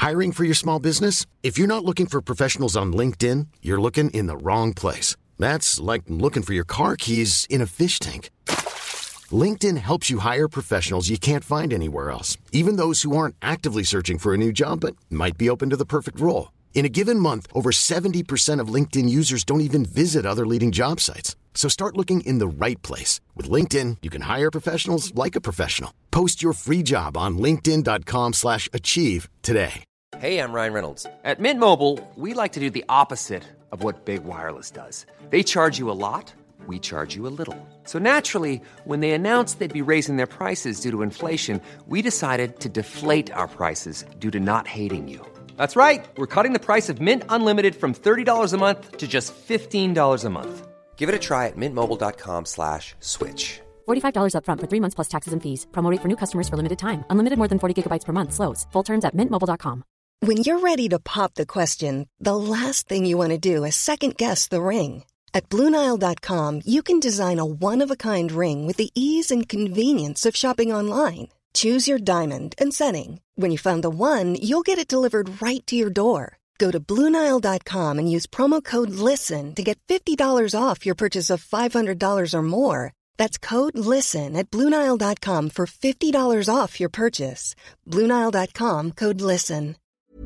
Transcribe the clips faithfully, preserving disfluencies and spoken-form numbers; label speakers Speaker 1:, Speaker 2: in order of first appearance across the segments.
Speaker 1: Hiring for your small business? If you're not looking for professionals on LinkedIn, you're looking in the wrong place. That's like looking for your car keys in a fish tank. LinkedIn helps you hire professionals you can't find anywhere else, even those who aren't actively searching for a new job but might be open to the perfect role. In a given month, over seventy percent of LinkedIn users don't even visit other leading job sites. So start looking in the right place. With LinkedIn, you can hire professionals like a professional. Post your free job on linkedin dot com slash achieve today.
Speaker 2: Hey, I'm Ryan Reynolds. At Mint Mobile, we like to do the opposite of what Big Wireless does. They charge you a lot, we charge you a little. So naturally, when they announced they'd be raising their prices due to inflation, we decided to deflate our prices due to not hating you. That's right. We're cutting the price of Mint Unlimited from thirty dollars a month to just fifteen dollars a month. Give it a try at mintmobile.com slash switch.
Speaker 3: forty-five dollars up front for three months plus taxes and fees. Promo rate for new customers for limited time. Unlimited more than forty gigabytes per month. Slows full terms at mint mobile dot com.
Speaker 4: When you're ready to pop the question, the last thing you want to do is second-guess the ring. At Blue Nile dot com, you can design a one-of-a-kind ring with the ease and convenience of shopping online. Choose your diamond and setting. When you find the one, you'll get it delivered right to your door. Go to Blue Nile dot com and use promo code LISTEN to get fifty dollars off your purchase of five hundred dollars or more. That's code LISTEN at Blue Nile dot com for fifty dollars off your purchase. Blue Nile dot com, code LISTEN.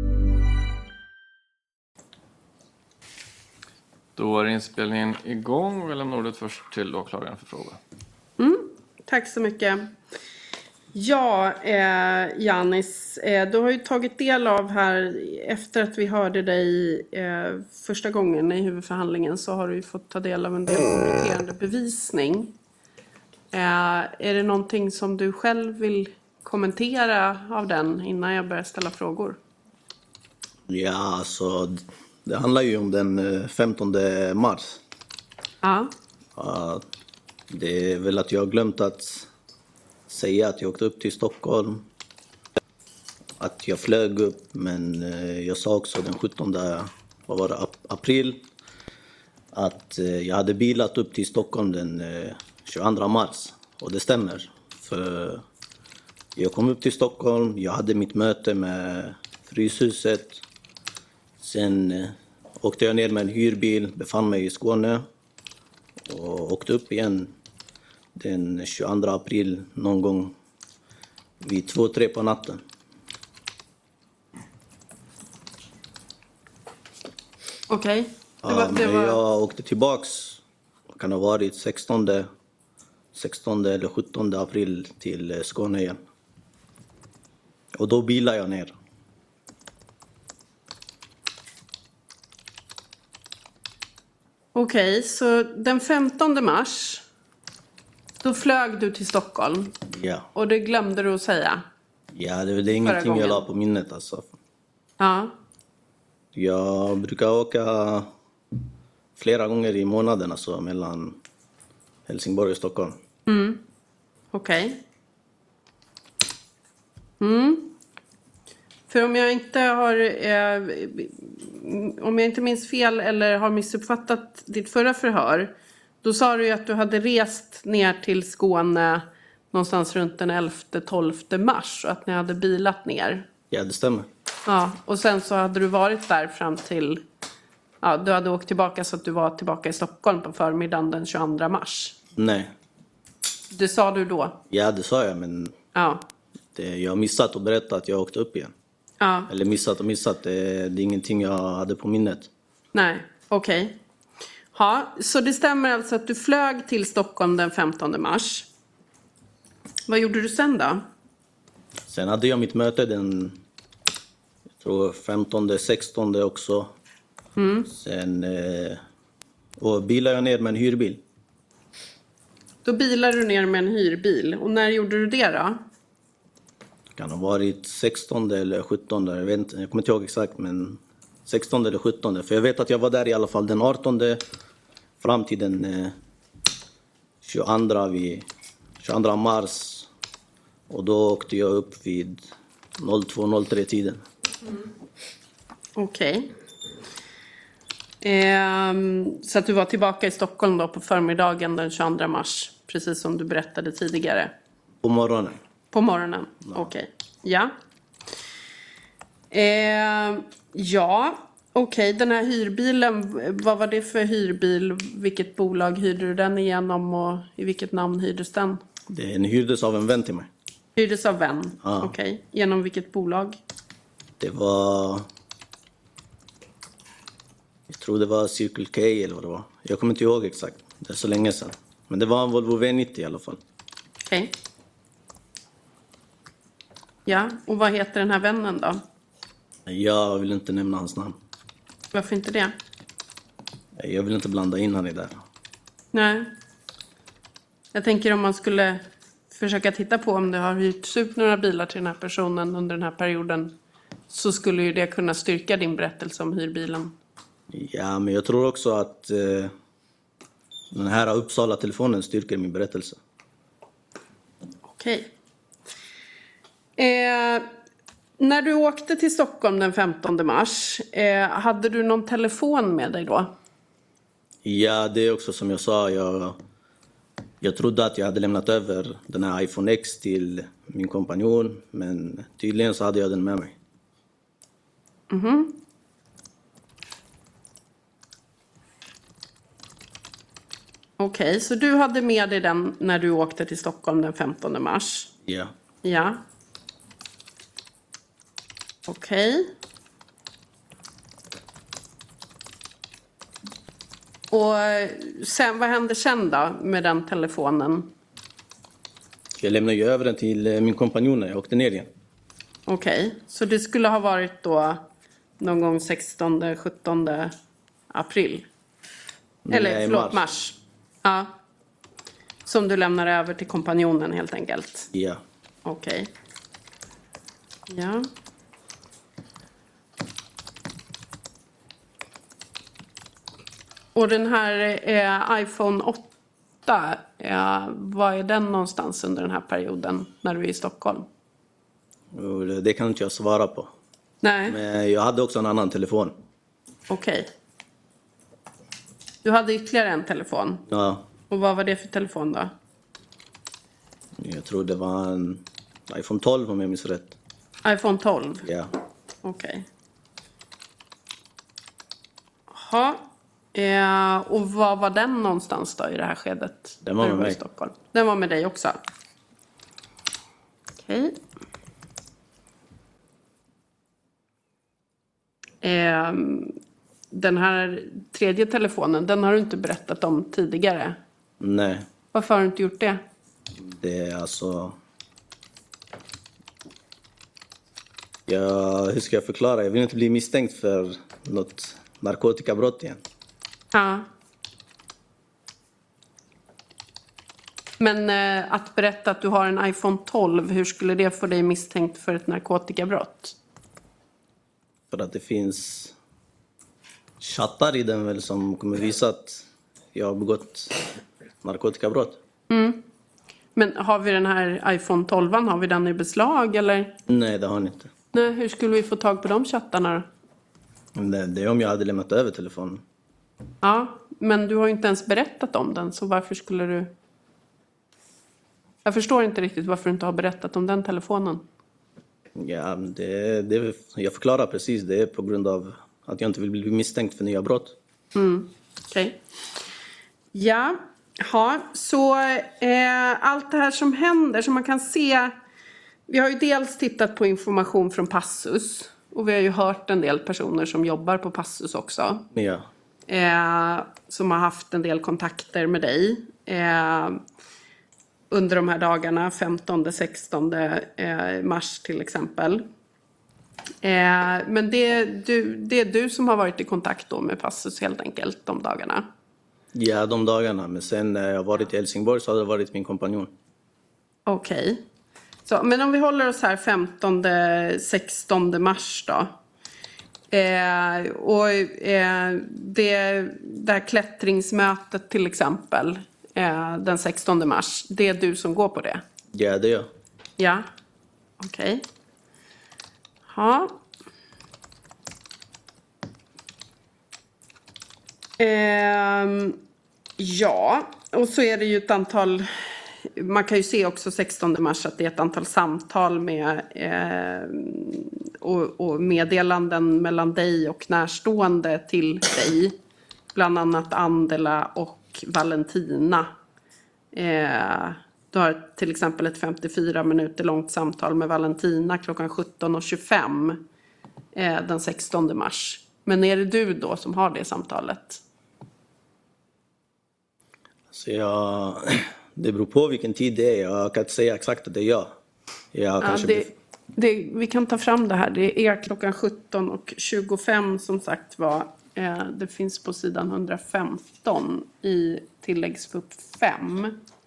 Speaker 5: Då är inspelningen igång och jag lämnar ordet först till åklagaren för fråga.
Speaker 6: Mm, tack så mycket. Ja, eh, Giannis, eh, du har ju tagit del av här, efter att vi hörde dig eh, första gången i huvudförhandlingen, så har du ju fått ta del av en del kompletterande bevisning. Eh, är det någonting som du själv vill kommentera av den innan jag börjar ställa frågor?
Speaker 7: Ja, alltså det handlar ju om den femtonde mars.
Speaker 6: Ja.
Speaker 7: Uh, det är väl att jag har glömt att säga att jag åkte upp till Stockholm. Att jag flög upp, men uh, jag sa också den sjuttonde vad var det, ap- april att uh, jag hade bilat upp till Stockholm den uh, tjugoandra mars. Och det stämmer. För jag kom upp till Stockholm, jag hade mitt möte med Fryshuset. Sen eh, åkte jag ner med en hyrbil, befann mig i Skåne och åkte upp igen den tjugoandra april någon gång vid två, tre på natten.
Speaker 6: Okej. Okay.
Speaker 7: Ja, men var... jag åkte tillbaks, det kan ha varit sextonde, sextonde eller sjuttonde april till Skåne igen. Och då bilade jag ner.
Speaker 6: Okej, okay, så den femtonde mars, då flög du till Stockholm.
Speaker 7: Ja.
Speaker 6: Och det glömde du att säga.
Speaker 7: Ja, det, det är ingenting jag la på minnet alltså.
Speaker 6: Ja.
Speaker 7: Jag brukar åka flera gånger i månaden alltså, mellan Helsingborg och Stockholm.
Speaker 6: Mm. Okej. Okay. Mm. För om jag inte har eh, om jag inte minns fel eller har missuppfattat ditt förra förhör, då sa du ju att du hade rest ner till Skåne någonstans runt den elfte tolfte mars och att ni hade bilat ner.
Speaker 7: Ja, det stämmer.
Speaker 6: Ja, och sen så hade du varit där fram till, ja, du hade åkt tillbaka så att du var tillbaka i Stockholm på förmiddagen den tjugoandra mars.
Speaker 7: Nej.
Speaker 6: Det sa du då?
Speaker 7: Ja, det sa jag, men
Speaker 6: ja.
Speaker 7: det, jag har missat att berätta att jag åkte upp igen.
Speaker 6: Ja.
Speaker 7: Eller missat och missat, det, det är ingenting jag hade på minnet.
Speaker 6: Nej, okej. Okay. Ja, så det stämmer alltså att du flög till Stockholm den femtonde mars. Vad gjorde du sen då?
Speaker 7: Sen hade jag mitt möte den jag tror femtonde, sextonde också.
Speaker 6: Mm.
Speaker 7: Sen eh, och bilade jag ner med en hyrbil.
Speaker 6: Då bilade du ner med en hyrbil. Och när gjorde du det då?
Speaker 7: Det kan ha varit sextonde eller sjuttonde. Jag, vet inte, jag kommer inte ihåg exakt, men sextonde eller sjuttonde. För jag vet att jag var där i alla fall den artonde fram till den eh, tjugoandra, vid, tjugoandra mars. Och då åkte jag upp vid två noll tre tiden.
Speaker 6: Mm. Okej. Okay. Ehm, så att du var tillbaka i Stockholm då på förmiddagen den tjugoandra mars. Precis som du berättade tidigare.
Speaker 7: På morgonen.
Speaker 6: På morgonen, ja. Okej. Okay. Ja. Eh, ja, okej. Okay. Den här hyrbilen, vad var det för hyrbil? Vilket bolag hyrde du den igenom och i vilket namn hyrdes den?
Speaker 7: Den hyrdes av en vän till mig.
Speaker 6: Hyrdes av vän?
Speaker 7: Ja.
Speaker 6: Okej. Okay. Genom vilket bolag?
Speaker 7: Det var... Jag tror det var Circle K eller vad det var. Jag kommer inte ihåg exakt. Det är så länge sedan. Men det var en Volvo V nittio i alla fall.
Speaker 6: Okej. Okay. Ja, och vad heter den här vännen då?
Speaker 7: Jag vill inte nämna hans namn.
Speaker 6: Varför inte det?
Speaker 7: Jag vill inte blanda in han i det.
Speaker 6: Nej. Jag tänker om man skulle försöka titta på om det har hyrts ut några bilar till den här personen under den här perioden, så skulle ju det kunna styrka din berättelse om hyrbilen.
Speaker 7: Ja, men jag tror också att eh, den här Uppsala-telefonen styrker min berättelse.
Speaker 6: Okej. Eh, när du åkte till Stockholm den femtonde mars, eh, hade du någon telefon med dig då?
Speaker 7: Ja, det är också som jag sa. Jag, jag trodde att jag hade lämnat över den här iPhone X till min kompanjon. Men tydligen så hade jag den med mig.
Speaker 6: Mhm. Okej, okay, så du hade med dig den när du åkte till Stockholm den femtonde mars?
Speaker 7: Ja.
Speaker 6: Ja. Okej. Okay. Och sen, vad hände sen då med den telefonen?
Speaker 7: Jag lämnade ju över den till min kompanjon när jag åkte ner igen.
Speaker 6: Okej, okay. Så det skulle ha varit då någon gång sextonde sjuttonde april? Eller
Speaker 7: Nej,
Speaker 6: förlåt,
Speaker 7: mars.
Speaker 6: mars. Ja. Som du lämnar över till kompanjonen helt enkelt?
Speaker 7: Ja.
Speaker 6: Okej. Okay. Ja. Och den här eh, iPhone åtta, eh, var är den någonstans under den här perioden när du är i Stockholm?
Speaker 7: Det kan inte jag svara på.
Speaker 6: Nej.
Speaker 7: Men jag hade också en annan telefon.
Speaker 6: Okej. Okay. Du hade ytterligare en telefon?
Speaker 7: Ja.
Speaker 6: Och vad var det för telefon då?
Speaker 7: Jag tror det var en iPhone tolv om jag minns rätt.
Speaker 6: iPhone tolv?
Speaker 7: Ja.
Speaker 6: Okej. Okay. Jaha. Eh, och var var den någonstans då i det här skedet?
Speaker 7: Den var med mig.
Speaker 6: Stockholm. Den var med dig också? Okej. Okay. Eh, den här tredje telefonen, den har du inte berättat om tidigare.
Speaker 7: Nej.
Speaker 6: Varför har du inte gjort det?
Speaker 7: Det är alltså... Ja, hur ska jag förklara? Jag vill inte bli misstänkt för något narkotikabrott igen.
Speaker 6: Ja. Men eh, att berätta att du har en iPhone tolv, hur skulle det få dig misstänkt för ett narkotikabrott?
Speaker 7: För att det finns chattar i den väl som kommer visa att jag har begått narkotikabrott.
Speaker 6: Mm. Men har vi den här iPhone tolv, har vi den i beslag eller?
Speaker 7: Nej, det har ni inte.
Speaker 6: Nej, hur skulle vi få tag på de chattarna då?
Speaker 7: Det, det är om jag hade lämnat över telefonen.
Speaker 6: Ja, men du har ju inte ens berättat om den, så varför skulle du... Jag förstår inte riktigt varför du inte har berättat om den telefonen.
Speaker 7: Ja, det, det, jag förklarar precis. Det är på grund av att jag inte vill bli misstänkt för nya brott.
Speaker 6: Mm, okej. Okay. Ja, ja, så eh, allt det här som händer, som man kan se... Vi har ju dels tittat på information från Passus. Och vi har ju hört en del personer som jobbar på Passus också.
Speaker 7: Ja.
Speaker 6: Eh, som har haft en del kontakter med dig. Eh, under de här dagarna, femtonde sextonde eh, mars till exempel. Eh, men det, du, det är du som har varit i kontakt då med Passus helt enkelt de dagarna.
Speaker 7: Ja, de dagarna. Men sen när jag varit i Helsingborg så har det varit min kompanjon.
Speaker 6: Okej. Okay. Så, men om vi håller oss här femtonde sextonde mars då. Eh, och eh, det, det här klättringsmötet till exempel, eh, den sextonde mars, det är du som går på det?
Speaker 7: Ja, det är jag.
Speaker 6: Ja, okej. Okay. Ja. Eh, ja, och så är det ju ett antal... Man kan ju se också sextonde mars att det är ett antal samtal med eh, och, och meddelanden mellan dig och närstående till dig. Bland annat Andela och Valentina. Eh, du har till exempel ett femtiofyra minuter långt samtal med Valentina klockan sjutton och tjugofem eh, den sextonde mars. Men är det du då som har det samtalet?
Speaker 7: Så jag, det beror på vilken tid det är. Jag kan inte säga exakt att det är jag. jag
Speaker 6: ja,
Speaker 7: kanske
Speaker 6: det,
Speaker 7: blir...
Speaker 6: det, vi kan ta fram det här. Det är klockan sjutton och tjugofem som sagt var. Eh, det finns på sidan hundrafemton i tilläggsfupp fem.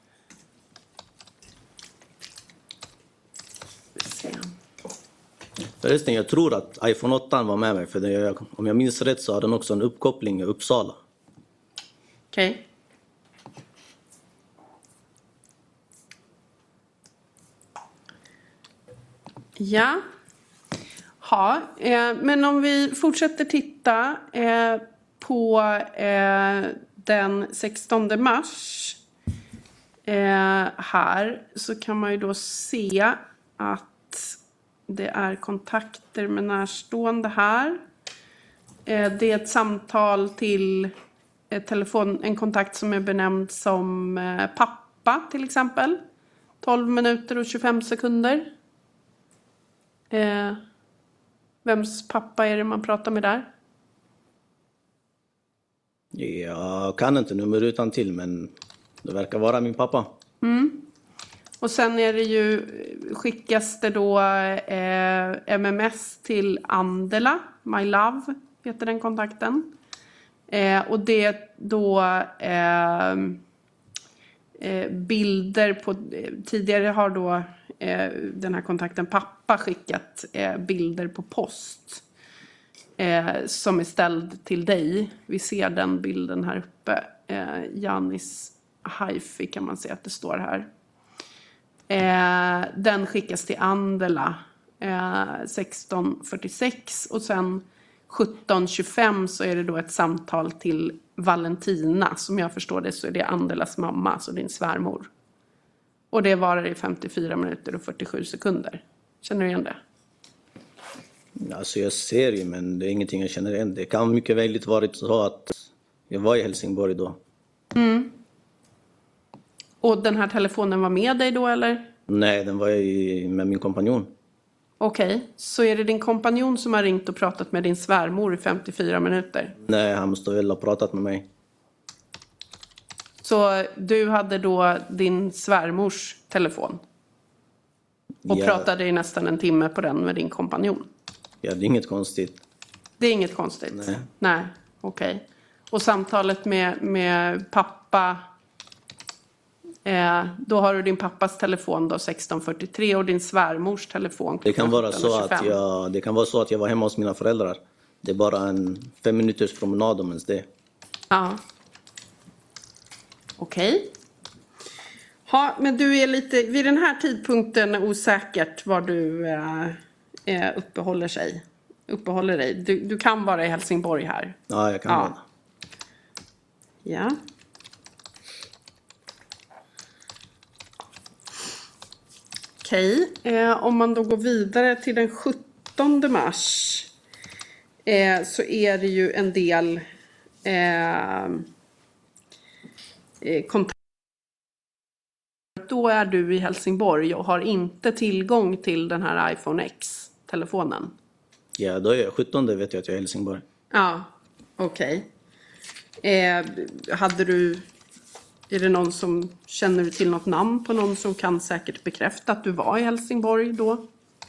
Speaker 7: Förresten, jag tror att iPhone åtta var med mig. För det, om jag minns rätt så har den också en uppkoppling i Uppsala.
Speaker 6: Okej. Okay. Ja. Ja, eh, men om vi fortsätter titta eh, på eh, den sextonde mars eh, här så kan man ju då se att det är kontakter med närstående här. Eh, det är ett samtal till eh, telefon, en kontakt som är benämnd som eh, pappa till exempel. tolv minuter och tjugofem sekunder. Eh, vems pappa är det man pratar med där?
Speaker 7: Jag kan inte nummer utan till, men det verkar vara min pappa.
Speaker 6: Mm. Och sen är det ju, skickas det då eh, M M S till Andela, My Love heter den kontakten. Eh, och det är då eh, eh, bilder på, tidigare har då eh, den här kontakten pappa skickat eh, bilder på post. Eh, som är ställd till dig. Vi ser den bilden här uppe. Eh, Janis Haifi kan man se att det står här. Eh, den skickas till Andela eh, sexton fyrtiosex och sen sjutton tjugofem så är det då ett samtal till Valentina. Som jag förstår det så är det Andelas mamma, så din svärmor. Och det varar i femtiofyra minuter och fyrtiosju sekunder. Känner du igen det?
Speaker 7: Alltså jag ser ju, men det är ingenting jag känner igen. Det kan mycket väl varit så att jag var i Helsingborg då.
Speaker 6: Mm. Och den här telefonen var med dig då eller?
Speaker 7: Nej, den var ju med min kompanjon.
Speaker 6: Okej, okay. Så är det din kompanjon som har ringt och pratat med din svärmor i femtiofyra minuter?
Speaker 7: Nej, han måste väl ha pratat med mig.
Speaker 6: Så du hade då din svärmors telefon? Och ja. Pratade i nästan en timme på den med din kompanjon?
Speaker 7: Ja, det är inget konstigt.
Speaker 6: Det är inget konstigt?
Speaker 7: Nej.
Speaker 6: Nej, okej. Okay. Och samtalet med, med pappa, eh, då har du din pappas telefon då sexton fyrtiotre och din svärmors telefon.
Speaker 7: Det kan vara så att jag, det kan vara så att jag var hemma hos mina föräldrar. Det är bara en fem minuters promenad om ens det.
Speaker 6: Ja. Okej. Okay. Ja, men du är lite vid den här tidpunkten osäkert var du eh, uppehåller sig. Uppehåller dig. Du, du kan vara i Helsingborg här.
Speaker 7: Ja, jag kan ja. vara.
Speaker 6: Ja. Okej, okay. eh, om man då går vidare till den sjuttonde mars eh, så är det ju en del eh, eh, kontakter. Då är du i Helsingborg och har inte tillgång till den här iPhone X-telefonen.
Speaker 7: Ja, då är jag sjuttonde vet jag att jag är i Helsingborg.
Speaker 6: Ja, okej. Okay. Eh, hade du... Är det någon som, känner du till något namn på någon som kan säkert bekräfta att du var i Helsingborg då?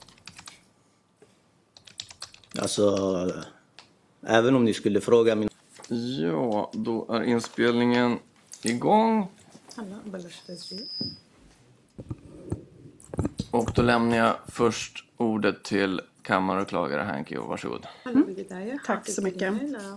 Speaker 7: Alltså, även om ni skulle fråga min...
Speaker 5: Ja, då är inspelningen igång. Och då lämnar jag först ordet till kammaråklagare Hanky, och varsågod.
Speaker 6: Mm. Tack så mycket.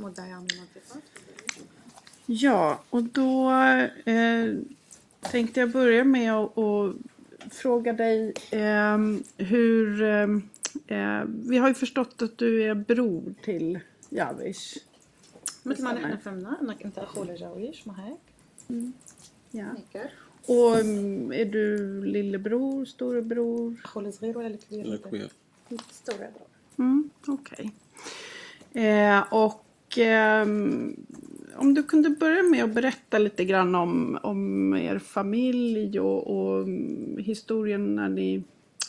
Speaker 6: Ja, och då eh, tänkte jag börja med att och fråga dig eh, hur... Eh, vi har ju förstått att du är bror till Javish.
Speaker 8: مثل ما نحن فهمنا انك انت اخو لجاويش ما هيك؟
Speaker 6: Ja. Och är du lillebror, storebror?
Speaker 8: اخو الصغير ولا الكبير؟
Speaker 5: الكبير.
Speaker 8: storebror.
Speaker 6: Mm, okej. Okay. Eh, och eh, om du kunde börja med att berätta lite grann om, om er familj och, och historien när ni,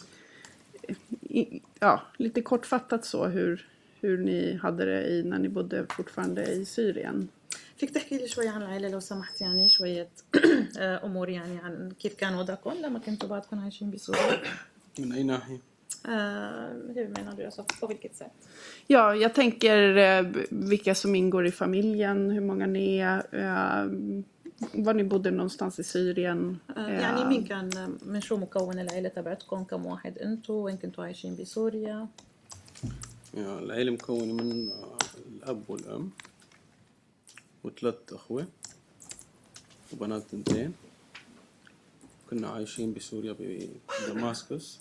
Speaker 6: i, ja, lite kortfattat så hur, hur ni hade det i, när ni bodde fortfarande i Syrien.
Speaker 8: فيك تحكي لي شوية عن العائلة لو سمحت يعني شوية أمور يعني عن كيف كان وضعكم لما كنتوا بعدكم عايشين بسوريا؟
Speaker 5: من أي ناحية؟
Speaker 8: Hur menar du? Alltså, på vilket sätt?
Speaker 6: Ja, jag tänker eh, vilka som ingår i familjen, hur många ni är, eh, var ni bodde någonstans i Syrien.
Speaker 8: آه، يعني مين كان من شو مكون العائلة تبعتكم؟ كم واحد أنتوا؟ وين كنتوا عايشين بسوريا؟
Speaker 5: يعني العائلة مكونة من الأب والأم وثلاث أخوة وبنات تنتين. كنا عايشين بسوريا بدماسكس.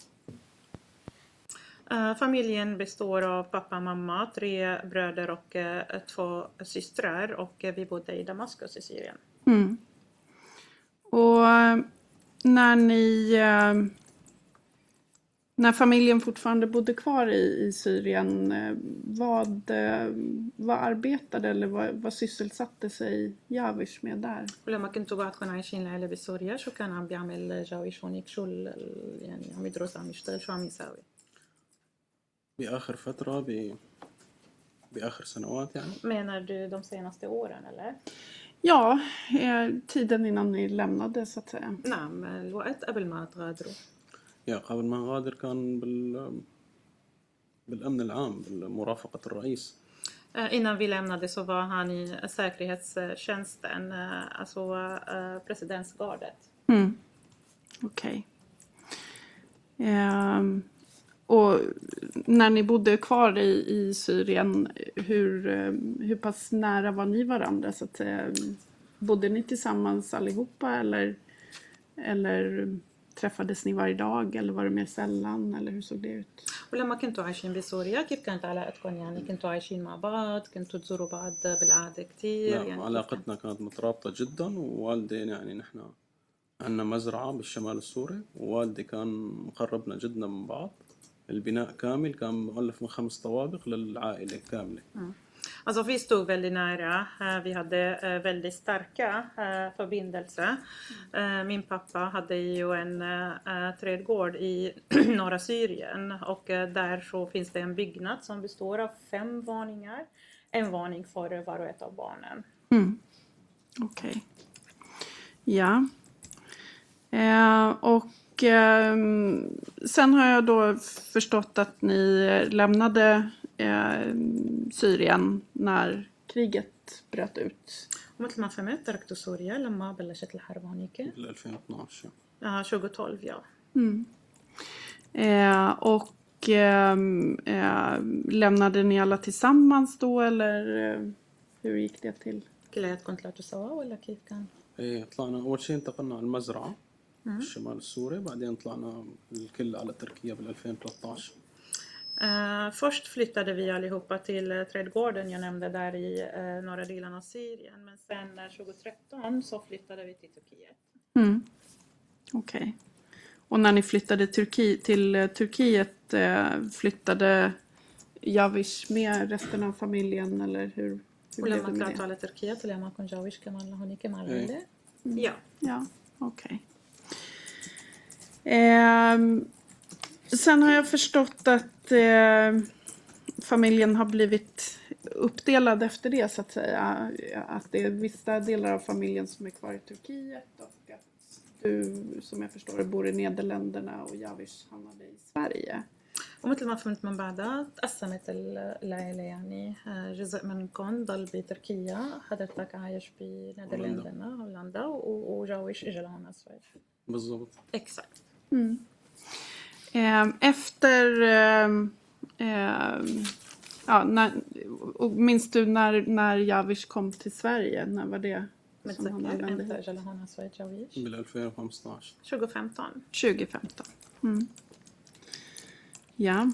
Speaker 8: Uh, familjen består av pappa, mamma, tre bröder och uh, två systrar och uh, vi bodde i Damaskus i Syrien.
Speaker 6: Mm. Och uh, när ni uh, när familjen fortfarande bodde kvar i, i Syrien, uh, vad, uh, vad arbetade eller vad, vad sysselsatte sig Javish med där?
Speaker 8: ولما كنتوا بعدكم عايشين العيلة بسوريا شو كان عم بيعمل جاويش هونيك؟ شو يعني عم يدرس، عم يشتغل، شو عم يساوي؟
Speaker 5: بآخر فترة ب... بآخر سنوات يعني.
Speaker 8: Menar du de senaste åren eller?
Speaker 6: Ja, eh, tiden innan ni lämnade så att säga.
Speaker 8: نعم الوقت قبل ما تغادروا.
Speaker 5: يا قبل ما نغادر كان بال... بالأمن العام بالمرافقة الرئيس.
Speaker 8: Innan vi lämnade så var han i säkerhetstjänsten, alltså presidentsgardet.
Speaker 6: Mm. Okej. Okay. Um... Och när ni bodde kvar i, i Syrien, hur, hur pass nära var ni varandra? Så att, bodde ni tillsammans allihopa eller, eller träffades ni varje dag eller var det mer sällan eller hur såg det ut?
Speaker 8: ولما كنتوا عايشين بسوريا كيف كانت علاقتكم؟ يعني كنتوا عايشين مع بعض، كنتوا تزوروا بعض بالعادة كتير؟
Speaker 5: لا
Speaker 8: يعني
Speaker 5: علاقتنا كانت مترابطة جدا، ووالدي يعني نحن عندنا مزرعة بالشمال السوري ووالدي كان مقربنا جدا من بعض. البناء كامل كان مؤلف من خمس طوابق للعائلة كاملة.
Speaker 8: Mm. Alltså vi stod väldigt nära, vi hade väldigt starka förbindelser. Min pappa hade ju en trädgård i norra Syrien och där så finns det en byggnad som består av fem våningar. En våning för var och ett av barnen.
Speaker 6: Mm. Okej. Okay. Ja. Eh, och Och eh, sen har jag då förstått att ni lämnade eh, Syrien när kriget bröt ut.
Speaker 8: ومثل ما فهمت تركتوا سوريا لما بلشت الحرب هونيك.
Speaker 5: ألفين واثناشر.
Speaker 8: Ja, tjugohundratolv ja.
Speaker 6: Mm. Eh, och eh, eh, lämnade ni alla tillsammans då eller eh, hur gick det till?
Speaker 8: كلياتكم طلعتوا سوا ولا كيف كان؟
Speaker 5: إيه طلعنا أول شيء انتقلنا على المزرعة في الشمال السوري، بعدين طلعنا الكل على تركيا بال ألفين وثلاثة عشر.
Speaker 8: Uh, först flyttade vi allihopa till uh, trädgården jag nämnde där i uh, norra delen av Syrien. Men sen uh, tjugohundratretton så flyttade vi till Turkiet.
Speaker 6: Mm. Okej. Okay. Och när ni flyttade Turki- till uh, Turkiet uh, flyttade Javish med resten av familjen eller hur, hur blev det med det?
Speaker 8: على تركيا طلع معكم جاويش كمان لهونيك مع العيلة؟ Ja.
Speaker 6: Ja, okej. Okay. Eh, sen har jag förstått att eh, familjen har blivit uppdelad efter det så att säga. Att det är vissa delar av familjen som är kvar i Turkiet och att du som jag förstår bor i Nederländerna och Javish hamnade i Sverige.
Speaker 8: ومثل ما فهمت من بعدها تقسمت العائلة يعني جزء منكم ضل بتركيا، حضرتك عايش بنيدرلندنا هولندا وجاويش اجى لهون السويد.
Speaker 5: بالضبط.
Speaker 8: Exakt.
Speaker 6: Mm. Efter eh, ja, när, och minns du när, när Javish kom till Sverige? När var det som han använde hit?
Speaker 5: بال ألفين وخمسطعش.
Speaker 8: tjugofemton.
Speaker 6: tjugofemton. Mm. Ja.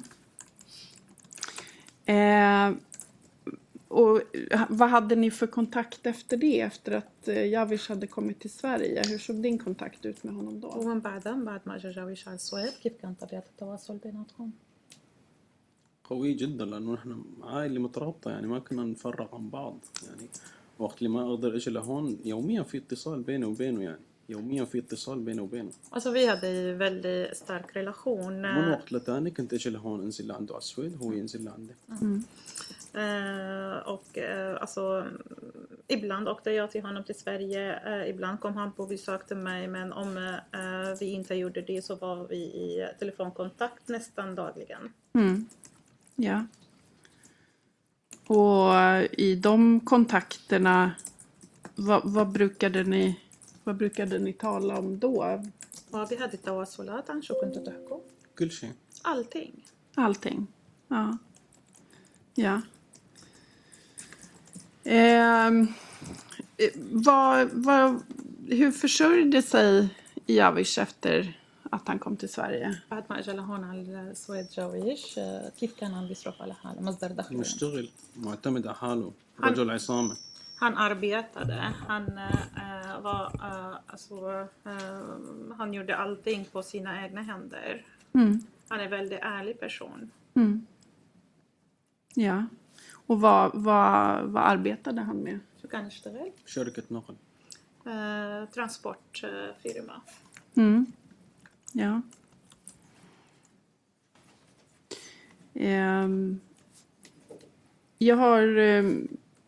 Speaker 6: Eh, och vad hade ni för kontakt efter det? Efter att eh, Javish hade kommit till Sverige. Hur såg din kontakt ut med honom då?
Speaker 8: ومن بعدها بعد ما اجى جاويش على السويد كيف كان طبيعة التواصل بيناتكم؟
Speaker 5: قوية جدا لأنه نحن عائلة مترابطة يعني ما كنا نفرق عن بعض يعني وقت اللي ما أقدر أجي لهون يوميا في اتصال بيني وبينه يعني يوميا في اتصال بيني وبينه.
Speaker 8: Alltså vi hade ju väldigt stark relation.
Speaker 5: من وقت لتاني كنت أجي لهون أنزل لعنده على السويد هو ينزل لعندي.
Speaker 8: Mm. Uh, och uh, alltså ibland åkte jag till honom till Sverige, uh, ibland kom han på besök till mig, men om uh, vi inte gjorde det så var vi i telefonkontakt nästan dagligen.
Speaker 6: Mm. Ja. Och i de kontakterna vad, vad brukade ni vad brukade ni tala om då?
Speaker 8: وبهذه التواصلات عن شو كنتوا تحكوا؟
Speaker 5: كل شيء.
Speaker 8: Allting.
Speaker 6: Allting. Ja. Ja. Eh, vad, vad, hur försörjde sig Javish efter att han kom till Sverige?
Speaker 8: بعد ما اجى لهون على السويد جاويش كيف كان عم بيصرف على حاله مصدر دخله؟
Speaker 5: مشتغل معتمد على حاله رجل عصامة.
Speaker 8: Han arbetade, han äh, var, äh, alltså, äh, han gjorde allting på sina egna händer.
Speaker 6: Mm.
Speaker 8: Han är en väldigt ärlig person.
Speaker 6: Mm. Ja. Och vad, vad, vad arbetade han med?
Speaker 8: Så kan يشتغل
Speaker 5: شركة نقل.
Speaker 8: äh, transportfirma.
Speaker 6: Mm. Ja. Um, jag har... Um,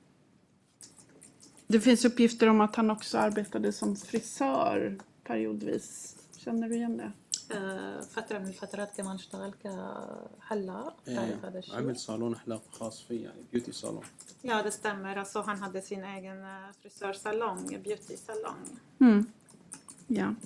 Speaker 6: det finns uppgifter om att han också arbetade som frisör periodvis. Känner du igen det?
Speaker 8: فترة من الفترات كمان اشتغل كحلاق. تعرف هذا الشيء؟
Speaker 5: عمل صالون حلاق خاص فيه يعني بيوتي صالون.
Speaker 8: Ja, det stämmer. Alltså, han hade sin egen frisörsalong, beauty-salong.
Speaker 6: Mm. Ja.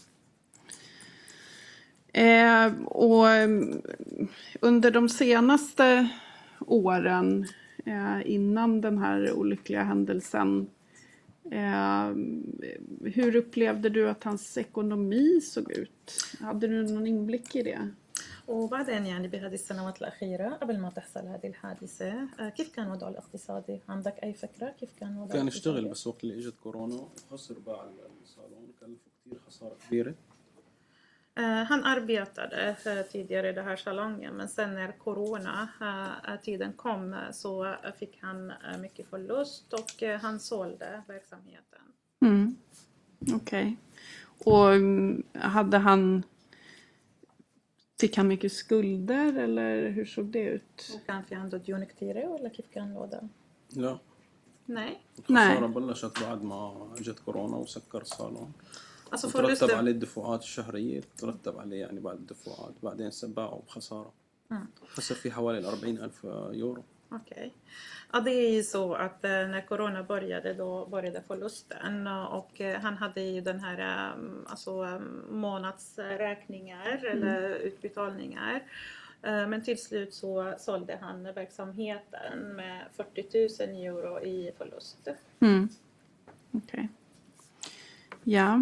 Speaker 6: Eh, och under de senaste åren eh, innan den här olyckliga händelsen, eh, hur upplevde du att hans ekonomi såg ut? Hade du någon inblick i det?
Speaker 8: وبعدين يعني بهذه السنوات الأخيرة قبل ما تحصل هذه الحادثة كيف كان وضعه الاقتصادي؟ عندك أي فكرة كيف كان وضعه؟
Speaker 5: كان يشتغل بس وقت اللي اجت كورونا وخسر باع الصالون كلفه كثير خسارة كبيرة.
Speaker 8: Han arbetade tidigare i den här salongen, men sen när corona tiden kom så fick han mycket förlust och han sålde verksamheten.
Speaker 6: Mm. Okej. Okay. Och hade han fick han mycket skulder eller hur såg det ut?
Speaker 8: وكان في عنده ديون كثيرة ولا كيف كان الوضع؟
Speaker 5: لا.
Speaker 8: Nej.
Speaker 5: الخسارة بلشت بعد ما اجت كورونا وسكر الصالون.
Speaker 8: Alltså
Speaker 5: ترتب عليه الدفعات الشهرية ترتب عليه يعني بعد الدفعات بعدين باعوا بخسارة. خسر في حوالي أربعين ألف يورو.
Speaker 8: Okej. Okay. Ja, det är ju så att när corona började då började förlusten och han hade ju den här alltså månadsräkningar mm. eller utbetalningar. Men till slut så sålde han verksamheten med fyrtio tusen euro i förlust.
Speaker 6: Mm. Okej. Okay. Ja.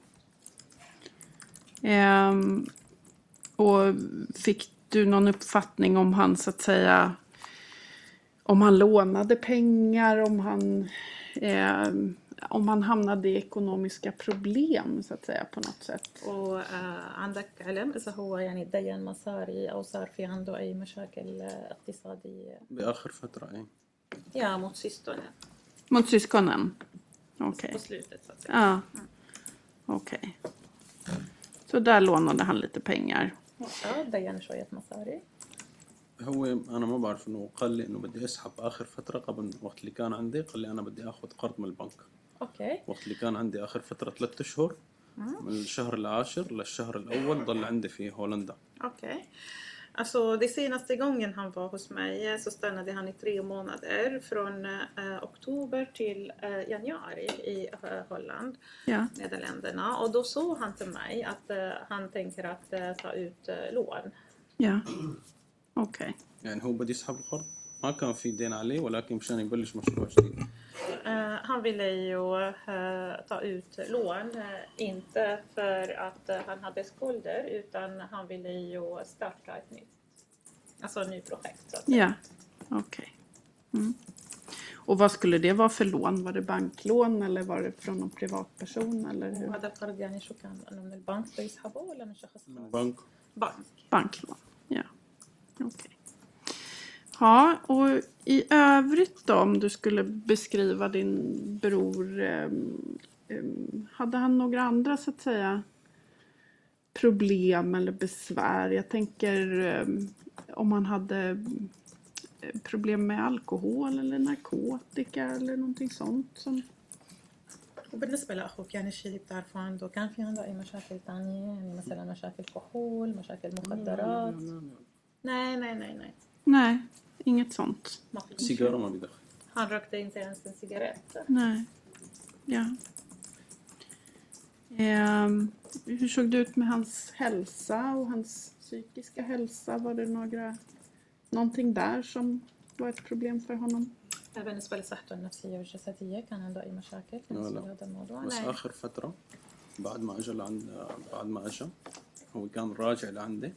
Speaker 6: Ehm, och fick du någon uppfattning om han så att säga om han lånade pengar, om han eh, om han hamnade i ekonomiska problem så att säga på något sätt.
Speaker 8: Och عندك علم إذا هو يعني دين مصاري أو صار في عنده أي مشاكل اقتصادية؟
Speaker 5: بآخر فترة إيه.
Speaker 8: Ja, mot syskonen.
Speaker 6: Mot syskonen. Okej. Okay.
Speaker 8: På slutet så att säga.
Speaker 6: Ja. Okej. Okay. Så där lånade han lite pengar.
Speaker 8: Ja, دين شوية مصاري.
Speaker 5: هو أنا ما بعرف إنه قال لي إنه بدي أسحب آخر فترة قبل وقت اللي كان عندي قال لي أنا بدي أخذ قرض من البنك.
Speaker 8: أوكي.
Speaker 5: وقت اللي كان عندي آخر فترة ثلاثة أشهر من الشهر العاشر للشهر الأول ضل عندي في هولندا.
Speaker 8: Okej. Alltså det senaste gången han var hos mig så stannade han i tre månader från eh, oktober till eh, januari i eh, Holland,
Speaker 6: ja.
Speaker 8: Nederländerna. Och då sa han till mig att eh, han tänker att eh, ta ut eh, lån.
Speaker 6: Ja, okej. Okay.
Speaker 5: يعني هو بدي يسحب القرض ما كان في دين عليه ولكن مشان يبلش مشروع جديد.
Speaker 8: Uh, han ville ju uh, ta ut lån, uh, inte för att uh, han hade skulder utan han ville ju starta ett nytt, alltså ett nytt projekt. Så att
Speaker 6: ja, okej. Okay. Mm. Och vad skulle det vara för lån? Var det banklån eller var det från någon privatperson eller hur?
Speaker 8: هذا القرض يعني شو كان انه من البنك بيسحبه ولا من شخص خاص؟
Speaker 5: من بنك.
Speaker 8: بنك.
Speaker 6: Banklån. Ja. Okej. Okay. Ja, och i övrigt då, om du skulle beskriva din bror, eh, eh, hade han några andra så att säga problem eller besvär? Jag tänker eh, om han hade problem med alkohol eller narkotika eller någonting sånt som...
Speaker 8: وبالنسبة لأخوك يعني الشيء اللي بتعرفه عنده كان في عنده أي مشاكل تانية يعني مثلا مشاكل كحول مشاكل مخدرات؟ Nej, nej, nej, nej.
Speaker 6: Nej, inget sånt.
Speaker 5: Cigarrer ما بيدخن.
Speaker 8: Han rökte inte ens en cigarett.
Speaker 6: Nej. Ja. Eh, hur såg det ut med hans hälsa och hans psykiska hälsa? Var det några någonting där som var ett problem för honom?
Speaker 8: بالنسبة لصحته النفسية والجسدية كان عنده أي مشاكل
Speaker 5: لا
Speaker 8: بالنسبة
Speaker 5: لا.
Speaker 8: لهذا الموضوع؟
Speaker 5: بس
Speaker 8: لا.
Speaker 5: آخر فترة بعد ما أجى لعند بعد ما أجى هو كان راجع لعندي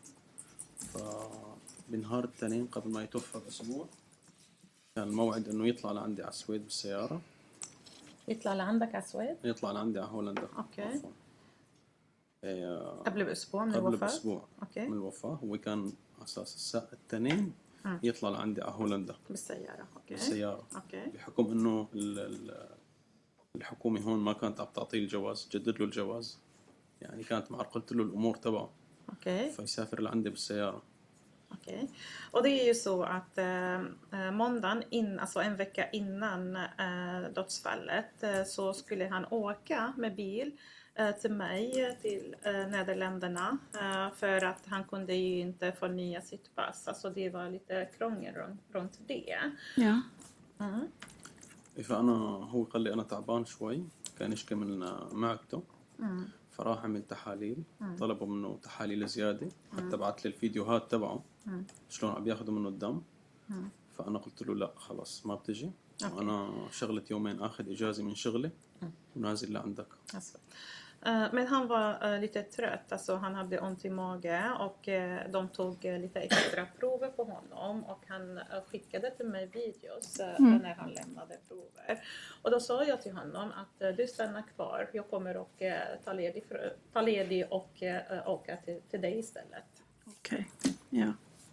Speaker 5: فبنهار التنين قبل ما يتوفى بأسبوع كان الموعد إنه يطلع لعندي على السويد بالسيارة.
Speaker 8: يطلع لعندك على السويد؟
Speaker 5: يطلع لعندي على هولندا.
Speaker 8: أوكي.
Speaker 5: عفواً. إيه،
Speaker 8: قبل بأسبوع من
Speaker 5: قبل
Speaker 8: الوفاة؟
Speaker 5: بأسبوع
Speaker 8: أوكي.
Speaker 5: من الوفاة. هو كان على أساس الساعة التنين
Speaker 8: مم.
Speaker 5: يطلع لعندي على هولندا
Speaker 8: بالسيارة. أوكي.
Speaker 5: بالسيارة
Speaker 8: أوكي.
Speaker 5: بحكم إنه ال- ال- الحكومة هون ما كانت عم تعطيه الجواز، جدد له الجواز، يعني كانت معرقلت له الأمور تبعه
Speaker 8: Okej.
Speaker 5: فيسافر لعندي بالسيارة.
Speaker 8: Okej. Och det är ju så att eh, måndagen, in, alltså en vecka innan eh, dödsfallet, eh, så skulle han åka med bil eh, till mig, till eh, Nederländerna, eh, för att han kunde ju inte förnya sitt pass. Alltså det var lite krångel runt, runt det.
Speaker 6: Ja.
Speaker 8: Mm.
Speaker 5: فأنا هو قال لي أنا تعبان شوي، كان يشكي من معدته
Speaker 8: Mm.
Speaker 5: فراح عمل تحاليل. طلبوا منه تحاليل زيادة، حتى بعت لي الفيديوهات تبعه شلون عم ياخذوا منه الدم. فأنا قلت له لا خلاص ما بتجي، وأنا شغلة يومين أخذ إجازة من شغلي ونازل لعندك.
Speaker 8: Alltså. Eh, Men han var eh, lite trött, alltså han hade ont i mage och eh, de tog eh, lite extra prover på honom och han eh, skickade till mig videos eh, när han lämnade prover. Och då sa jag till honom att eh, du stannar kvar, jag kommer och eh, ta ledig, för, ta ledig och eh, åka till, till dig istället.
Speaker 6: Okej, ja.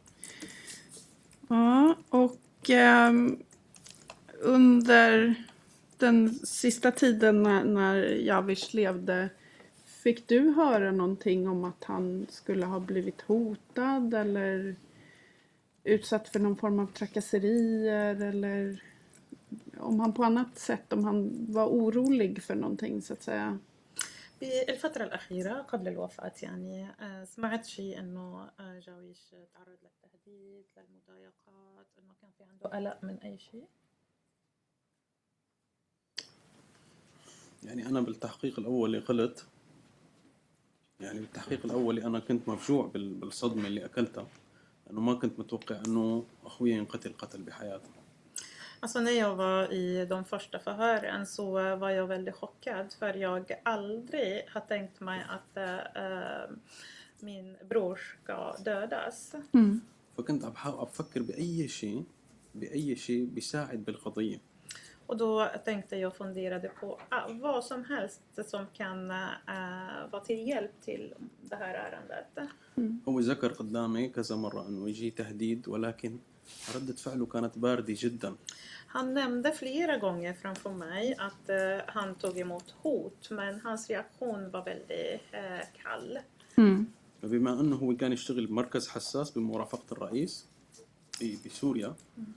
Speaker 6: Ja, och ehm, under den sista tiden när, när Javish levde, fick du höra någonting om att han skulle ha blivit hotad eller utsatt för någon form av trakasserier, eller om han på annat sätt, om han var orolig för någonting så att säga?
Speaker 8: بالفترة الأخيرة قبل الوفاة يعني آه، سمعت شيء إنه آه، جاويش تعرض للتهديد للمضايقات، إنه كان في عنده قلق من أي شيء؟
Speaker 5: يعني أنا بالتحقيق الأولي قلت، يعني بالتحقيق الأولي أنا كنت مفجوع بال- بالصدمة اللي أكلتها، لأنه ما كنت متوقع إنه أخوي ينقتل قتل بحياته.
Speaker 8: Alltså när jag var i de första förhören så var jag väldigt chockad, för jag aldrig har tänkt mig att äh, min bror ska dödas.
Speaker 6: Mm.
Speaker 5: فكنت عم بحاول أفكر بأي شيء بأي شيء بيساعد بالقضية.
Speaker 8: Och då tänkte jag funderade på ah, vad som helst som kan äh, vara till hjälp till det här ärendet.
Speaker 5: هو ذكر قدامي كذا مرة إنه يجي تهديد، ولكن ردة فعله كانت باردة جدا.
Speaker 8: Han nämnde flera gånger framför mig att uh, han tog emot hot, men hans reaktion var väldigt uh, kall.
Speaker 6: Mm.
Speaker 5: فبما أنه هو كان يشتغل بمركز حساس بمرافقة الرئيس ب- بسوريا،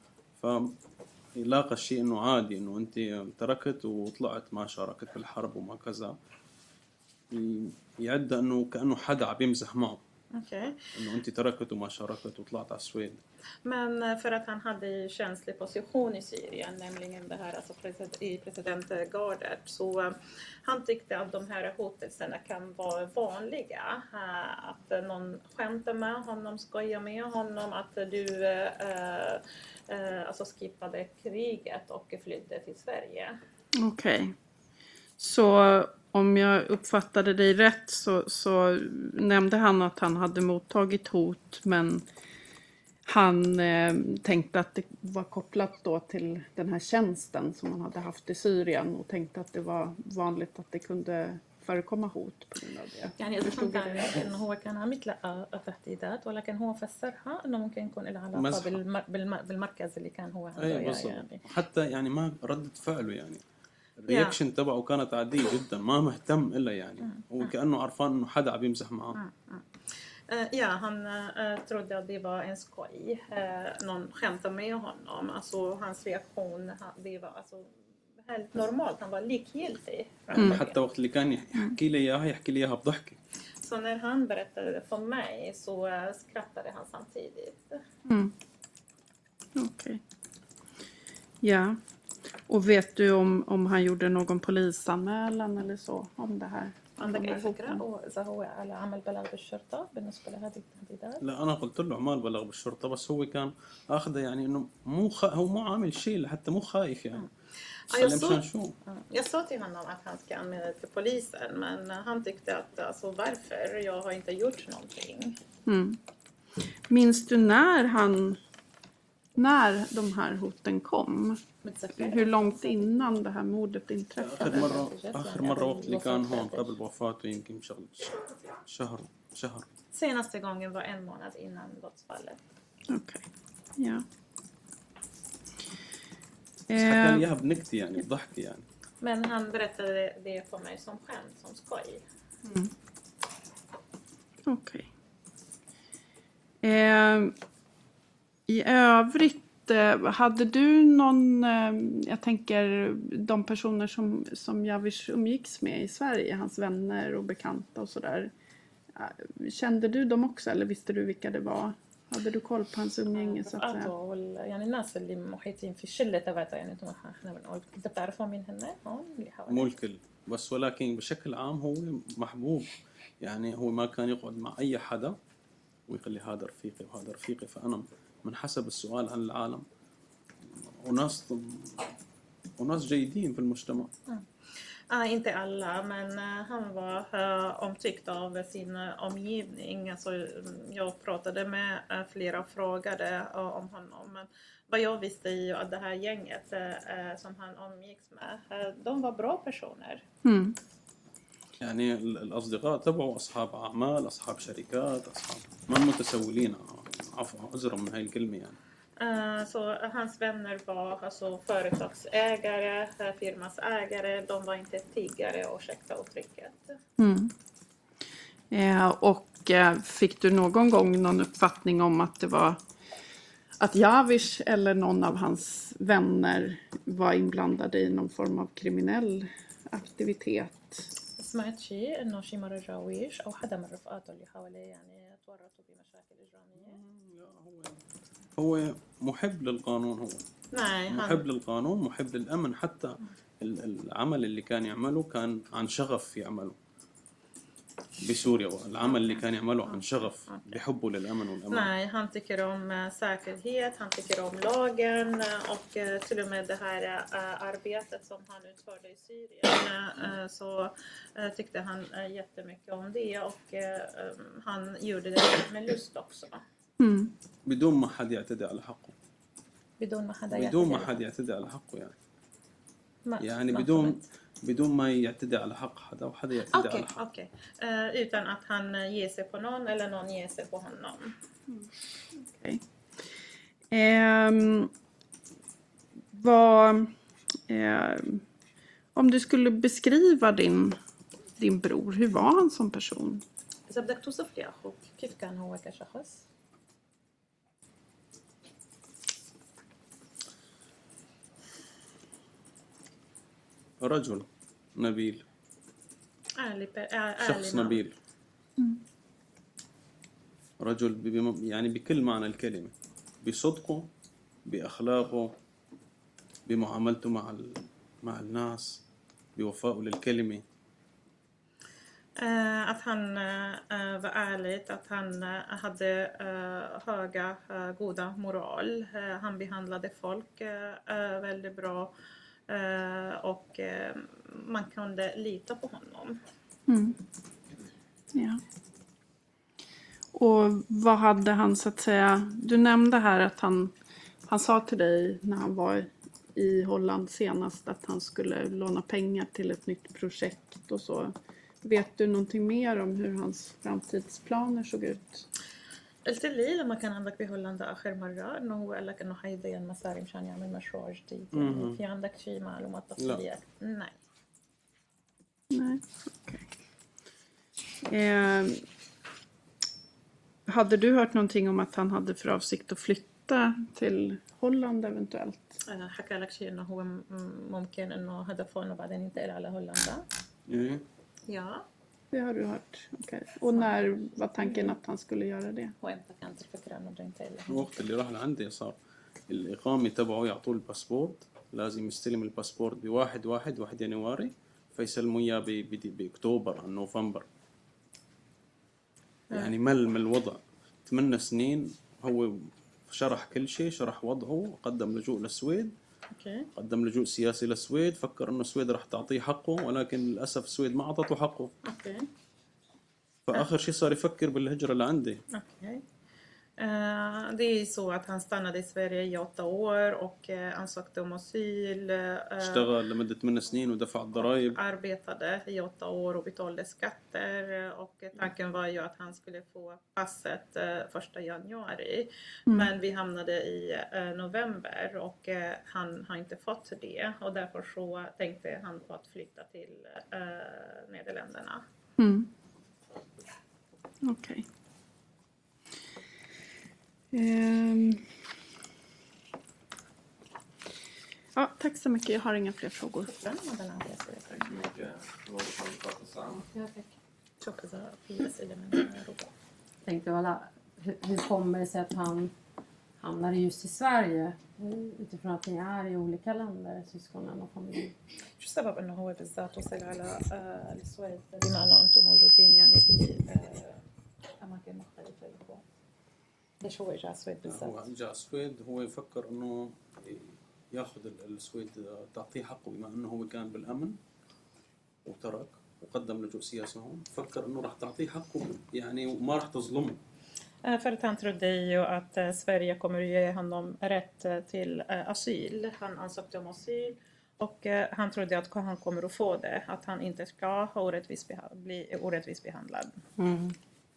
Speaker 5: فلاقى الشيء إنه عادي إنه أنت تركت وطلعت ما شاركت بالحرب وما كذا، ي- يعد إنه كأنه حدا عم يمزح معه،
Speaker 8: Okay.
Speaker 5: إنه أنت تركت وما شاركت وطلعت على السويد.
Speaker 8: Men för att han hade ju känslig position i Syrien, nämligen det här alltså president, i presidentgardet, så uh, han tyckte att de här hotelserna kan vara vanliga. Uh, att någon skämtar med honom, skojar med honom, att du uh, uh, alltså skippade kriget och flydde till Sverige.
Speaker 6: Okej. Så om jag uppfattade dig rätt så, så nämnde han att han hade mottagit hot, men han eh, tänkte att det var kopplat då till den här tjänsten som han hade haft i Syrien, och tänkte att det var vanligt att det kunde förekomma hot på grund av det.
Speaker 8: يعني إذا فهمت عليك إنه هو كان عم يتلقى تهديدات ولكن هو فسرها إنه ممكن يكون لها علاقة بالمر... بالم... بالمركز اللي كان هو عنده
Speaker 5: يعني حتى يعني ما ردة فعله يعني الرياكشن تبعه كانت عادية جدا ما مهتم إلا يعني هو كأنه عرفان إنه حدا عم يمزح معه.
Speaker 8: Ja, han uh, trodde att det var en skoj. Uh, någon skämtade med honom. Alltså hans reaktion, det var alltså helt normalt. Han var likgiltig.
Speaker 5: حتى وقت اللي كان يحكي لي إياها يحكي لي إياها بضحكة.
Speaker 8: Så när han berättade det för mig så uh, skrattade han samtidigt.
Speaker 6: Mm. Okej. Okay. Ja. Och vet du om, om han gjorde någon polisanmälan eller så om det här?
Speaker 8: عندك أي فكرة إذا هو على عمل بلاغ بالشرطة بالنسبة لهذه التهديدات؟
Speaker 5: لا أنا قلت له عمل بلاغ بالشرطة بس هو كان أخذه يعني إنه مو خ... هو مو عامل شيء حتى مو خايف يعني.
Speaker 8: Jag sa, jag sa till honom att han ska anmäla det till polisen men han tyckte att alltså, varför? Jag har inte gjort någonting.
Speaker 6: Mm. Minns du när han när de här hoten kom? Hur långt innan det här mordet inträffade?
Speaker 5: آخر مرة آخر مرة وقت اللي كان هون قبل وفاته يمكن شغل شهر شهر.
Speaker 8: Senaste gången var en månad innan dödsfallet.
Speaker 6: Okej. Okay. Ja.
Speaker 5: حكى لي بنكتي يعني بضحكي يعني.
Speaker 8: Men han berättade det för mig som skämt, som skoj.
Speaker 6: Mm. Okej. Okay. Eh, I övrigt hade du någon, jag tänker de personer som, som Javish umgicks med i Sverige, hans vänner och bekanta och sådär. Kände du dem också eller visste du vilka det var? hade du koll på hans umgänge så att säga?
Speaker 8: يعني الناس اللي محيطين في الشلة تبعتها يعني انتم احنا بنقول انت بتعرفهم مين هن هون اللي حوالي
Speaker 5: مو الكل بس ولكن بشكل عام هو محبوب يعني هو ما كان يقعد مع اي حدا ويقول لي هذا رفيقي وهذا رفيقي فانا من حسب السؤال عن العالم وناس وناس جيدين في المجتمع.
Speaker 8: Ah, inte alla, men uh, han var uh, omtyckt av sin uh, omgivning. Alltså, jag pratade med uh, flera och frågade uh, om honom. Men vad jag visste är ju att det här gänget uh, som han omgicks med, uh, de var bra personer.
Speaker 6: Mm.
Speaker 5: يعني الأصدقاء تبعوا أصحاب أعمال أصحاب شركات أصحاب ما متسولين عفوا عذرا من هاي الكلمة يعني.
Speaker 8: Uh, så hans vänner var alltså företagsägare, firmas ägare, de var inte tiggare och ursäkta uttrycket.
Speaker 6: Mm. Eh, och eh, fick du någon gång någon uppfattning om att det var att Javish eller någon av hans vänner var inblandade i någon form av kriminell aktivitet?
Speaker 8: سمعت شيء إنه شيء مرة جاويش أو حدا من رفقاته اللي حواليه يعني تورطوا بمشاكل إجرامية؟
Speaker 5: هو محب للقانون هو
Speaker 8: نعم
Speaker 5: محب للقانون محب للأمن حتى العمل اللي كان يعمله كان عن شغف في عمله بسوريا والعمل اللي كان يعمله عن شغف بحبه للأمن والأمان.
Speaker 8: Nej, han tycker om säkerhet, han tycker om lagen och till och med det här arbetet som han utförde i Syrien så tyckte han jättemycket om det och han gjorde det med lust också.
Speaker 6: Mm.
Speaker 5: بدون ما حد يعتدي على حقه.
Speaker 8: بدون ما حد
Speaker 5: بدون ما حد يعتدي على حقه يعني.
Speaker 8: ما
Speaker 5: يعني بدون بدون ما يعتدي على حق حدا وحدا يعتدي
Speaker 8: okay,
Speaker 5: على حق.
Speaker 8: Okej, okay. uh, utan att han ger sig på någon eller någon ger sig på honom.
Speaker 6: Okej. Okay. Um, vad um, om du skulle beskriva din din bror, hur var han som person?
Speaker 8: إذا بدك توصف لي أخوك كيف كان هو كشخص؟
Speaker 5: رجل نبيل شخص نبيل رجل يعني بكل معنى الكلمة بصدقه بأخلاقه بمعاملته مع مع الناس بوفائه للكلمة.
Speaker 8: Uh, att han uh, var ärligt, att han uh, hade uh, höga, uh, goda moral. Uh, han behandlade folk uh, uh, väldigt bra uh, och uh, man kunde lita på honom.
Speaker 6: Mm. Ja. Och vad hade han så att säga, du nämnde här att han, han sa till dig när han var i Holland senast att han skulle låna pengar till ett nytt projekt och så. vet du någonting mer om hur hans framtidsplaner såg ut؟
Speaker 8: قلت لي لما كان عندك بهولندا آخر مرة إنه هو قال لك إنه حيدين مصاري مشان يعمل مشروع جديد يعني في عندك شيء معلومات تفصيلية؟ Nej.
Speaker 6: Nej, okej. Eh, hade du hört någonting om att han hade för avsikt att flytta till Holland eventuellt?
Speaker 8: حكى لك شيء إنه هو ممكن إنه هدفه إنه بعدين ينتقل على هولندا؟
Speaker 5: Mm.
Speaker 8: Ja.
Speaker 6: Det har du hört, okej. Och när var tanken att han skulle göra det?
Speaker 8: وإمتى كانت الفكرة إنه بده ينتقل؟
Speaker 5: الوقت اللي راح لعندي صار الإقامة تبعه يعطوه الباسبورت، لازم يستلم الباسبورت بواحد واحد واحد يناير، فيسلموا إياه بأكتوبر أو نوفمبر. يعني مل من الوضع ثمان سنين هو شرح كل شيء، شرح وضعه، قدم لجوء للسويد.
Speaker 8: أوكي.
Speaker 5: قدم لجوء سياسي للسويد، فكر انه السويد راح تعطيه حقه، ولكن للاسف السويد ما اعطته حقه.
Speaker 8: اوكي.
Speaker 5: فاخر شيء صار يفكر بالهجره لعندي.
Speaker 8: Okej. Uh, det är så att han stannade i Sverige i åtta år och uh, ansökte om asyl. Uh,
Speaker 5: اشتغل لمده ثمان سنين ودفع الضرائب.
Speaker 8: Arbetade i åtta år och betalade skatter. Och tanken var ju att han skulle få passet uh, första januari. Mm. Men vi hamnade i uh, november och uh, han har inte fått det. Och därför så tänkte han på att flytta till uh, Nederländerna.
Speaker 6: Mm. Okej. Okay. Um. Ja, tack så mycket. Jag har inga fler frågor.
Speaker 9: Tänkte alla, hur, hur kommer det sig att han hamnar just i Sverige utifrån att ni är i olika länder, syskonen och familjen?
Speaker 8: شو السبب انه هو بالذات وصل على السويد بما انه انتم موجودين يعني باماكن مختلفه لكم؟ ليش هو اجى السويد بالذات؟
Speaker 5: هو اجى السويد هو يفكر انه ياخذ السويد تعطيه حقه بما انه هو كان بالامن وترك وقدم لجوء سياسي هون، فكر انه راح تعطيه حقه يعني وما راح تظلمه.
Speaker 8: För att han trodde ju att Sverige kommer ge honom rätt till asyl. Han ansökte om asyl och han trodde att han kommer att få det. Att han inte ska ha orättvis beha- bli orättvis behandlad.
Speaker 9: Mm.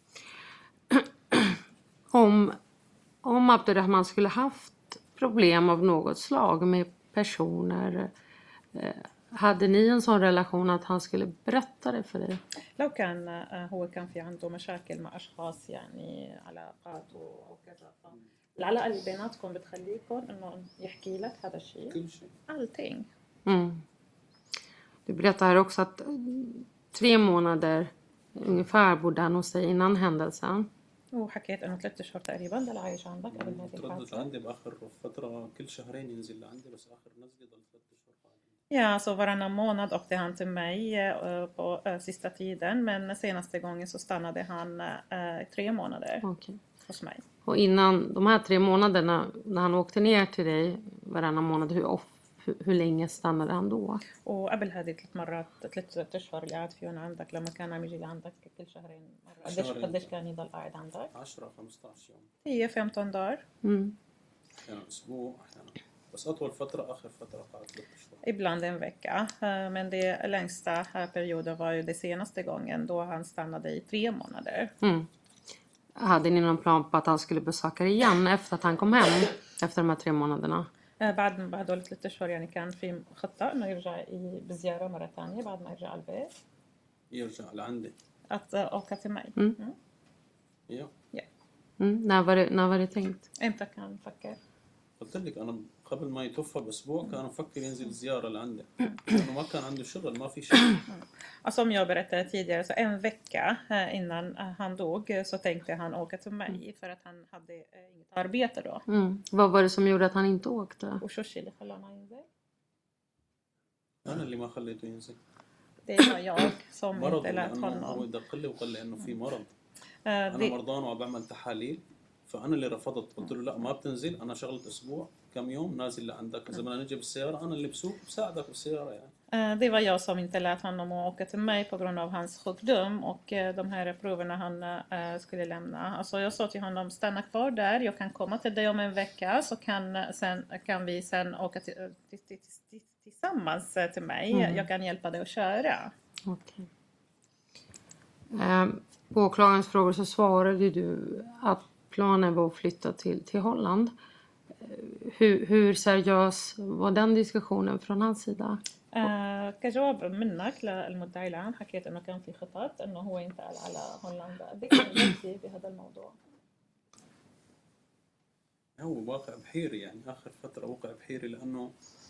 Speaker 9: om, om Abdurrahman skulle haft problem av något slag med personer, eh, hade ni en sån relation att han skulle berätta det för dig?
Speaker 8: لو كان هو كان في عنده مشاكل مع أشخاص يعني علاقات وكذا، العلاقة اللي بيناتكم بتخليكم إنه يحكي لك هذا الشيء؟
Speaker 5: كل شيء.
Speaker 8: Allting.
Speaker 9: Mm. Du berättar här också att tre månader ungefär bodde han hos dig innan händelsen.
Speaker 8: وحكيت إنه ثلاثة أشهر تقريبا ضل عايش عندك قبل هذه الحادثة.
Speaker 5: تردد عندي بآخر فترة كل شهرين ينزل لعندي، بس آخر نزلي ضل ثلاثة أشهر.
Speaker 8: Ja, så varannan månad åkte han till mig uh, på uh, sista tiden. Men senaste gången så stannade han uh, tre månader
Speaker 9: okay.
Speaker 8: hos mig.
Speaker 9: Och innan de här tre månaderna, när han åkte ner till dig varannan månad, hur, off, hur, hur länge stannade han då?
Speaker 8: وقبل هذه ثلاث مرات ثلاث أشهر اللي قعد فيهم عندك لما كان عم يجي لعندك كل شهرين مرة، قديش قديش كان يضل قاعد عندك؟
Speaker 5: عشرة خمسة عشر يوم.
Speaker 8: هي femton dagar.
Speaker 9: Mm.
Speaker 5: أحيانا أسبوع أحيانا، بس أطول فترة آخر فترة قعدت ثلاث أشهر.
Speaker 8: Ibland en vecka, men det längsta perioden var ju det senaste gången då han stannade i tre månader.
Speaker 9: Mm. Hade ni någon plan på att han skulle besöka igen efter att han kom hem efter de här tre månaderna?
Speaker 8: بعد بعد دول ثلاث أشهر يعني كان في خطة إنه يرجع بزيارة مرة ثانية بعد ما يرجع البيت.
Speaker 5: يرجع لعندي.
Speaker 8: Att åka till mig.
Speaker 9: Mm.
Speaker 8: Mm.
Speaker 5: Ja.
Speaker 8: Ja.
Speaker 9: Mm. När var det, när var det tänkt?
Speaker 8: إمتى كان فكر؟
Speaker 5: قلت لك أنا قبل ما يتوفى بأسبوع كان مفكر ينزل زيارة لعندي، لأنه ما كان عنده شغل، ما في شغل.
Speaker 8: Som jag berättade tidigare, så en vecka innan han dog så tänkte han åka till mig för att han hade inget arbete då.
Speaker 9: Mm. Vad var det som gjorde att han inte åkte?
Speaker 8: وشو الشيء اللي خلاه ما ينزل؟
Speaker 5: أنا اللي ما خليته ينزل.
Speaker 8: Det var jag som
Speaker 5: مرض،
Speaker 8: inte lät
Speaker 5: لأنه هو
Speaker 8: honom.
Speaker 5: دق لي وقال لي إنه في مرض.
Speaker 8: أنا
Speaker 5: أنا مرضان وبعمل تحاليل، فأنا اللي رفضت، قلت له لا ما بتنزل، أنا شغلت أسبوع كم يوم نازل لعندك، إذا بدنا نجي بالسيارة أنا اللي بسوق بساعدك بالسيارة يعني.
Speaker 8: Det var jag som inte lät honom åka till mig på grund av hans sjukdom och de här proverna han uh, skulle lämna. Alltså jag sa till honom, stanna kvar där, jag kan komma till dig om en vecka så kan, sen, kan vi sen åka till, till, till, till, tillsammans till mig. Mm. Jag kan hjälpa dig att köra.
Speaker 9: Okay. Eh, på åklagarens frågor så svarade du att planen var att flytta till, till Holland. Hur, hur seriös var den diskussionen från hans sida?
Speaker 8: آه كجواب منك للمدعي العام حكيت انه كان في خطط انه هو ينتقل على هولندا. قديش نجحتي بهذا الموضوع؟
Speaker 5: هو واقع بحيري يعني آخر فترة واقع بحيري لأنه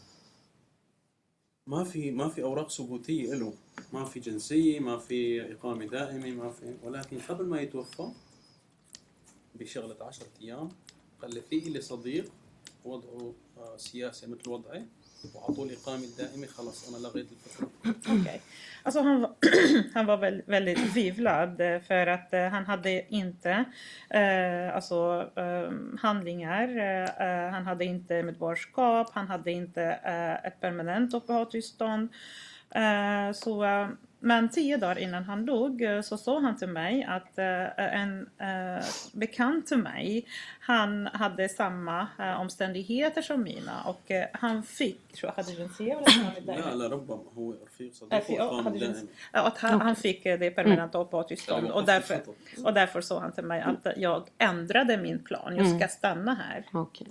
Speaker 5: ما في ما في أوراق ثبوتية له، ما في جنسية، ما في إقامة دائمة، ما في. ولكن قبل ما يتوفى بشغلة عشرة أيام قال لي في لي صديق وضعه سياسي مثل وضعي وعطوا لي إقامة دائمة، خلاص أنا لغيت الفكرة.
Speaker 8: Okay. Alltså han, var, han var väldigt, väldigt tvivlad för att uh, han hade inte uh, alltså, uh, handlingar, uh, han hade inte medborgarskap, han hade inte uh, ett permanent uppehållstillstånd. Uh, så, uh, men tio dagar innan han dog uh, så sa han till mig att uh, en uh, bekant till mig, han hade samma uh, omständigheter som mina och uh, han fick, tror jag, hade جنسية ولا
Speaker 5: لا لا ربما هو رفيق صديق
Speaker 8: att han, han fick det permanenta uppehållstillstånd och därför, och därför sa han till mig att jag ändrade min plan, jag ska stanna här.
Speaker 9: Okej.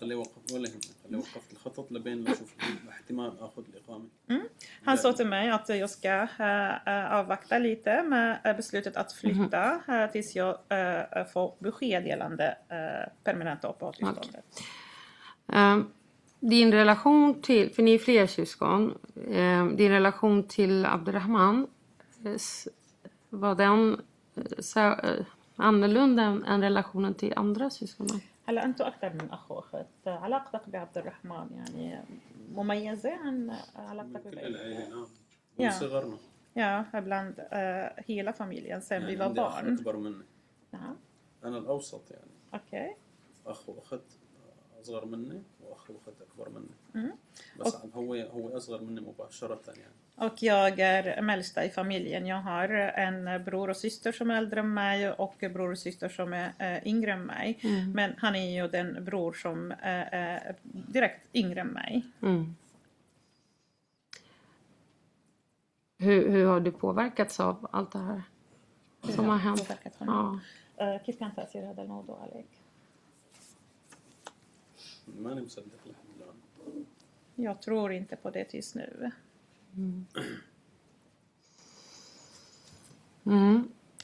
Speaker 8: Han sa till mig att jag ska uh, avvakta lite med beslutet att flytta uh, tills jag uh, får besked gällande uh, permanenta uppehållstillståndet.
Speaker 9: Okay. Um. Din relation till, för ni är fler syskon, eh, din relation till Abderrahman, eh, var den så, eh, annorlunda än, än relationen till andra syskon?
Speaker 8: هلا أنتوا أكثر من أخ وأخت، علاقتك بعبد الرحمن يعني مميزة عن علاقتك
Speaker 5: ببعض؟ من صغرنا.
Speaker 8: Ja, bland uh, hela familjen sen vi var barn.
Speaker 5: أكبر مني.
Speaker 8: نعم.
Speaker 5: أنا الأوسط يعني.
Speaker 8: Okej.
Speaker 5: أخ وأخت أصغر مني وأخ وأخت أكبر مني.
Speaker 8: Mm.
Speaker 5: بس och, هو هو أصغر مني مباشرة يعني.
Speaker 8: Och jag är melsta i familjen. Jag har en bror och syster som är äldre än mig och bror och syster som är äh, yngre än mig. Mm. Men han är ju den bror som är, är direkt yngre än mig.
Speaker 9: Mm. Hur, hur har du påverkats av allt det här som har hänt?
Speaker 8: Ja. كيف كان تأثير هذا الموضوع عليك؟
Speaker 5: ما أنا مصدق الحمد لله.
Speaker 8: Jag tror inte på det just nu.
Speaker 9: Mm. Mm.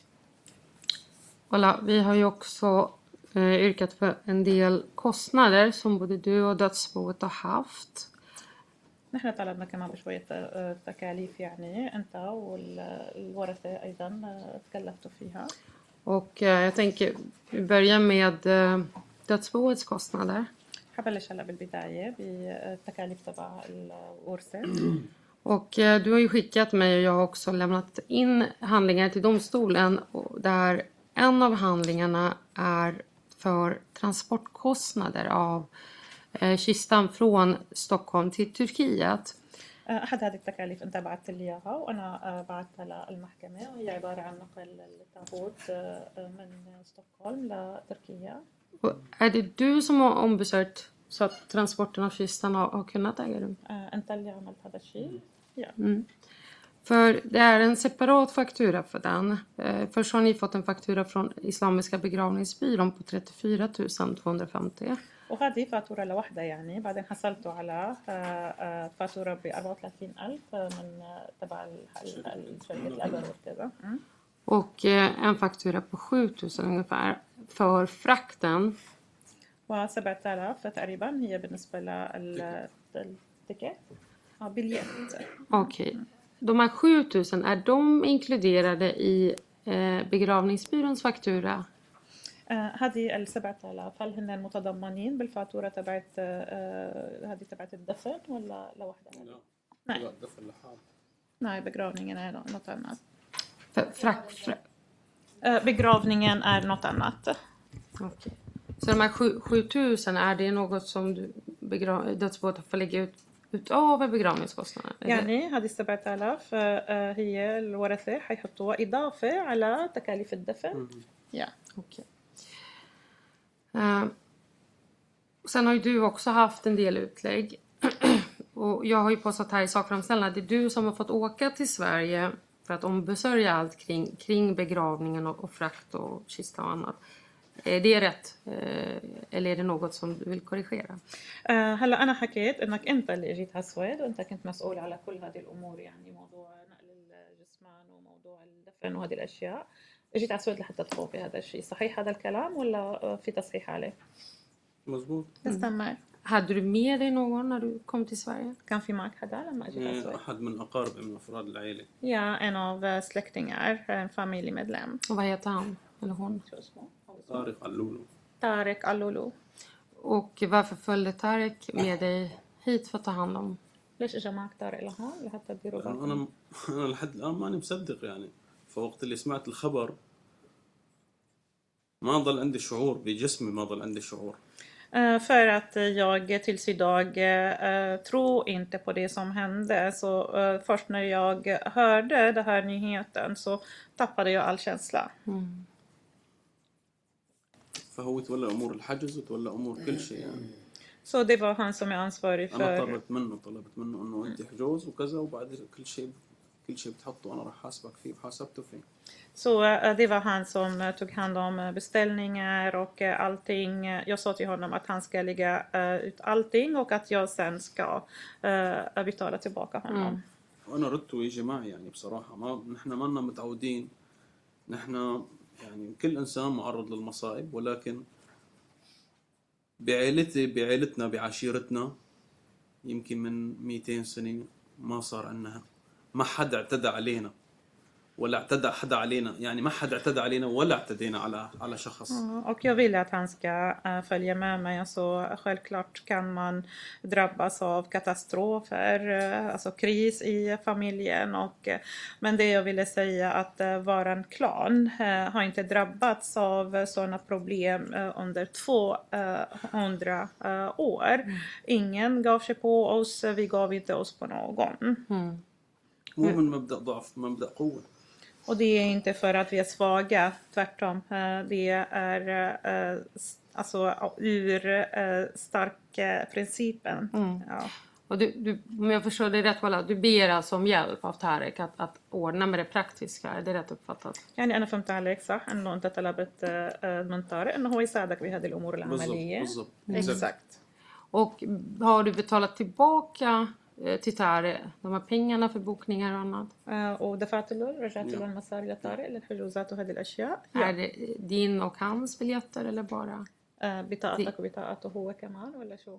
Speaker 9: Voilà, vi har ju också eh, yrkat för en del kostnader som både du och dödsboet har haft.
Speaker 8: نحن طلبنا كمان بشوية تكاليف يعني أنت والورثة أيضا تكلفتوا فيها.
Speaker 9: Och eh, jag tänker vi börjar med eh, dödsboets kostnader.
Speaker 8: حبلش هلا بالبداية بالتكاليف تبع الورثة.
Speaker 9: Och eh, du har ju skickat mig och jag har också lämnat in handlingar till domstolen och där en av handlingarna är för transportkostnader av eh, kistan från Stockholm till Turkiet.
Speaker 8: أحد هذه التكاليف أنت بعثت لي إياها وأنا بعثتها للمحكمة وهي عبارة عن نقل التابوت من ستوكهولم لتركيا.
Speaker 9: Är det du som har ombesörjt så att transporten av kistan har, har kunnat äga rum?
Speaker 8: أنت اللي عملت هذا الشيء. Ja.
Speaker 9: Mm. För det är en separat faktura för den. Först har ni fått en faktura från Islamiska begravningsbyrån på trettiofyra tusen tvåhundrafemtio.
Speaker 8: وهذه فاتورة لوحدها يعني بعدين حصلتوا على فاتورة ب أربعة وثلاثين ألف من تبع الشركة الأجر وكذا.
Speaker 9: Och en faktura på sju tusen ungefär för frakten.
Speaker 8: وسبعة آلاف تقريبا هي بالنسبة للتيكت. Ja, biljett.
Speaker 9: Okej. Okay. De här sju tusen, är de inkluderade i eh, begravningsbyråns faktura?
Speaker 8: هذه السبعة آلاف هل هن متضمنين بالفاتورة تبعت هذه تبعت الدفن ولا لوحدها؟
Speaker 5: لا. لا الدفن لحال.
Speaker 8: Nej, begravningen är något annat.
Speaker 9: Frak, frak.
Speaker 8: Begravningen är något annat.
Speaker 9: Okay. Så de här sju tusen, är det något som du begrav, dödsboet får lägga ut utöver begravningskostnaden?
Speaker 8: يعني هذه السبعة آلاف هي الورثة حيحطوها إضافة على تكاليف الدفن.
Speaker 9: Ja, okej. Uh, sen har ju du också haft en del utlägg. Och jag har ju påstått här i sakframställan att det är du som har fått åka till Sverige för att ombesörja allt kring, kring begravningen och, och frakt och kista och annat. Är det rätt? Eller är det något som du vill korrigera?
Speaker 8: هلا أنا حكيت إنك أنت اللي جيت على السويد وأنت كنت مسؤول على كل هذه الأمور يعني موضوع نقل الجثمان وموضوع الدفن وهذه الأشياء. جيت على السويد لحتى تقوم بهذا الشيء. صحيح هذا الكلام ولا في تصحيح عليه؟
Speaker 5: مزبوط.
Speaker 8: تستمر.
Speaker 9: Hade du med dig någon när du kom till Sverige?
Speaker 8: كان في معك حدا لما جيت على السويد؟
Speaker 5: أحد من أقارب من أفراد العائلة.
Speaker 8: Ja, en av släktingar, en familjemedlem.
Speaker 9: Och vad heter han eller hon?
Speaker 5: طارق علولو.
Speaker 8: طارق علولو.
Speaker 9: Och varför följde Tarek med dig hit för att ta hand om?
Speaker 8: ليش اجى معك طارق لهون لحتى تديروا بالكم؟
Speaker 5: أنا أنا لحد الآن ماني مصدق يعني. فوقت اللي سمعت الخبر ما ضل عندي شعور بجسمي ما ضل عندي شعور.
Speaker 8: Uh, för att jag tills idag uh, tror inte på det som hände. Så uh, först när jag hörde den här nyheten så tappade jag all känsla.
Speaker 9: Mm.
Speaker 5: فهو تولى أمور الحجز وتولى أمور كل شيء يعني.
Speaker 8: Så det var han som är ansvarig för.
Speaker 5: أنا طلبت منه طلبت منه إنه أنت حجوز وكذا وبعد كل شيء كل شيء بتحطه أنا راح حاسبك فيه وحاسبته فيه.
Speaker 8: Så det var han som tog hand om beställningar och allting. Jag sa till honom att han ska lägga ut allting och att jag sen ska betala tillbaka honom.
Speaker 5: وأنا ردته يجي معي يعني بصراحة ما نحن ما لنا متعودين نحن يعني كل إنسان معرض للمصائب ولكن بعائلتي بعائلتنا بعشيرتنا يمكن من مئتين سنة ما صار عندنا ما حدا اعتدى علينا ولا اعتدى حدا علينا يعني ما حدا اعتدى علينا ولا اعتدينا على على شخص.
Speaker 8: Och jag vill att han ska följa med mig. Alltså, självklart kan man drabbas av katastrofer, alltså kris i familjen. Och, men det jag ville säga att våran klan har inte drabbats av sådana problem under tvåhundra år. Ingen gav sig på oss, vi gav inte oss på någon.
Speaker 9: Mm.
Speaker 5: مو من مبدأ ضعف مبدأ قوة.
Speaker 8: Och det är inte för att vi är svaga, tvärtom. Det är alltså ur starka principen.
Speaker 9: Mm.
Speaker 8: Ja.
Speaker 9: Och du, du, om jag förstår det rätt, Walla, du ber alltså om hjälp av Tarek att, att ordna med det praktiska. Är det rätt uppfattat?
Speaker 8: يعني أنا فهمت عليك صح إنه أنت طلبت من طارق إنه هو يساعدك بهذه الأمور العملية.
Speaker 5: بالضبط.
Speaker 8: Exakt.
Speaker 9: Och har du betalat tillbaka till Tarek de här pengarna för bokningar och annat?
Speaker 8: ودفعت له رجعت له المصاري لطارق للحجوزات وهذه الأشياء.
Speaker 9: Är det din och hans biljetter eller bara
Speaker 8: بطاقتك وبطاقته هو كمان ولا شو؟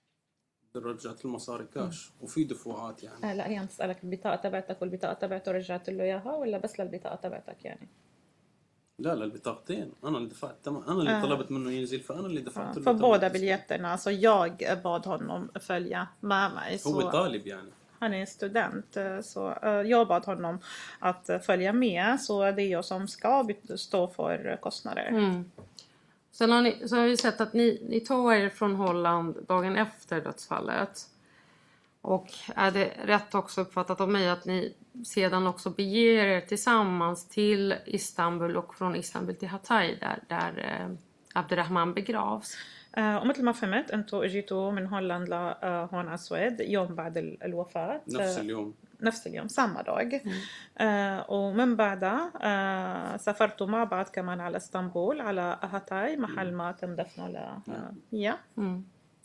Speaker 5: رجعت المصاري كاش وفي دفعات يعني.
Speaker 8: لا هي بتسألك البطاقة تبعتك والبطاقة تبعته رجعت له إياها ولا بس للبطاقة تبعتك يعني؟
Speaker 5: لا لا البطاقتين انا اللي دفعت تمام انا اللي آه. طلبت منه ينزل فانا اللي دفعت له
Speaker 8: för båda biljetterna. Alltså jag bad honom följa med mig.
Speaker 5: هو طالب يعني.
Speaker 8: Han är student så jag bad honom att följa med så det är jag som ska stå för kostnader.
Speaker 9: Mm. Sen har ni, så har vi sett att ni, ni tar er från Holland dagen efter dödsfallet. Och är det rätt också uppfattat av mig att ni sedan också beger er tillsammans till Istanbul och från Istanbul till Hatay där, där eh, Abdurrahman begravs?
Speaker 8: ومثل ما فهمت انتوا اجيتوا من هولندا لهون على السويد يوم بعد الوفاة.
Speaker 5: نفس اليوم.
Speaker 8: نفس اليوم samma dag. ومن بعدها سافرتوا مع بعض كمان على اسطنبول على هاتاي محل ما تم دفنه ل ja.
Speaker 9: Mm.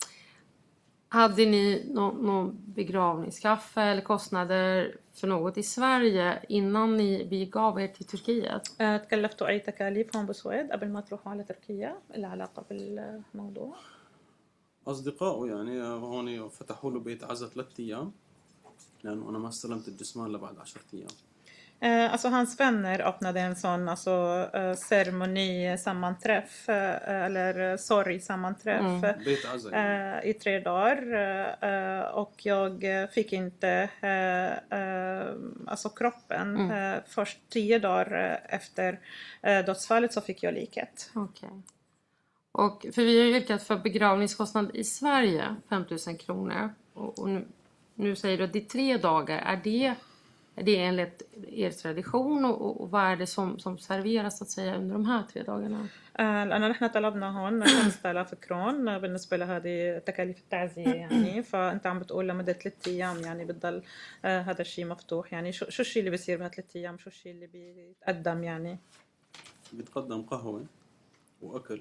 Speaker 9: Hade ni någon, någon begravningskaffe eller kostnader för något i Sverige innan ni begav er till Turkiet?
Speaker 8: تكلفتوا أي تكاليف هون بالسويد قبل ما تروحوا على تركيا العلاقة بالموضوع؟
Speaker 5: أصدقائه يعني هون فتحوا له بيت عزا ثلاثة أيام لأنه أنا ما استلمت الجثمان لبعد عشرة أيام.
Speaker 8: Eh, alltså hans vänner öppnade en sån alltså, eh, ceremoni sammanträff eh, eller sorgsammanträff mm. eh, i tre dagar eh, och jag fick inte eh, eh, alltså kroppen mm. eh, först tio dagar efter eh, dödsfallet så fick jag liket.
Speaker 9: Okej. Okay. Och för vi har ju yrkat för begravningskostnad i Sverige fem tusen kronor och, och nu, nu säger du att det är tre dagar, är det Är det enligt er tradition och, och vad är det som, som serveras så att säga under de här tre dagarna?
Speaker 8: لأن نحن طلبنا هون خمسة آلاف كرون بالنسبة لهذه تكاليف التعزية يعني فأنت عم بتقول لمدة ثلاثة أيام يعني بتضل هذا الشيء مفتوح يعني شو شو الشيء اللي بيصير بهذ ثلاثة أيام شو الشيء اللي بيتقدم يعني
Speaker 5: بيتقدم قهوة وأكل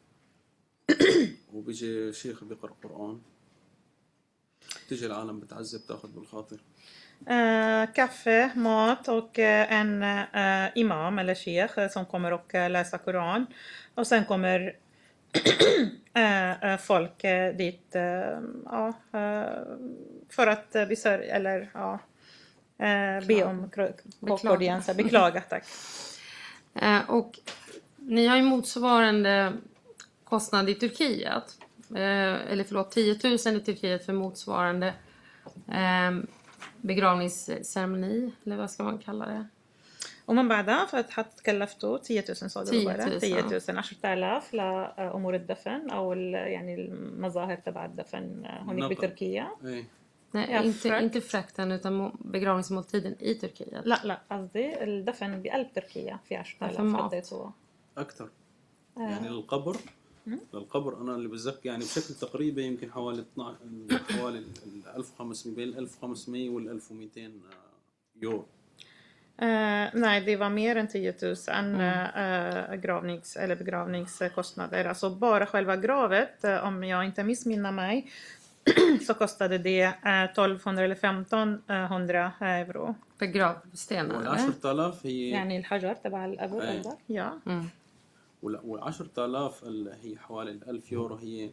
Speaker 5: وبيجي شيخ بيقرأ قرآن تيجي العالم بتعزي بتاخذ بالخاطر.
Speaker 8: Uh, kaffe, mat och uh, en uh, imam eller sheikh som kommer och uh, läsa Koran. Och sen kommer uh, uh, folk uh, dit uh, uh, uh, för att uh, besörja eller ja, uh, be om beklaga. beklaga tack.
Speaker 9: Uh, och ni har ju motsvarande kostnad i Turkiet. Uh, eller förlåt, tio tusen i Turkiet för motsvarande uh, begravningsceremoni eller vad ska man kalla det?
Speaker 8: ومن بعدها فتحط كلفته تسعة آلاف صادر وبرا تسعة آلاف عشرة آلاف لأمور الدفن أو يعني المظاهر تبع الدفن هناك بتركيا.
Speaker 9: Nej, inte, inte frakten utan begravningsmåltiden i Turkiet.
Speaker 8: لا لا قصدي الدفن بقلب تركيا في عشرة آلاف حطيته
Speaker 5: أكثر يعني القبر للقبر أنا اللي بتذكر يعني بشكل تقريبي يمكن حوالي اثناشر حوالي ال ألف وخمسمية بين ال ألف وخمسمية وال ألف ومئتين يورو.
Speaker 8: Uh, nej, det var mer än tio tusen uh, gravnings, eller begravningskostnader. Alltså bara själva gravet, uh, om jag inte missminner mig, så kostade det uh, tolvhundra eller femtonhundra euro.
Speaker 9: För gravstenen?
Speaker 5: عشرة آلاف هي
Speaker 8: يعني الحجر تبع القبر قصدك؟
Speaker 5: يا. وعشرة آلاف هي حوالي الألف يورو هي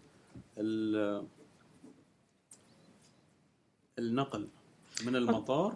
Speaker 5: النقل من المطار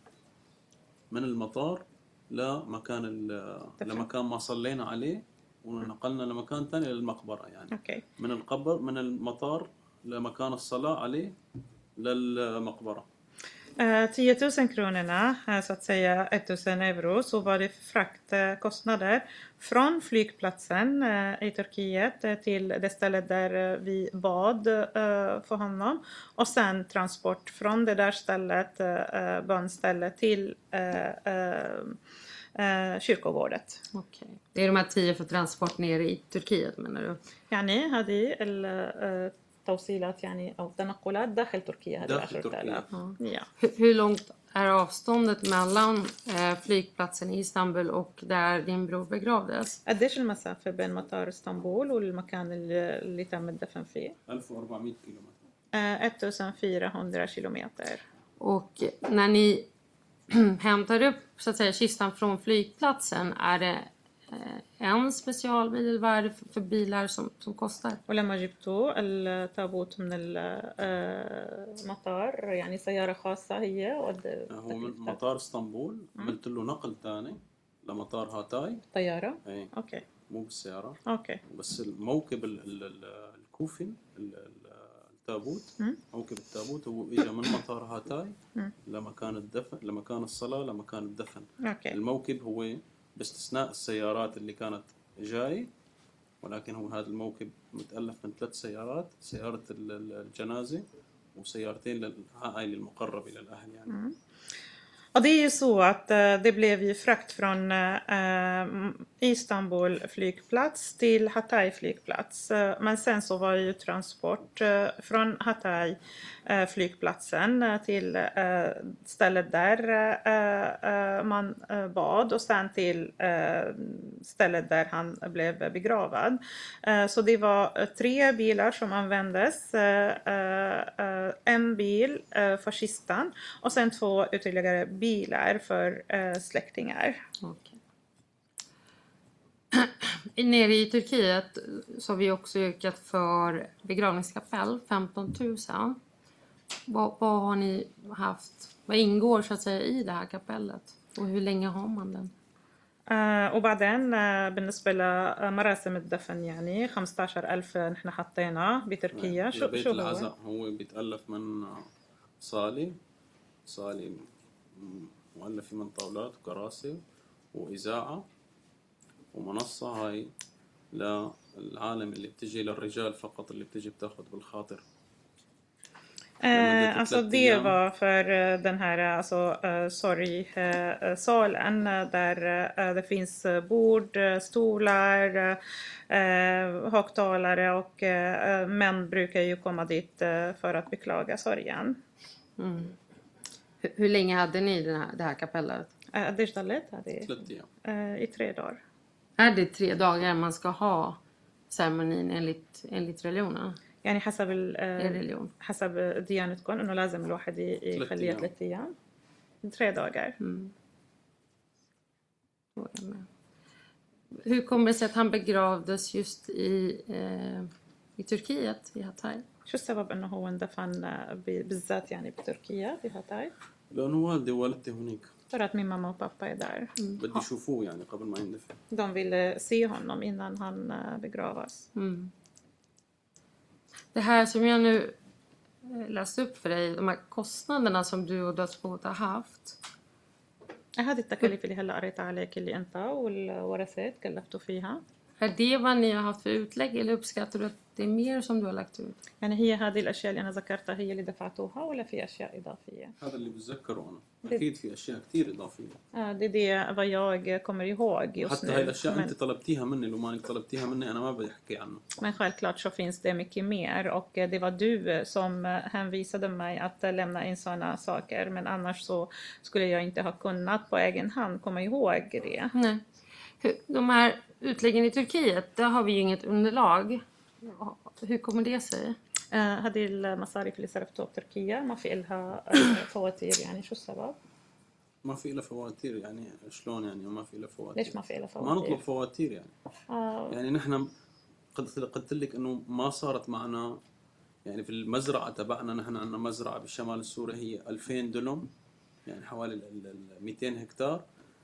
Speaker 5: من المطار لمكان لمكان ما صلينا عليه ونقلنا لمكان ثاني للمقبرة يعني.
Speaker 8: أوكي.
Speaker 5: من القبر من المطار لمكان الصلاة عليه للمقبرة.
Speaker 8: Uh, tio tusen kronorna, uh, så att säga tusen euro, så var det fraktkostnader från flygplatsen uh, i Turkiet uh, till det stället där uh, vi bad uh, för honom och sen transport från det där stället, uh, bönstället till uh, uh, uh, kyrkogårdet.
Speaker 9: Okej. Okay. Det är de här tio för transport ner i Turkiet menar du?
Speaker 8: يعني هذه ال توصيلات يعني أو تنقلات داخل تركيا هذه عشرة آلاف.
Speaker 9: Ja. Hur långt är avståndet mellan eh, flygplatsen i Istanbul och där din bror begravdes?
Speaker 8: قديش المسافة بين مطار اسطنبول والمكان اللي, اللي تم الدفن فيه؟
Speaker 5: ألف وأربعمية كيلومتر.
Speaker 8: fjortonhundra kilometer.
Speaker 9: Och när ni hämtar upp så att säga kistan från flygplatsen, är det en specialbil? Vad är det för bilar som, som kostar?
Speaker 8: ولما جبتوا التابوت من المطار يعني سيارة خاصة هي
Speaker 5: هو من مطار اسطنبول عملت له نقل ثاني لمطار هاتاي
Speaker 8: طيارة.
Speaker 5: اي
Speaker 8: اوكي
Speaker 5: مو بالسيارة.
Speaker 8: اوكي
Speaker 5: بس الموكب الكوفن التابوت موكب التابوت هو اجى من مطار هاتاي لمكان الدفن لمكان الصلاة لمكان الدفن.
Speaker 8: اوكي.
Speaker 5: الموكب هو باستثناء السيارات اللي كانت جاي ولكن هو هذا الموكب متألف من ثلاث سيارات سيارة الجنازة وسيارتين للعائلة المقربة للأهل يعني.
Speaker 8: Mm. Och det är ju så att uh, det blev ju frakt från uh, Istanbul flygplats till Hatay flygplats. Uh, men sen så var det ju transport uh, från Hatay uh, flygplatsen uh, till uh, stället där uh, uh, man uh, bad och sen till uh, stället där han blev begravad. Uh, så det var uh, tre bilar som användes. Uh, uh, en bil uh, för kistan och sen två ytterligare bilar för uh, släktingar.
Speaker 9: Okay. Nere i Turkiet så har vi också yrkat för begravningskapell, femton tusen. Vad, vad har ni haft? Vad ingår så att säga i det här kapellet? Och hur länge har man den?
Speaker 8: Uh, وبعدين uh, بالنسبة لمراسم الدفن يعني خمسة عشر ألف نحن حطينا بتركيا.
Speaker 5: شو بيت شو العزاء هو بيتألف من صالة صالة مؤلفة من طاولات وكراسي وإذاعة ومنصة هاي للعالم اللي بتجي للرجال فقط اللي بتجي بتاخد بالخاطر.
Speaker 8: Eh, alltså det var för uh, den här alltså, uh, sorgsalen uh, där uh, det finns uh, bord, uh, stolar, uh, högtalare och uh, män brukar ju komma dit uh, för att beklaga sorgen.
Speaker 9: Mm. Hur, hur länge hade ni den här, det här kapellet?
Speaker 8: Uh, det stället hade uh, i tre dagar.
Speaker 9: Är det tre dagar man ska ha ceremonin enligt, enligt religionen؟
Speaker 8: يعني حسب ال حسب ديانتكم انه لازم الواحد يخليها ثلاث ايام tre dagar.
Speaker 9: Mm. Hur kommer det sig att han begravdes just i eh, i Turkiet i Hatay؟
Speaker 8: شو السبب انه هو اندفن بالذات يعني بتركيا في هاتاي؟
Speaker 5: لانه والدي ووالدتي هناك.
Speaker 8: För att min mamma och pappa är där.
Speaker 5: بدي يشوفوه يعني قبل ما يندفن.
Speaker 8: De ville se honom innan han begravas.
Speaker 9: Mm. Det här som jag nu läste upp för dig, de här kostnaderna som du och dödsboet har haft.
Speaker 8: هذه التكاليف اللي هلا قريت عليك اللي انت والورثات كلفتوا فيها.
Speaker 9: Är det vad ni har haft för utlägg eller uppskattar du att det är mer som du har lagt ut؟
Speaker 8: يعني هي هذه الاشياء اللي انا ذكرتها هي اللي دفعتوها ولا في اشياء اضافيه؟
Speaker 5: هذا اللي بتذكره انا اكيد في اشياء كثير اضافيه.
Speaker 8: اه det är vad jag kommer ihåg just
Speaker 5: حتى هاي الاشياء انت طلبتيها مني لو ما انك طلبتيها مني انا ما بدي احكي عنه.
Speaker 8: Men självklart så finns det mycket mer och det var du som hänvisade mig att lämna in sådana saker, men annars så skulle jag inte ha kunnat på egen hand komma ihåg det.
Speaker 9: Nej. De här utläggen i Turkiet, där har vi ju inget underlag. Hur kommer det sig؟
Speaker 8: هذه المصاريف اللي صرفتوها بتركيا ما في لها فواتير يعني شو السبب؟
Speaker 5: ما في لها فواتير يعني شلون يعني ما في لها فواتير؟
Speaker 8: ليش ما في لها فواتير؟
Speaker 5: ما نطلب فواتير يعني.
Speaker 8: آه.
Speaker 5: يعني نحن قد قلت لك انه ما صارت معنا يعني في المزرعه تبعنا، نحن عندنا مزرعه بالشمال السوري هي ألفين دلم يعني حوالي مئتين هكتار.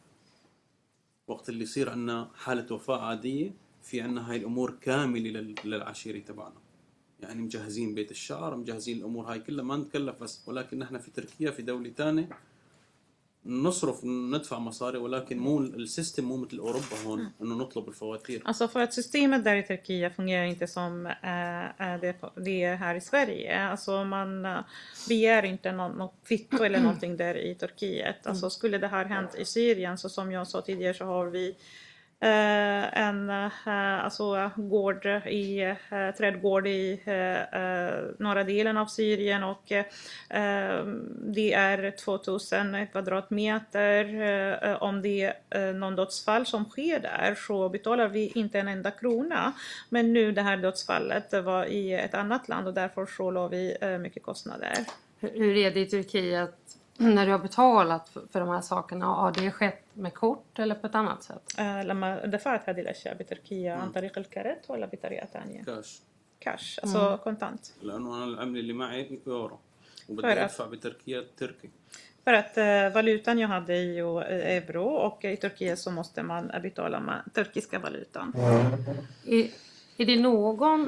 Speaker 5: وقت اللي يصير عندنا حالة وفاة عادية في عندنا هاي الأمور كاملة للعشيرة تبعنا، يعني مجهزين بيت الشعر، مجهزين الأمور هاي كلها، ما نتكلف بس. ولكن نحن في تركيا في دولة تانية نصرف ندفع مصاري، ولكن مو السيستم مو مثل أوروبا هون إنه نطلب الفواتير.
Speaker 8: Alltså för att systemet där i Turkiet fungerar inte som äh, det, det är här i Sverige. Alltså man äh, begär inte något, något kvitto eller någonting där i Turkiet. Alltså skulle det här hänt i Syrien, så som jag sa tidigare så har vi Uh, en uh, alltså, gård i, uh, trädgård i uh, uh, norra delen av Syrien och uh, det är tvåtusen kvadratmeter. Uh, om det är uh, någon dödsfall som sker där så betalar vi inte en enda krona. Men nu det här dödsfallet var i ett annat land och därför så låg vi uh, mycket kostnader.
Speaker 9: Hur är det i Turkiet när du har betalat för, för de här sakerna? Har det skett med kort eller på ett annat sätt؟
Speaker 8: لما دفعت هذه الأشياء بتركيا عن طريق الكرت ولا بطريقة ثانية؟
Speaker 5: كاش.
Speaker 8: كاش alltså kontant.
Speaker 5: لأنه أنا العملة اللي معي يورو وبدي أدفع بتركيا تركي.
Speaker 8: För att uh, valutan jag hade är ju euro och i Turkiet så måste man betala med turkiska valutan.
Speaker 9: Är, är det någon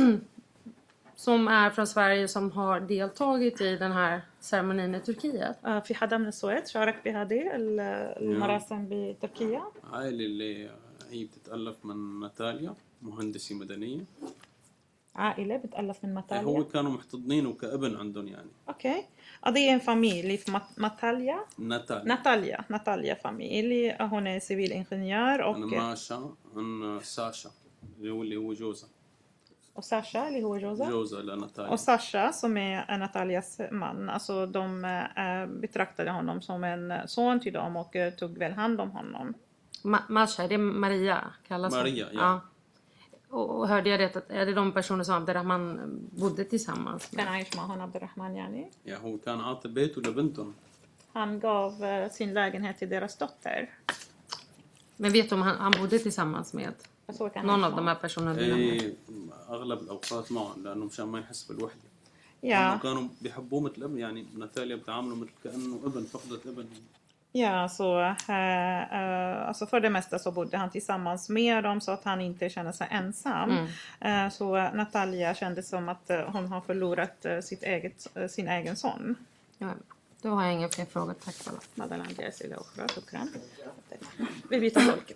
Speaker 9: som är från Sverige som har deltagit i den här ceremonin i Turkiet؟
Speaker 8: في حدا من السويد شارك بهذه المراسم بتركيا؟
Speaker 5: عائلة اللي هي بتتألف من ناتاليا، مهندسة مدنية.
Speaker 8: عائلة بتألف من ناتاليا؟
Speaker 5: هو كانوا محتضنينه كابن عندهم يعني.
Speaker 8: Okej. Okay. Det är en familj från Natalia.
Speaker 5: Natalia.
Speaker 8: Natalia, Natalia familj. Hon är civilingenjör och
Speaker 5: أنا ماشا عن ساشا اللي هو اللي هو جوزها.
Speaker 8: Och Sasha, eller hur Rosa?
Speaker 5: Rosa eller Natalia.
Speaker 8: Och Sasha som är Natalias man, alltså de äh, betraktade honom som en son till dem och äh, tog väl hand om honom.
Speaker 9: Ma- Masha, det är Maria kallas
Speaker 5: Maria, ja.
Speaker 9: ja. Och, och hörde jag rätt att är det de personer som Abderrahman bodde tillsammans med?
Speaker 8: كان عايش معهم عبد الرحمن يعني.
Speaker 5: Ja, hon kan عاطي بيته لبنتهم.
Speaker 8: Han gav äh, sin lägenhet till deras dotter.
Speaker 9: Men vet du om han, han bodde tillsammans med någon av de här personerna?
Speaker 5: ايه اغلب الاوقات معهم لانه مشان ما يحس بالوحده.
Speaker 8: Ja.
Speaker 5: كانوا بيحبوه مثل ابن يعني ناتاليا بتعامله مثل كانه ابن فقدت ابن.
Speaker 8: Ja, så äh, äh, alltså för det mesta så bodde han tillsammans med dem så att han inte kände sig ensam. Mm. Äh, så Natalia kände som att äh, hon har förlorat äh, sitt eget, äh, sin egen son.
Speaker 9: Ja, då har jag inga fler frågor. Tack för det.
Speaker 8: Madeleine Jessica Okra, shukran. Vi byter folk.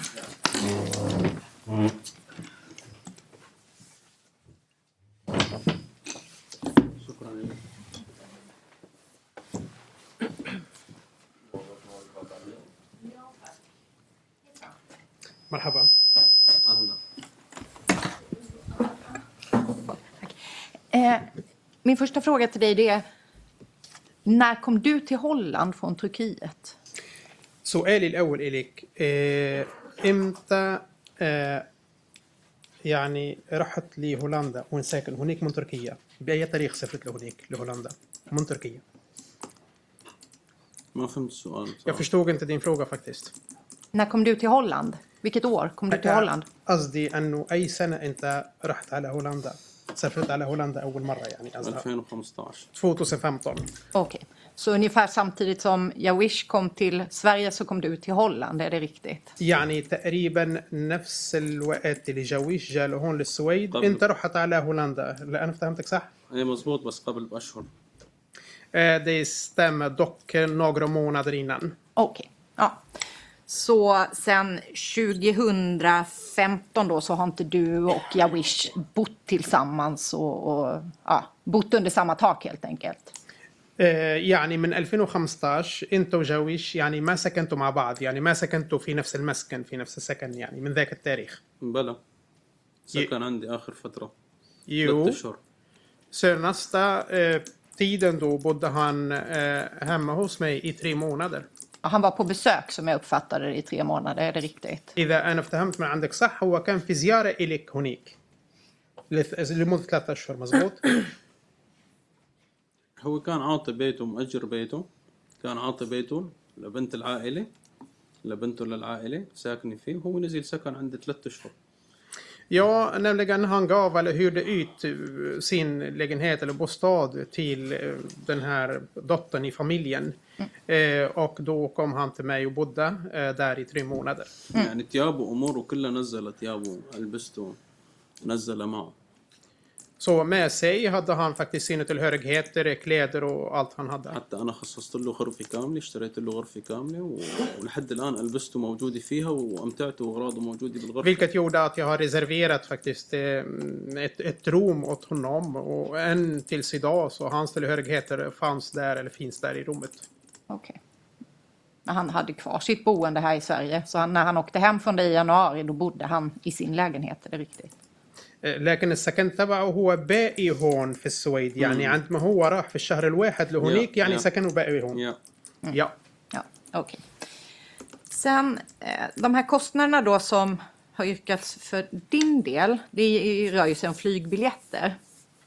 Speaker 8: Mm.
Speaker 5: شكرا لك.
Speaker 10: مرحبا.
Speaker 5: أهلا.
Speaker 11: Eh, min första fråga till dig det är, när kom du till Holland från Turkiet?
Speaker 10: سؤالي الأول إليك إيه إمتى آه يعني رحت لهولندا وين ساكن هناك من تركيا بأي تاريخ سافرت لهناك لهولندا من تركيا؟
Speaker 5: ما فهمت السؤال.
Speaker 10: Jag förstod inte din fråga faktiskt.
Speaker 11: När kom du till Holland? Vilket år kom du till Holland?
Speaker 10: قصدي أنه أي سنة أنت رحت على هولندا سافرت على هولندا أول مرة يعني
Speaker 5: ألفين وخمسطعش.
Speaker 10: tjugo femton.
Speaker 11: Okej, okay. Så ungefär samtidigt som Jawish kom till Sverige så kom du till Holland, är det riktigt?
Speaker 10: يعني تقريبا نفس الوقت اللي جاويش جاء لهون للسويد أنت رحت على هولندا. لا أنا فهمتك صح؟
Speaker 5: إيه مزبوط بس قبل بأشهر.
Speaker 10: Det stämmer dock några månader innan.
Speaker 11: Okej, okay. Ja. Så sen tjugo femton då så har inte du och Jawish bott tillsammans och, och ja, bott under samma tak helt enkelt.
Speaker 10: يعني من ألفين وخمسطعش انت وجاويش يعني ما سكنتوا مع بعض يعني ما سكنتوا في نفس المسكن في نفس السكن يعني من ذاك التاريخ.
Speaker 5: بلى سكن عندي آخر فترة.
Speaker 10: Jo.
Speaker 5: أشهر.
Speaker 10: Senaste eh, tiden då bodde han eh, hemma hos mig i tre månader.
Speaker 11: Han var på besök som jag uppfattade det i tre månader, är det riktigt?
Speaker 10: إذا أنا فهمت من عندك صح هو كان في زيارة إليك هناك لمدة ثلاثة أشهر مزبوط؟
Speaker 5: هو كان عاطي بيته مأجر بيته كان عاطي بيته لبنت العائلة لبنته للعائلة ساكن فيه وهو نزل سكن عنده ثلاثة أشهر.
Speaker 10: Ja, nämligen han gav eller hyrde ut sin lägenhet eller bostad till den här dottern i familjen. Mm. Eh, och då kom han till mig och bodde eh, där i tre månader.
Speaker 5: Mm. يعني تيابه أموره كلها نزل تيابه ألبسته نزل معه.
Speaker 10: Så med sig hade han faktiskt sina tillhörigheter, kläder och allt han hade.
Speaker 5: حتى أنا خصصت له غرفة كاملة اشتريت له غرفة كاملة ولحد الآن ألبسته موجودة فيها وأمتعته وأغراضه موجودة بالغرفة.
Speaker 10: Vilket gjorde att jag har reserverat faktiskt ett, ett rum åt honom och än tills idag så hans tillhörigheter fanns där eller finns där i rummet.
Speaker 11: Okej. Okay. Han hade kvar sitt boende här i Sverige så han, när han åkte hem från dig i januari då bodde han i sin lägenhet, är det riktigt?
Speaker 10: لكن السكن تبعه هو باقي هون في السويد يعني عندما هو راح في الشهر الواحد لهونيك يعني سكنه باقي هون.
Speaker 5: Ja.
Speaker 11: Ja. Ja, okej. Okay. Sen de här kostnaderna då som har yrkats för din del, det rör ju sig om flygbiljetter.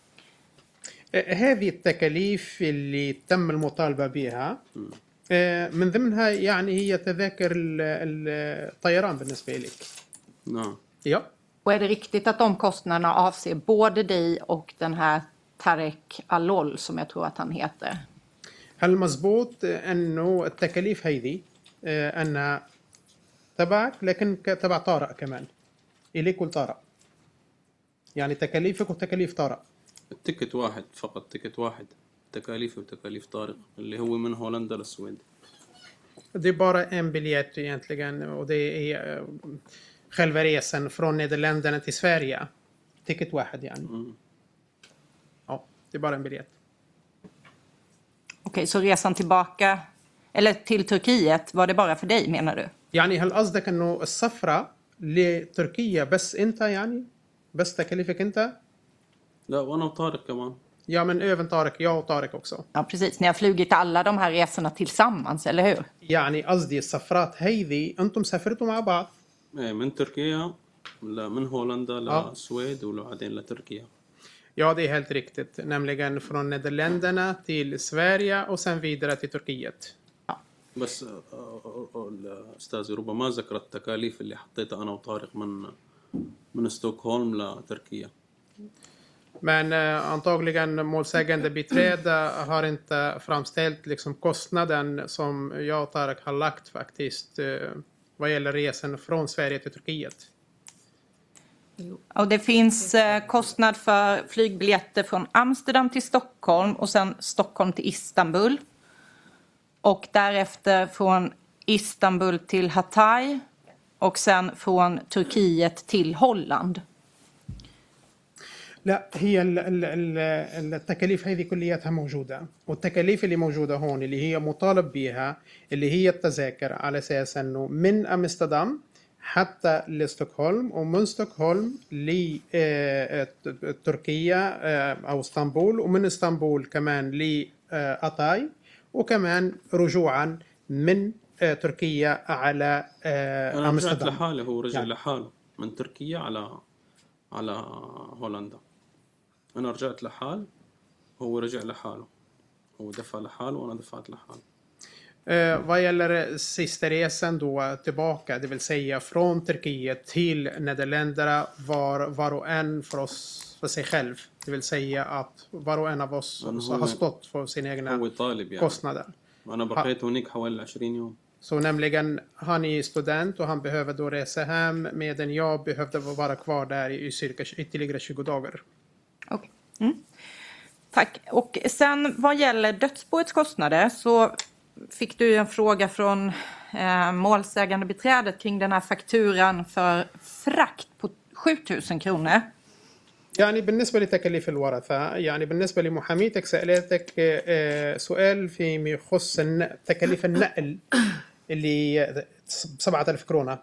Speaker 10: هذه التكاليف اللي تم المطالبة بها من ضمنها يعني هي تذاكر الطيران بالنسبة لك.
Speaker 5: نعم.
Speaker 10: Ja.
Speaker 11: Och är det riktigt att de kostnaderna avser både dig och den här Tarek Alol som jag tror att han heter?
Speaker 10: هل مزبوط انه التكاليف هذه انها تبعك لكن تبع طارق كمان اليك والطارق يعني تكاليفك وتكاليف طارق؟
Speaker 5: التيكت واحد فقط تيكت واحد تكاليفي وتكاليف طارق اللي هو من هولندا للسويد.
Speaker 10: Det är bara en biljett egentligen och det är själva resan från Nederländerna till Sverige. Ticket واحد يعني. Mm. Ja, det är bara en biljett.
Speaker 11: Okej, okay, så resan tillbaka eller till Turkiet var det bara för dig menar du?
Speaker 10: يعني هل قصدك انه السفرة لتركيا بس انت يعني بس تكلفك انت؟
Speaker 5: لا وانا وطارق كمان.
Speaker 10: Ja, men även Tarek, jag och Tarek också.
Speaker 11: Ja, precis. Ni har flugit alla de här resorna tillsammans, eller hur?
Speaker 10: يعني قصدي السفرات هذه انتم سافرتوا مع بعض؟
Speaker 5: من تركيا لا من هولندا للسويد وبعدين لتركيا.
Speaker 10: Ja, det är helt riktigt. Nämligen från Nederländerna till Sverige och sen vidare till Turkiet.
Speaker 11: Ja.
Speaker 5: بس الأستاذ ربما ما ذكر التكاليف اللي حطيتها أنا وطارق من من ستوكهولم لتركيا.
Speaker 10: Men eh, antagligen målsägande biträde har inte framställt liksom kostnaden som jag och Tarek har lagt faktiskt eh, vad gäller resan från Sverige till Turkiet.
Speaker 11: Och det finns eh, kostnad för flygbiljetter från Amsterdam till Stockholm och sen Stockholm till Istanbul. Och därefter från Istanbul till Hatay och sen från Turkiet till Holland.
Speaker 10: لا هي التكاليف هذه كلياتها موجودة والتكاليف اللي موجودة هون اللي هي مطالب بها اللي هي التذاكر على أساس أنه من أمستردام حتى لستوكهولم ومن ستوكهولم لتركيا أو اسطنبول ومن اسطنبول كمان لأتاي وكمان رجوعا من تركيا على
Speaker 5: أنا رجعت
Speaker 10: أمستردام.
Speaker 5: لحالي هو رجع
Speaker 10: يعني.
Speaker 5: لحاله من تركيا على على هولندا. أنا رجعت لحال هو رجع لحاله. هو دفع لحاله وأنا دفعت لحاله.
Speaker 10: Eh, vad gäller sista resan då tillbaka, det vill säga från Turkiet till Nederländerna var var och en för oss för sig själv. Det vill säga att var och en av oss har stått för sina egna kostnader.
Speaker 5: أنا بقيت هناك حوالي عشرين يوم.
Speaker 10: Så nämligen han är student och han behöver då resa hem medan jag behövde vara kvar där i cirka ytterligare tjugo dagar.
Speaker 11: Okay. Mm. Tack. Och sen vad gäller dödsboets kostnader så fick du en fråga från eh, målsägande beträdet kring den här fakturan för frakt på sjutusen kronor.
Speaker 10: يعني بالنسبة لتكاليف الورثة يعني بالنسبة لمحاميتك سألتك سؤال فيما يخص تكاليف النقل اللي سبعة آلاف kronor.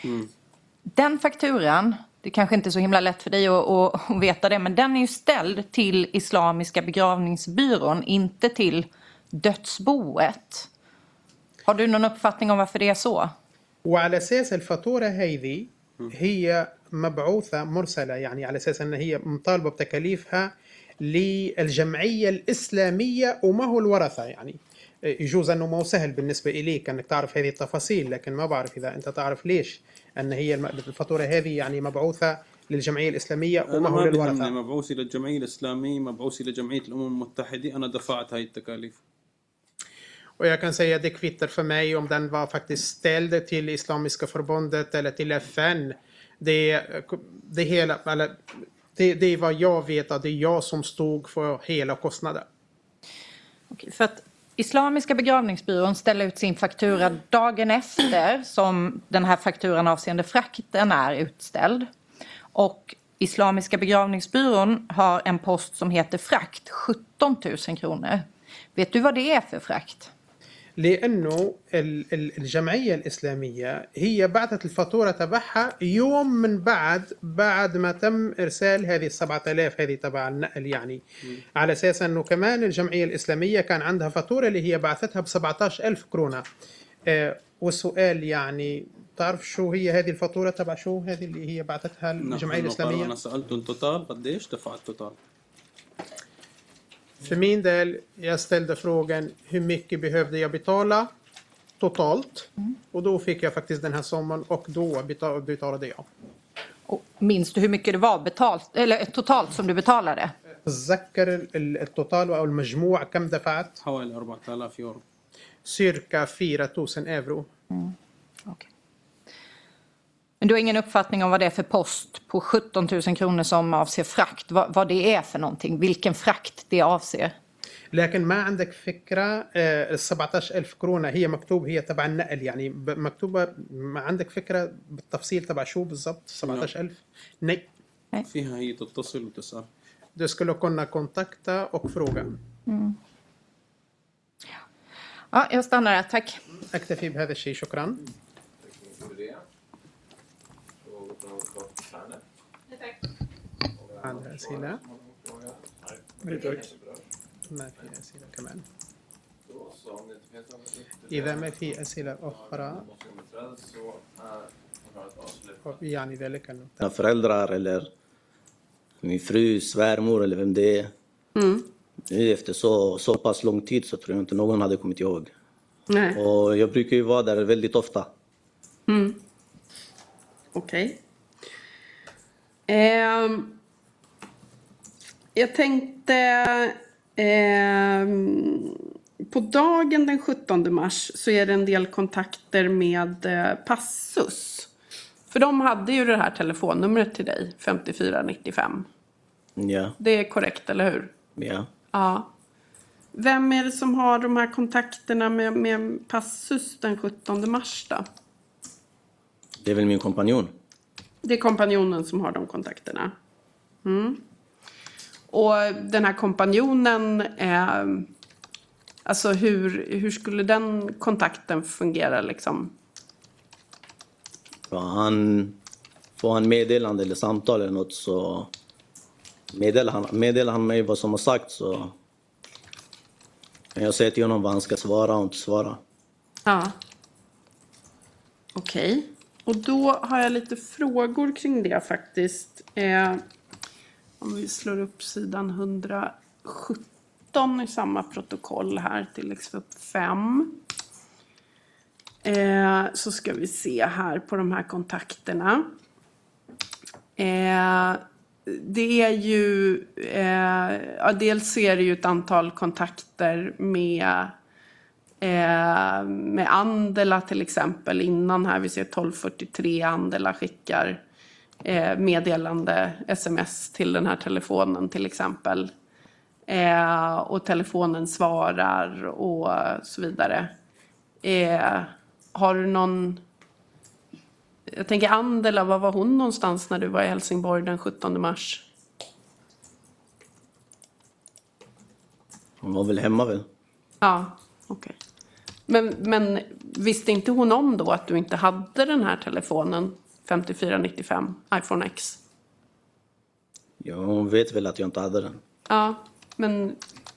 Speaker 11: Den fakturan, det kanske inte är så himla lätt för dig att, att, att veta det, men den är ju ställd till Islamiska begravningsbyrån, inte till dödsboet. Har du någon uppfattning om varför det är så?
Speaker 10: وعلى أساس الفاتورة هذه هي مبعوثة مرسلة يعني على أساس أن هي مطالبة بتكاليفها للجمعية الإسلامية وما هو الورثة يعني يجوز أنه ما هو سهل بالنسبة إليك أنك تعرف هذه التفاصيل لكن ما بعرف إذا أنت تعرف ليش أن هي الفاتورة هذه يعني مبعوثة للجمعية الإسلامية وما هو للورثة.
Speaker 5: أنا مبعوثي للجمعية الإسلامية مبعوثي لجمعية الأمم المتحدة أنا دفعت هاي التكاليف.
Speaker 10: Och jag kan säga att det kvittar för mig om den var faktiskt ställd till Islamiska förbundet eller till F N. Det, det, hela, eller, det, det är vad jag vet att det är jag som stod för hela kostnaden.
Speaker 11: Okej, för att Islamiska begravningsbyrån ställer ut sin faktura dagen efter som den här fakturan avseende frakten är utställd. Och Islamiska begravningsbyrån har en post som heter frakt, sjutton tusen kronor. Vet du vad det är för frakt?
Speaker 10: لأنه الجمعية الإسلامية هي بعثت الفاتورة تبعها يوم من بعد بعد ما تم إرسال هذه السبعة آلاف هذه تبع النقل يعني م. على أساس أنه كمان الجمعية الإسلامية كان عندها فاتورة اللي هي بعثتها بسبعة عشر ألف كرونة. آه والسؤال يعني تعرف شو هي هذه الفاتورة تبع شو هذه اللي هي بعثتها الجمعية الإسلامية؟
Speaker 5: أنا سألت التوتال قديش دفع التوتال؟
Speaker 10: För min del, jag ställde frågan hur mycket behövde jag betala totalt. Mm. Och då fick jag faktiskt den här summan och då betalade jag.
Speaker 11: Och minns du hur mycket det var betalt, eller totalt som du betalade?
Speaker 10: أتذكر التوتال أو المجموع كم دفعت؟
Speaker 5: حوالي أربعة آلاف يورو.
Speaker 10: Cirka fyra tusen euro.
Speaker 11: Mm. Okay. Men du har ingen uppfattning om vad det är för post på sjutton tusen kronor som avser frakt? Vad, vad det är för någonting? Vilken frakt det avser?
Speaker 10: لكن ما عندك فكرة ال سبعة عشر ألف كرونة هي مكتوب هي تبع النقل يعني مكتوبة ما عندك فكرة بالتفصيل تبع شو بالضبط سبعة عشر ألف؟ Nej.
Speaker 5: فيها هي تتصل وتسأل.
Speaker 10: Du skulle kunna kontakta och fråga.
Speaker 11: Mm. Ja, jag stannar här. Tack.
Speaker 10: أكتفي بهذا الشيء شكرا. عندها أسئلة؟ ما في أسئلة كمان. إذا ما في أسئلة أخرى يعني ذلك
Speaker 7: أنه föräldrar eller min fru, svärmor eller vem det är. Mm. Nu efter så, så pass lång tid så tror jag inte någon hade kommit ihåg. Nej. Och jag brukar ju vara där väldigt ofta.
Speaker 6: Mm. Okej. Okay. Eh, jag tänkte eh, på dagen den sjuttonde mars så är det en del kontakter med eh, Passus. För de hade ju det här telefonnumret till dig, femtiofyra nittiofem.
Speaker 7: Ja.
Speaker 6: Det är korrekt, eller hur?
Speaker 7: Ja.
Speaker 6: Ja. Vem är det som har de här kontakterna med, med Passus den sjuttonde mars då?
Speaker 7: Det är väl min kompanjon.
Speaker 6: Det är kompanjonen som har de kontakterna. Mm. Och den här kompanjonen, eh, alltså hur, hur skulle den kontakten fungera liksom?
Speaker 7: Ja, han får han meddelande eller samtal eller något så meddelar han, meddelar han mig vad som har sagt så kan jag säga till honom vad han ska svara och inte svara.
Speaker 6: Ja. Okej. Okay. Och då har jag lite frågor kring det faktiskt. Eh, om vi slår upp sidan hundrasjutton i samma protokoll här till X F U P fem. Eh, så ska vi se här på de här kontakterna. Eh, det är ju, eh, ja, dels är det ju ett antal kontakter med, eh, med Andela till exempel. Innan här, vi ser tolv fyrtiotre, Andela skickar eh, meddelande sms till den här telefonen till exempel. Eh, och telefonen svarar och så vidare. Eh, har du någon... Jag tänker Andela, var var hon någonstans när du var i Helsingborg den sjuttonde mars?
Speaker 7: Hon var väl hemma väl?
Speaker 6: Ja, okej. Okay. Men, men visste inte hon om då att du inte hade den här telefonen femtiofyra nittiofem iPhone X?
Speaker 7: Ja, hon vet väl att jag inte hade den.
Speaker 6: Ja, men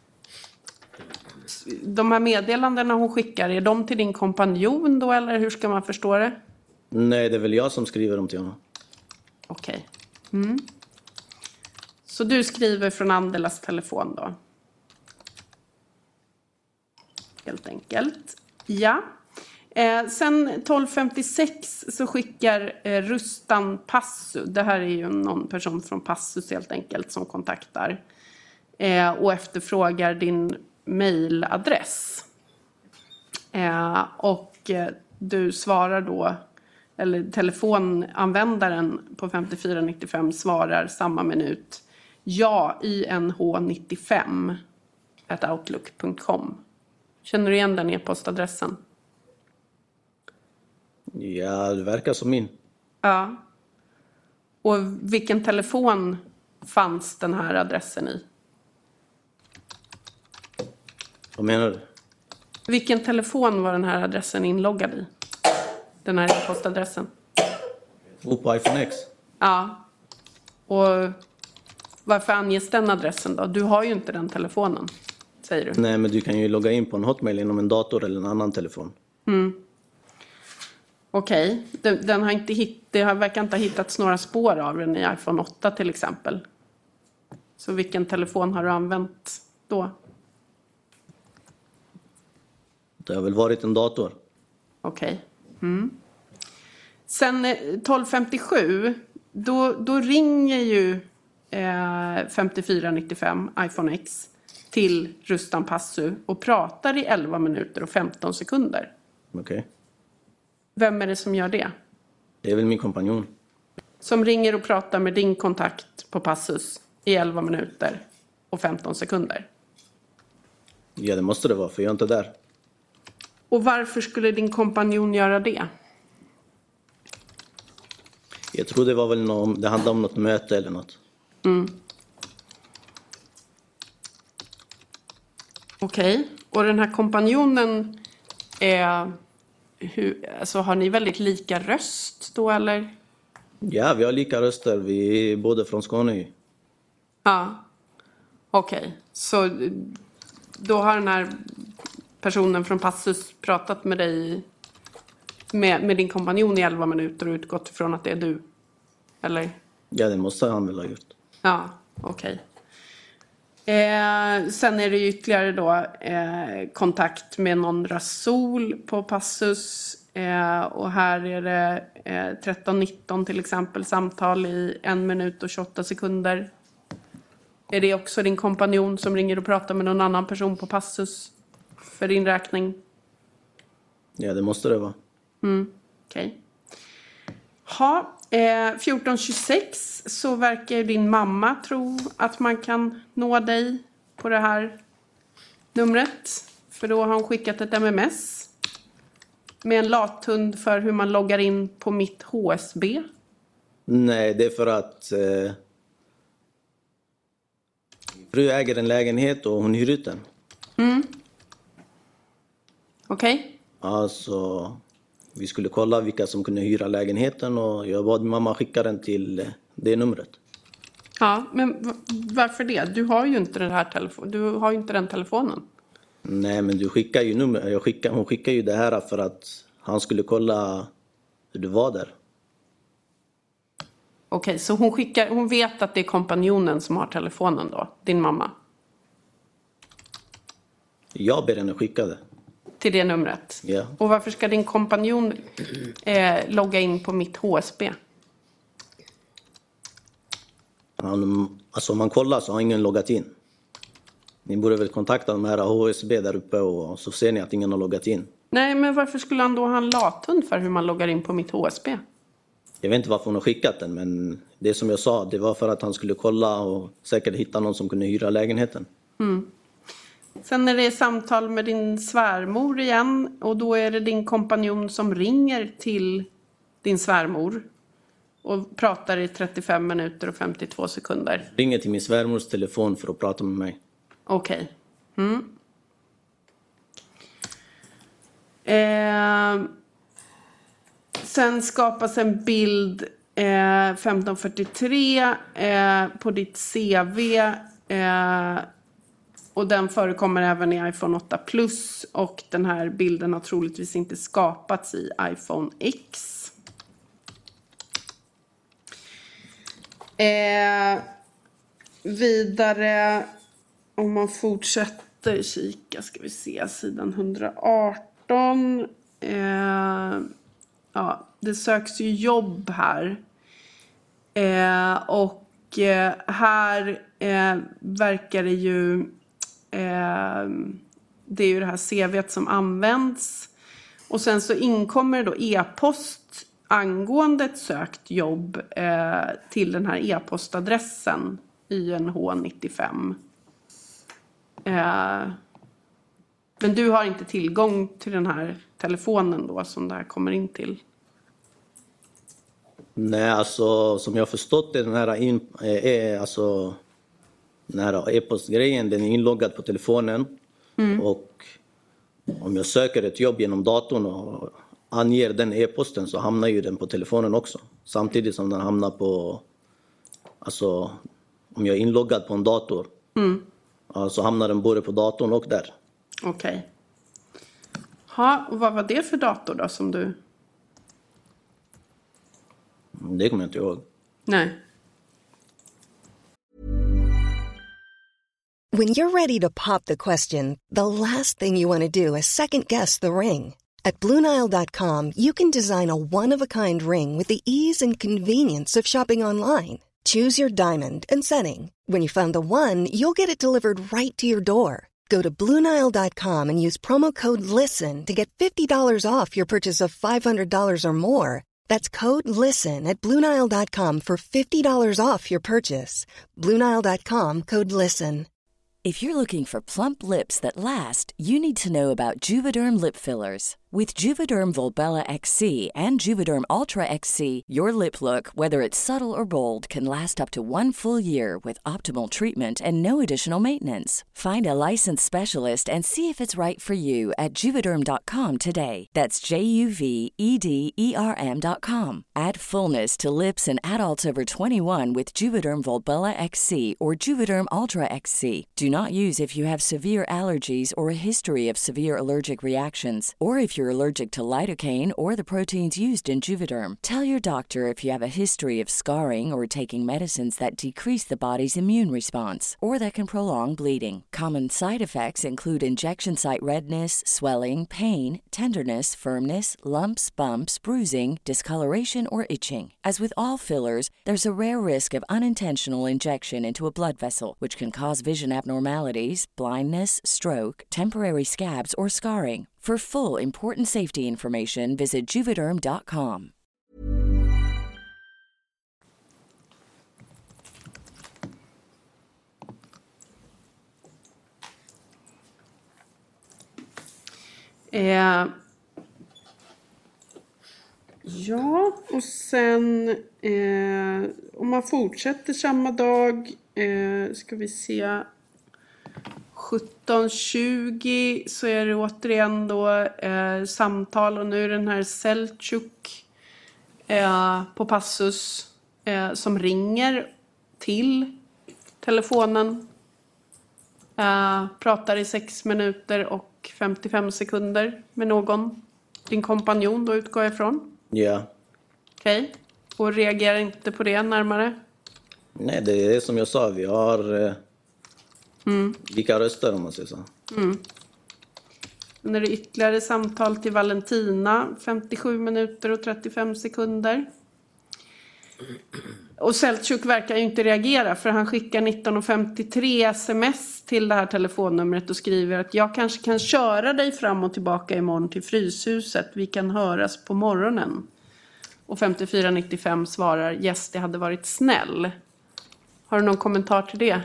Speaker 6: de här meddelandena hon skickar, är de till din kompanjon då eller hur ska man förstå det?
Speaker 7: Nej, det är väl jag som skriver dem till honom.
Speaker 6: Okej. Okay. Mm. Så du skriver från Andelas telefon då? Helt enkelt. Ja. Eh, sen tolv femtiosex så skickar eh, Rustan Passu. Det här är ju någon person från Passus helt enkelt som kontaktar. Eh, och efterfrågar din mailadress. Eh, och eh, du svarar då, eller telefonanvändaren på femtiofyra nittiofem svarar samma minut. Ja, I N H nittiofem at outlook punkt com. Känner du igen den e-postadressen?
Speaker 7: Ja, det verkar som min.
Speaker 6: Ja. Och vilken telefon fanns den här adressen i?
Speaker 7: Vad menar du?
Speaker 6: Vilken telefon var den här adressen inloggad i? Den här e-postadressen.
Speaker 7: Och på iPhone X?
Speaker 6: Ja. Och varför anges den adressen då? Du har ju inte den telefonen, säger du.
Speaker 7: Nej, men du kan ju logga in på en Hotmail inom en dator eller en annan telefon.
Speaker 6: Mm. Okej. Okay. Den, den har inte hitt, det har verkar inte ha hittats några spår av den i iPhone åtta till exempel. Så vilken telefon har du använt då?
Speaker 7: Det har väl varit en dator.
Speaker 6: Okej. Okay. Mm. Sen tolv femtiosju, då, då ringer ju eh, femtiofyra nittiofem iPhone X till Rustan Passu och pratar i elva minuter och femton sekunder.
Speaker 7: Okej. Okay.
Speaker 6: Vem är det som gör det?
Speaker 7: Det är väl min kompanjon.
Speaker 6: Som ringer och pratar med din kontakt på Passus i elva minuter och femton sekunder.
Speaker 7: Ja, det måste det vara, för jag är inte där.
Speaker 6: Och varför skulle din kompanjon göra det?
Speaker 7: Jag tror det var väl någon, det handlade om något möte eller något.
Speaker 6: Mm. Okej. Okay. Och den här kompanjonen är... Hur, alltså, har ni väldigt lika röst då eller?
Speaker 7: Ja, vi har lika röster. Vi är båda från Skåne.
Speaker 6: Ja. Okej. Okay. Så då har den här personen från Passus pratat med dig med, med din kompanjon i elva minuter och utgått ifrån att det är du? Eller?
Speaker 7: Ja, det måste han väl ha gjort.
Speaker 6: Ja, okej. Okay. Eh, sen är det ytterligare då eh, kontakt med någon Rasul på Passus. Eh, och här är det eh, tretton nitton till exempel samtal i en minut och tjugoåtta sekunder. Är det också din kompanjon som ringer och pratar med någon annan person på Passus för din räkning?
Speaker 7: Ja, det måste det vara.
Speaker 6: Mm, okej. Okay. Ha, eh, fjorton tjugosex så verkar din mamma tro att man kan nå dig på det här numret. För då har hon skickat ett M M S med en lathund för hur man loggar in på mitt H S B.
Speaker 7: Nej, det är för att eh, fru äger en lägenhet och hon hyr ut den.
Speaker 6: Mm. Okej. Okay.
Speaker 7: Alltså, vi skulle kolla vilka som kunde hyra lägenheten och jag bad mamma skicka den till det numret.
Speaker 6: Ja, men varför det? Du har ju inte den här telefonen. Du har ju inte den telefonen.
Speaker 7: Nej, men du skickar ju nummer. Jag skickar, hon skickar ju det här för att han skulle kolla hur du var där.
Speaker 6: Okej, så hon skickar, hon vet att det är kompanjonen som har telefonen då, din mamma?
Speaker 7: Jag ber henne skicka det.
Speaker 6: Till det numret?
Speaker 7: Ja.
Speaker 6: Och varför ska din kompanjon eh, logga in på mitt H S B?
Speaker 7: Han, alltså om man kollar så har ingen loggat in. Ni borde väl kontakta de här H S B där uppe och så ser ni att ingen har loggat in.
Speaker 6: Nej, men varför skulle han då ha en lathund för hur man loggar in på mitt H S B?
Speaker 7: Jag vet inte varför hon har skickat den, men det som jag sa, det var för att han skulle kolla och säkert hitta någon som kunde hyra lägenheten.
Speaker 6: Mm. Sen är det samtal med din svärmor igen och då är det din kompanjon som ringer till din svärmor och pratar i trettiofem minuter och femtiotvå sekunder.
Speaker 7: Ringer till min svärmors telefon för att prata med mig.
Speaker 6: Okej. Okay. Mm. Eh, sen skapas en bild eh, femton fyrtiotre eh, på ditt C V eh, och den förekommer även i iPhone åtta plus och den här bilden har troligtvis inte skapats i iPhone X. Eh, vidare om man fortsätter kika ska vi se sidan hundraarton. Eh, ja, det söks ju jobb här. Eh, och eh, här eh, verkar det ju eh, det är ju det här C V:t som används. Och sen så inkommer det då e-post angående ett sökt jobb eh, till den här e-postadressen Y N H nittiofem. Eh, men du har inte tillgång till den här telefonen då som det här kommer in till?
Speaker 7: Nej, alltså som jag har förstått det, den här, in, eh, alltså, den här e-postgrejen, den är inloggad på telefonen. Mm. Och om jag söker ett jobb genom datorn och anger den e-posten så hamnar ju den på telefonen också. Samtidigt som den hamnar på, alltså om jag är inloggad på en dator. Mm. Så hamnar den både på datorn och där.
Speaker 6: Okej. Okay. Ja, och vad var det för dator då som du...
Speaker 7: Det kommer jag inte ihåg.
Speaker 6: Nej.
Speaker 4: When you're ready to pop the question, the last thing you want to do is second guess the ring. At Blue Nile dot com, you can design a one-of-a-kind ring with the ease and convenience of shopping online. Choose your diamond and setting. When you find the one, you'll get it delivered right to your door. Go to Blue Nile dot com and use promo code LISTEN to get fifty dollars off your purchase of five hundred dollars or more. That's code LISTEN at Blue Nile dot com for fifty dollars off your purchase. Blue Nile dot com, code LISTEN.
Speaker 12: If you're looking for plump lips that last, you need to know about Juvederm lip fillers. With Juvederm Volbella X C and Juvederm Ultra X C, your lip look, whether it's subtle or bold, can last up to one full year with optimal treatment and no additional maintenance. Find a licensed specialist and see if it's right for you at Juvederm dot com today. That's J U V E D E R M dot com. Add fullness to lips in adults over twenty-one with Juvederm Volbella X C or Juvederm Ultra X C. Do not use if you have severe allergies or a history of severe allergic reactions, or if you're allergic to lidocaine or the proteins used in Juvederm. Tell your doctor if you have a history of scarring or taking medicines that decrease the body's immune response or that can prolong bleeding. Common side effects include injection site redness, swelling, pain, tenderness, firmness, lumps, bumps, bruising, discoloration, or itching. As with all fillers, there's a rare risk of unintentional injection into a blood vessel, which can cause vision abnormalities, blindness, stroke, temporary scabs, or scarring. For full important safety information, visit Juvederm dot com.
Speaker 6: Eh, ja, och sen eh, om man fortsätter samma dag eh, ska vi se sjutton tjugo så är det återigen då eh, samtal och nu är den här Selçuk eh, på passus eh, som ringer till telefonen. Eh, pratar i sex minuter och femtiofem sekunder med någon. Din kompanjon då utgår jag ifrån.
Speaker 7: Ja.
Speaker 6: Okej. Okay. Och reagerar inte på det närmare?
Speaker 7: Nej, det är som jag sa. Vi har... Eh... Mm. Vilka röster om man säger så.
Speaker 6: Mm. När det är ytterligare samtal till Valentina, femtiosju minuter och trettiofem sekunder. Och Selçuk verkar ju inte reagera för han skickar nitton femtiotre sms till det här telefonnumret och skriver att jag kanske kan köra dig fram och tillbaka imorgon till Fryshuset. Vi kan höras på morgonen. Och femtiofyra nittiofem svarar yes, det hade varit snäll. Har du någon kommentar till det?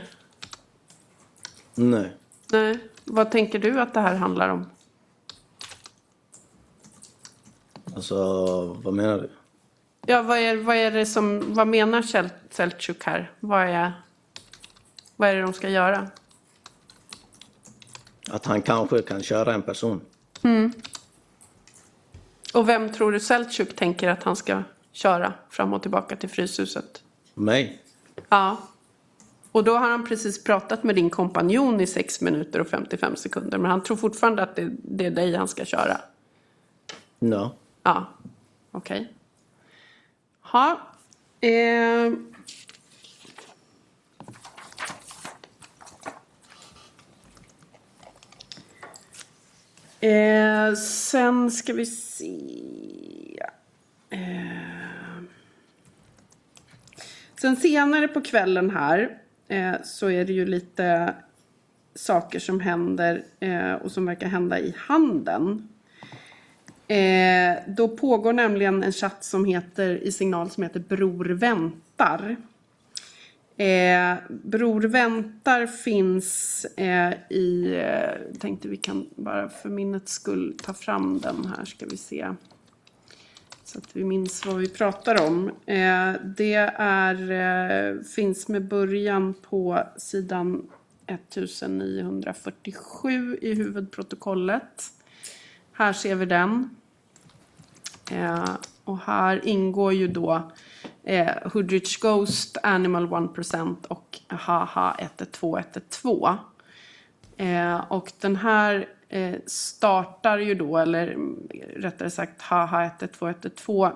Speaker 7: Nej.
Speaker 6: Nej. Vad tänker du att det här handlar om?
Speaker 7: Alltså, vad menar du?
Speaker 6: Ja, vad är, vad är det som... Vad menar Selçuk här? Vad är, vad är det de ska göra?
Speaker 7: Att han kanske kan köra en person.
Speaker 6: Mm. Och vem tror du Selçuk tänker att han ska köra fram och tillbaka till Fryshuset?
Speaker 7: Mig?
Speaker 6: Ja. Och då har han precis pratat med din kompanjon i sex minuter och femtiofem sekunder. Men han tror fortfarande att det, det är dig han ska köra.
Speaker 7: No.
Speaker 6: Ja, okej. Okay. Ja. Eh. Eh, sen ska vi se. Eh. Sen senare på kvällen här eh, så är det ju lite saker som händer eh, och som verkar hända i handeln. Eh, då pågår nämligen en chatt som heter i signal som heter Bror väntar. Eh, Bror väntar finns eh, i, eh, tänkte vi kan bara för minnets skull ta fram den här ska vi se. Så att vi minns vad vi pratar om. Eh, det är, eh, finns med början på sidan nittonhundrafyrtiosju i huvudprotokollet. Här ser vi den. Eh, och här ingår ju då eh, Hoodrich Ghost, Animal one percent och Haha ett ett två ett ett två. Eh, och den här eh, startar ju då, eller rättare sagt Haha ett ett två ett ett två.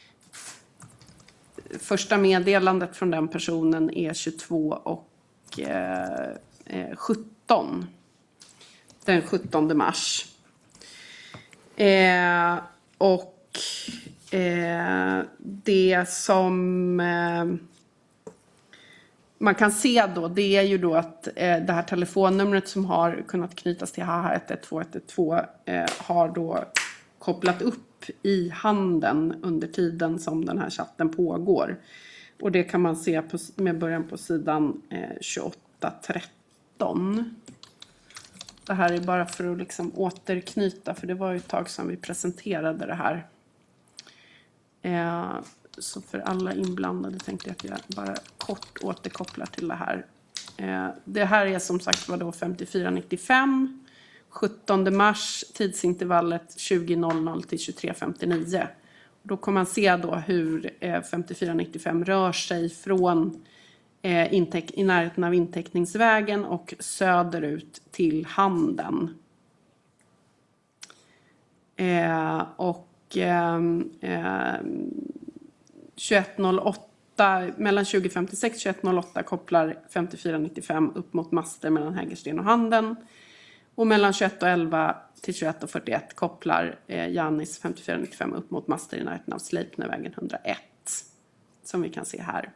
Speaker 6: Första meddelandet från den personen är tjugotvå och eh, eh, sjutton. Den sjuttonde mars. Eh, och eh, det som eh, man kan se då, det är ju då att eh, det här telefonnumret som har kunnat knytas till Haha ett ett två ett ett två eh, har då kopplat upp i handeln under tiden som den här chatten pågår. Och det kan man se på, med början på sidan eh, tjugoåtta tretton. Det här är bara för att liksom återknyta, för det var ju ett tag sedan vi presenterade det här. Eh, så för alla inblandade tänkte jag att jag bara kort återkopplar till det här. Eh, det här är som sagt var då femtiofyra nittiofem, sjuttonde mars, tidsintervallet tjugo noll noll till tjugotre femtionio. Då kommer man se då hur eh, femtiofyra nittiofem rör sig från eh, intäck- i närheten av inteckningsvägen och söderut till handeln. Eh, och eh, eh, tjugoett noll åtta, mellan tjugo femtiosex och tjugoett noll åtta kopplar femtiofyra nittiofem upp mot master mellan Hägersten och Handen. Och mellan tjugoett och elva till tjugoett och fyrtioett kopplar eh, Jannis femtiofyra nittiofem upp mot master i närheten av Sleipnervägen hundraett. Som vi kan se här.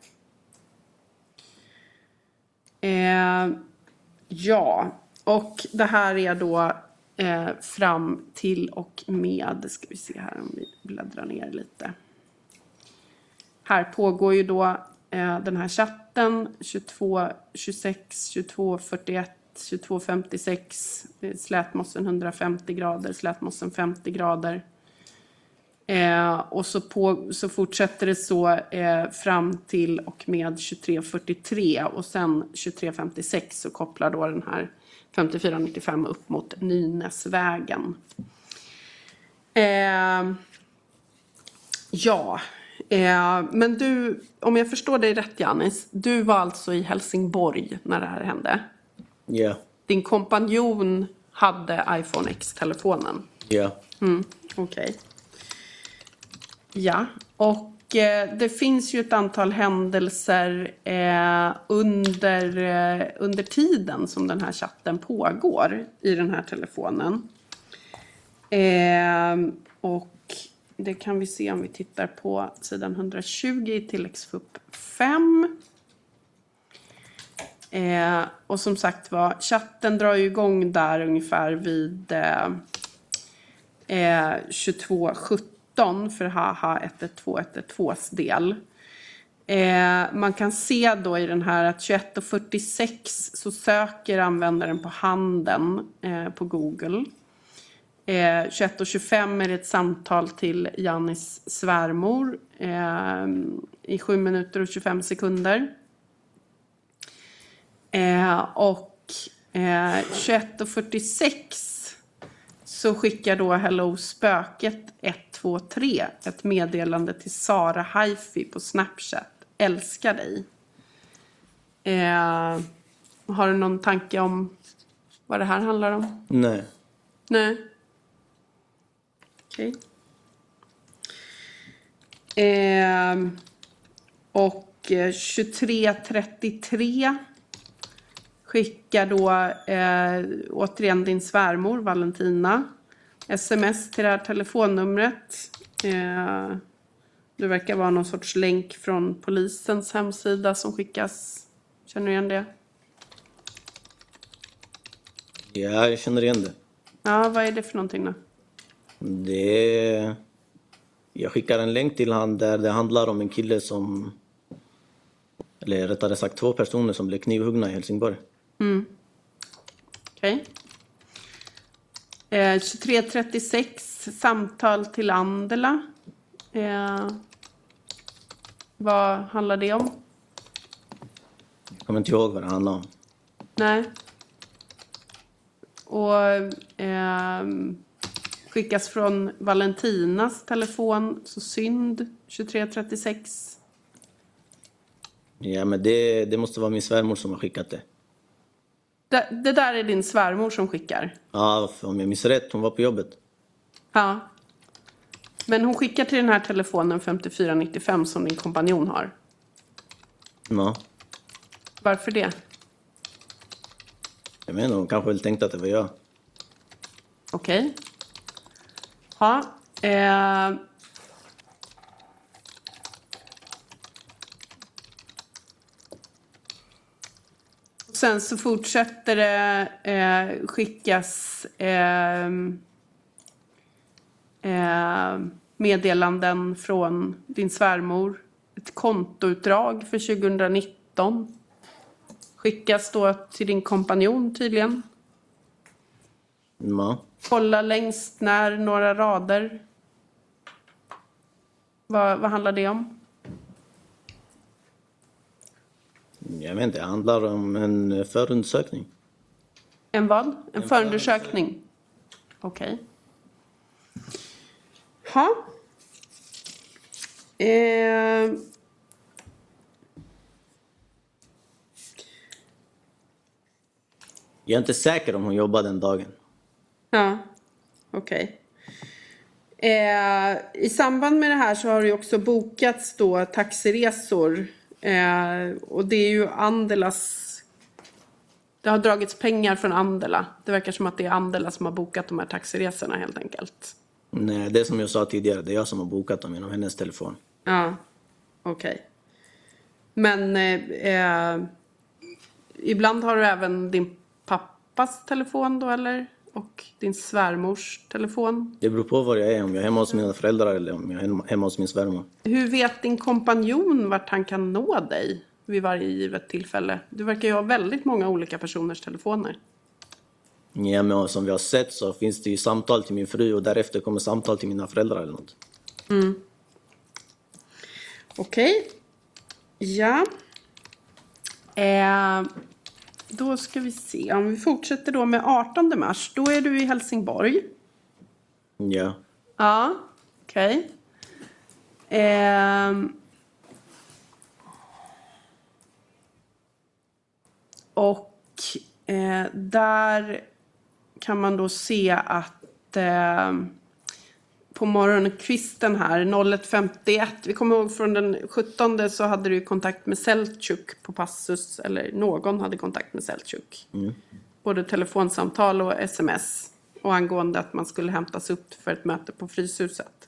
Speaker 6: Eh, ja, och det här är då eh, fram till och med, ska vi se här om vi bläddrar ner lite. Här pågår ju då eh, den här chatten tjugotvå tjugosex, tjugotvå fyrtioett, tjugotvå femtiosex, slätmossen hundrafemtio grader, slätmossen femtio grader. Eh, och så, på, så fortsätter det så eh, fram till och med tjugotre fyrtiotre och sen tjugotre femtiosex så kopplar då den här femtiofyra nittiofem upp mot Nynäsvägen. Eh, ja, eh, men du, om jag förstår dig rätt Janis, du var alltså i Helsingborg när det här hände?
Speaker 7: Ja. Yeah.
Speaker 6: Din kompanjon hade iPhone X-telefonen?
Speaker 7: Ja. Yeah.
Speaker 6: Mm, okej. Okay. Ja, och eh, det finns ju ett antal händelser eh, under, eh, under tiden som den här chatten pågår i den här telefonen. Eh, och det kan vi se om vi tittar på sidan hundratjugo i tilläggsfupp fem. Eh, och som sagt var, chatten drar ju igång där ungefär vid eh, eh, tjugotvå sjutton för haha ett ett två ett ett tvås del. Eh, man kan se då i den här att tjugoett och fyrtiosex så söker användaren på handen eh, på Google. Eh, tjugoett och tjugofem är det ett samtal till Jannis svärmor eh, i sju minuter och tjugofem sekunder. Eh, och eh, tjugoett och fyrtiosex så skickar då Hello Spöket ett två tre ett meddelande till Sara Haifi på Snapchat. Älskar dig. Eh, har du någon tanke om vad det här handlar om?
Speaker 7: Nej.
Speaker 6: Nej. Okej. Okay. Eh, och tjugotre trettiotre skickar då eh, återigen din svärmor Valentina sms till det här telefonnumret. Eh, det verkar vara någon sorts länk från polisens hemsida som skickas. Känner du igen det?
Speaker 7: Ja, jag känner igen det.
Speaker 6: Ja, vad är det för någonting då?
Speaker 7: Det är... Jag skickar en länk till han där det handlar om en kille som... Eller rättare sagt två personer som blev knivhuggna i Helsingborg.
Speaker 6: Mm. Okej. Okay. Eh, tjugotre trettiosex samtal till Andela. Eh, vad handlar det om?
Speaker 7: Jag kommer inte ihåg vad det handlar om.
Speaker 6: Nej. Och eh, skickas från Valentinas telefon. Så synd. tjugotre trettiosex.
Speaker 7: Ja, men det, det måste vara min svärmor som har skickat det.
Speaker 6: Det, det där är din svärmor som skickar?
Speaker 7: Ja, om jag minns rätt. Hon var på jobbet.
Speaker 6: Ja. Men hon skickar till den här telefonen femtiofyra nittiofem som din kompanjon har?
Speaker 7: Ja.
Speaker 6: Varför det?
Speaker 7: Jag menar, hon kanske väl tänkte att det var jag.
Speaker 6: Okej. Okay. Ja. Eh... Sen så fortsätter det eh, skickas eh, eh, meddelanden från din svärmor. Ett kontoutdrag för tjugonitton. Skickas då till din kompanjon tydligen.
Speaker 7: Ja.
Speaker 6: Kolla längst när några rader. Vad, vad handlar det om?
Speaker 7: Jag vet inte, det handlar om en förundersökning.
Speaker 6: En vad? En, en förundersökning? Okej. Okay. Ha. Eh.
Speaker 7: Jag är inte säker om hon jobbar den dagen.
Speaker 6: Ja, okej. Okay. Eh, I samband med det här så har det också bokats då taxiresor. Eh, och det är ju Andelas... Det har dragits pengar från Andela. Det verkar som att det är Andela som har bokat de här taxiresorna helt enkelt.
Speaker 7: Nej, det är som jag sa tidigare. Det är jag som har bokat dem genom hennes telefon.
Speaker 6: Ja, okej. Okay. Men eh, eh, ibland har du även din pappas telefon då, eller? Och din svärmors telefon?
Speaker 7: Det beror på var jag är. Om jag är hemma hos mina föräldrar eller om jag är hemma hos min svärmor.
Speaker 6: Hur vet din kompanjon vart han kan nå dig vid varje givet tillfälle? Du verkar ju ha väldigt många olika personers telefoner.
Speaker 7: Ja, men som vi har sett så finns det ju samtal till min fru och därefter kommer samtal till mina föräldrar eller något.
Speaker 6: Mm. Okej. Okay. Ja. Eh, Då ska vi se. Om vi fortsätter då med artonde mars. Då är du i Helsingborg.
Speaker 7: Ja.
Speaker 6: Ja, okej. Okay. Ehm. Och eh, där kan man då se att eh, på morgonkvisten här noll ett femtioett, vi kommer ihåg från den sjuttonde så hade du kontakt med Seltjuk på Passus, eller någon hade kontakt med Seltjuk. Mm. Både telefonsamtal och sms, och angående att man skulle hämtas upp för ett möte på Fryshuset.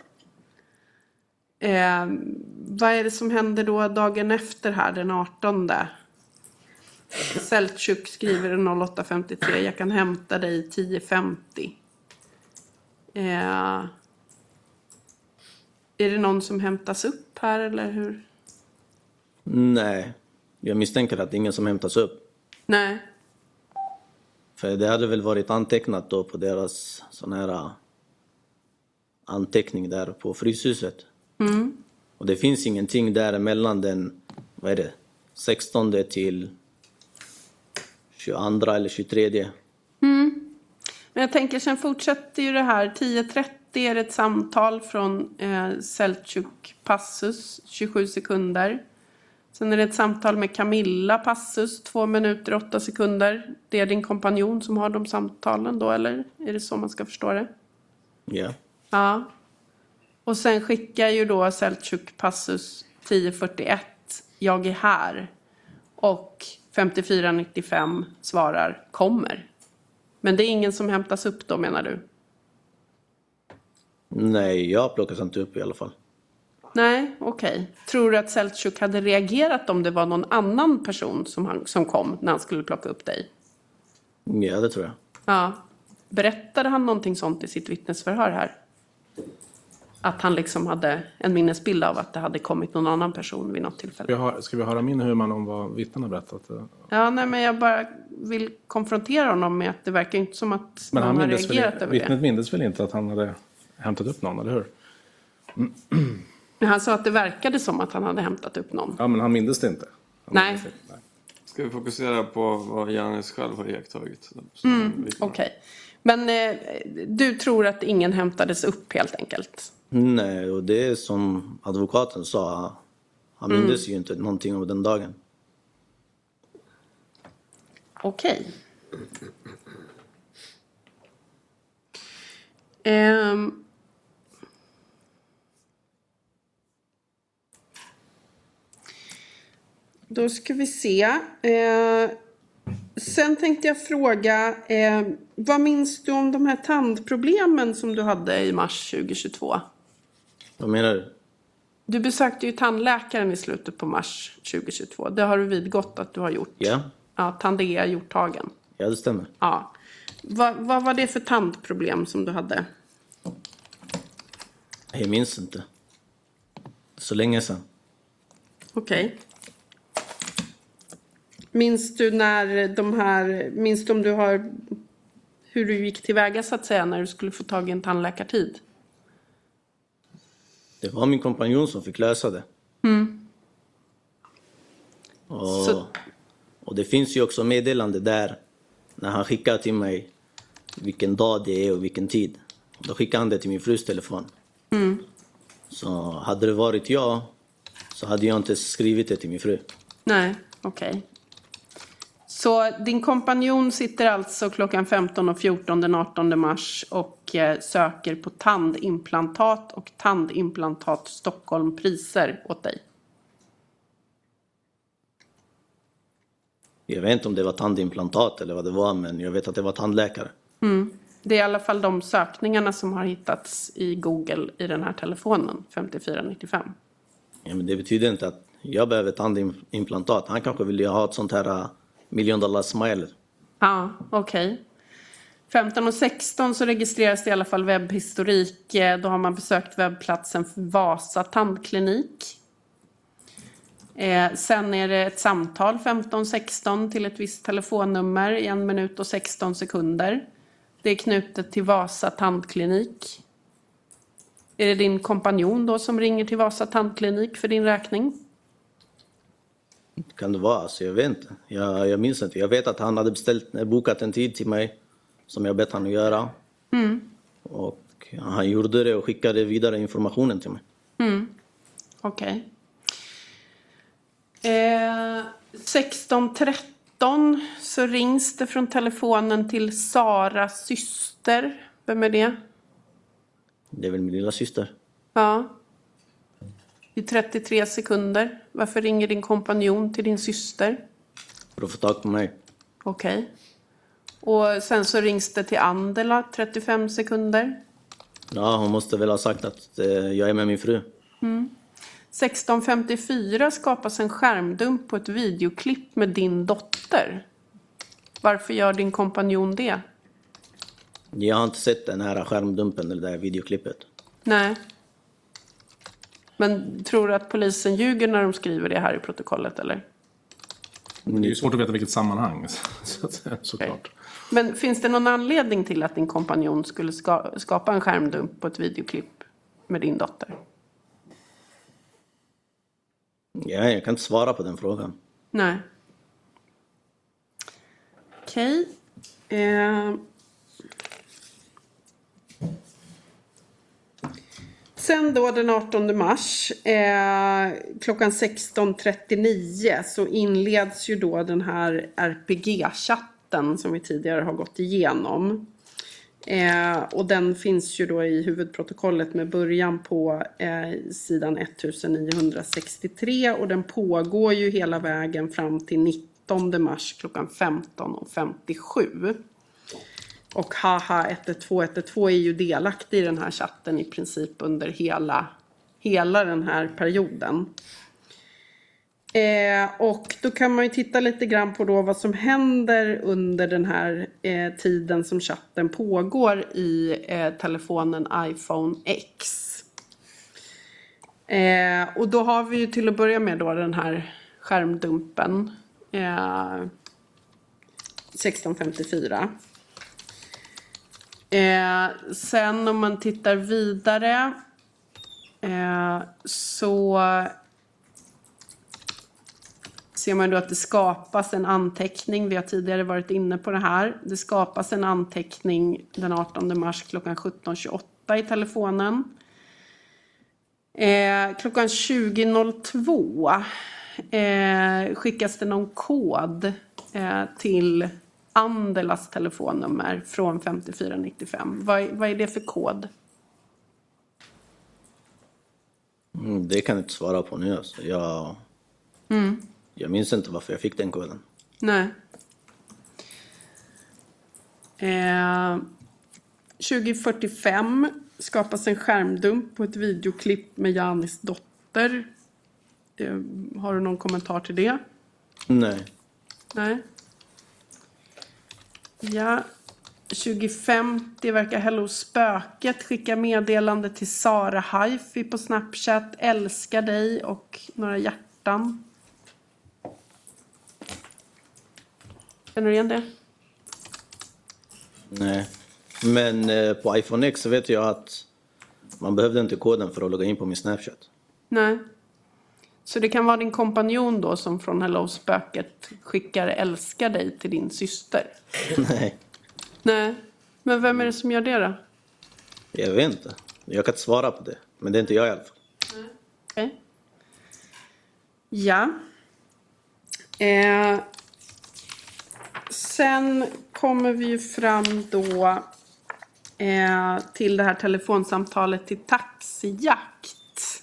Speaker 6: Eh, vad är det som händer då dagen efter här, den artonde? Seltjuk skriver noll åtta femtiotre, jag kan hämta dig tio femtio. Eh, är det någon som hämtas upp här eller hur?
Speaker 7: Nej, jag misstänker att det är ingen som hämtas upp.
Speaker 6: Nej.
Speaker 7: För det hade väl varit antecknat då på deras sån här anteckning där på Fryshuset.
Speaker 6: Mm.
Speaker 7: Och det finns ingenting där mellan den, vad är det, sextonde till tjugoandra eller tjugotredje.
Speaker 6: Mm. Men jag tänker, sen fortsätter ju det här. tio trettio är ett samtal från eh, Seltjuk Passus, tjugosju sekunder. Sen är det ett samtal med Camilla Passus, två minuter åtta sekunder. Det är din kompanjon som har de samtalen då, eller? Är det så man ska förstå det?
Speaker 7: Ja.
Speaker 6: Ja. Och sen skickar ju då Seltjuk Passus tio fyrtioett, jag är här. Och femtiofyra nittiofem svarar, kommer. Men det är ingen som hämtas upp då, menar du?
Speaker 7: Nej, jag plockas inte upp i alla fall.
Speaker 6: Nej, okej. Okay. Tror du att Seltjuk hade reagerat om det var någon annan person som, han, som kom när han skulle plocka upp dig?
Speaker 7: Ja, det tror jag.
Speaker 6: Ja. Berättade han någonting sånt i sitt vittnesförhör här? Att han liksom hade en minnesbild av att det hade kommit någon annan person vid något tillfälle.
Speaker 13: Ska vi, ha, ska vi höra min huvudman om vad vittnen har berättat?
Speaker 6: Ja, nej, men jag bara vill konfrontera honom med att det verkar inte som att
Speaker 13: men
Speaker 6: någon
Speaker 13: han
Speaker 6: har reagerat
Speaker 13: väl,
Speaker 6: över
Speaker 13: vittnet
Speaker 6: det.
Speaker 13: Vittnet mindes väl inte att han hade hämtat upp någon, eller hur?
Speaker 6: Mm. Men han sa att det verkade som att han hade hämtat upp någon.
Speaker 13: Ja, men han mindes det inte. Han
Speaker 6: nej.
Speaker 13: Inte. nej.
Speaker 5: Ska vi fokusera på vad Janis själv har iakttagit?
Speaker 6: Mm, Okej. Okay. Men eh, du tror att ingen hämtades upp helt enkelt?
Speaker 7: Nej, och det är som advokaten sa. Han mindes mm. ju inte någonting om den dagen.
Speaker 6: Okej. Okay. Um, då ska vi se. Uh, sen tänkte jag fråga, uh, vad minns du om de här tandproblemen som du hade i mars tjugohundratjugotvå?
Speaker 7: Vad menar du?
Speaker 6: Du besökte ju tandläkaren i slutet på mars tjugohundratjugotvå. Det har du vidgått att du har gjort.
Speaker 7: Ja.
Speaker 6: Ja, Tandea gjorttagen.
Speaker 7: Ja, det stämmer.
Speaker 6: Ja. Va, vad var det för tandproblem som du hade?
Speaker 7: Jag minns inte. Så länge sedan.
Speaker 6: Okej. Okay. Minns du när de här... Minns du om du har... Hur du gick tillväga så att säga när du skulle få tag i en tandläkartid?
Speaker 7: Det var min kompanjon som fick lösa det.
Speaker 6: Mm.
Speaker 7: Och, så... och det finns ju också meddelande där när han skickar till mig vilken dag det är och vilken tid. Då skickar han det till min frus telefon.
Speaker 6: Mm.
Speaker 7: Så hade det varit jag så hade jag inte skrivit det till min fru.
Speaker 6: Nej, okej. Okay. Så din kompanjon sitter alltså klockan femton och fjorton den artonde mars och eh, söker på tandimplantat och tandimplantat Stockholm priser åt dig.
Speaker 7: Jag vet inte om det var tandimplantat eller vad det var, men jag vet att det var tandläkare.
Speaker 6: Mm. Det är i alla fall de sökningarna som har hittats i Google i den här telefonen, femtiofyra nittiofem.
Speaker 7: Ja, men det betyder inte att jag behöver tandimplantat. Han kanske vill ha ett sånt här miljon dollar smile.
Speaker 6: Ja, okej. Okay. femton och sexton så registreras det i alla fall webbhistorik. Då har man besökt webbplatsen för Vasa tandklinik. Eh, sen är det ett samtal femton sexton till ett visst telefonnummer i en minut och sexton sekunder. Det är knutet till Vasa tandklinik. Är det din kompanjon då som ringer till Vasa tandklinik för din räkning?
Speaker 7: Kan det vara? Alltså, jag vet inte. Jag, jag minns inte. Jag vet att han hade beställt, bokat en tid till mig som jag bett han att göra.
Speaker 6: Mm.
Speaker 7: Och han gjorde det och skickade vidare informationen till mig.
Speaker 6: Mm. Okej. Okay. Eh, sexton tretton så rings det från telefonen till Saras syster. Vem är det?
Speaker 7: Det är väl min lilla syster.
Speaker 6: Ja. I trettiotre sekunder. Varför ringer din kompanjon till din syster?
Speaker 7: För att få tag på mig.
Speaker 6: Okej. Okay. Och sen så rings det till Andela, trettiofem sekunder.
Speaker 7: Ja, hon måste väl ha sagt att eh, jag är med min fru.
Speaker 6: Mm. sexton femtiofyra skapas en skärmdump på ett videoklipp med din dotter. Varför gör din kompanjon det?
Speaker 7: Jag har inte sett den här skärmdumpen eller det här videoklippet.
Speaker 6: Nej. Men tror du att polisen ljuger när de skriver det här i protokollet, eller?
Speaker 13: Det är ju svårt att veta vilket sammanhang, så, såklart. Okay.
Speaker 6: Men finns det någon anledning till att din kompanjon skulle ska, skapa en skärmdump på ett videoklipp med din dotter?
Speaker 7: Ja, jag kan inte svara på den frågan.
Speaker 6: Nej. Okej. Okay. Eh... Sen då den artonde mars eh, klockan sexton trettionio så inleds ju då den här R P G-chatten som vi tidigare har gått igenom. Eh, och den finns ju då i huvudprotokollet med början på eh, sidan nittonhundrasextiotre och den pågår ju hela vägen fram till nittonde mars klockan femton femtiosju. Och haha ett ett två ett ett två är ju delaktig i den här chatten i princip under hela, hela den här perioden. Eh, och då kan man ju titta lite grann på då vad som händer under den här eh, tiden som chatten pågår i eh, telefonen iPhone X. Eh, och då har vi ju till att börja med då den här skärmdumpen eh, sexton femtiofyra. Eh, sen om man tittar vidare eh, så ser man då att det skapas en anteckning. Vi har tidigare varit inne på det här. Det skapas en anteckning den artonde mars klockan sjutton tjugoåtta i telefonen. Eh, klockan tjugo noll två eh, skickas det någon kod eh, till Andelas telefonnummer från femtiofyra nittiofem. Vad, vad är det för kod?
Speaker 7: Mm, det kan jag inte svara på nu. Alltså. Jag,
Speaker 6: mm.
Speaker 7: jag minns inte varför jag fick den koden.
Speaker 6: Nej. Eh, tjugo fyrtiofem skapas en skärmdump på ett videoklipp med Janis dotter. Eh, har du någon kommentar till det?
Speaker 7: Nej.
Speaker 6: Nej. Ja, tjugo femtio verkar Hello Spöket skicka meddelande till Sara Haifi på Snapchat. Älskar dig och några hjärtan. Känner du igen det?
Speaker 7: Nej, men eh, på iPhone X så vet jag att man behövde inte koden för att logga in på min Snapchat.
Speaker 6: Nej. Så det kan vara din kompanjon då som från Hello Spöket skickar älskar dig till din syster?
Speaker 7: Nej.
Speaker 6: Nej. Men vem är det som gör det då?
Speaker 7: Jag vet inte. Jag kan inte svara på det. Men det är inte jag i alla fall.
Speaker 6: Okej. Okay. Ja. Eh, sen kommer vi ju fram då eh, till det här telefonsamtalet till Taxijakt.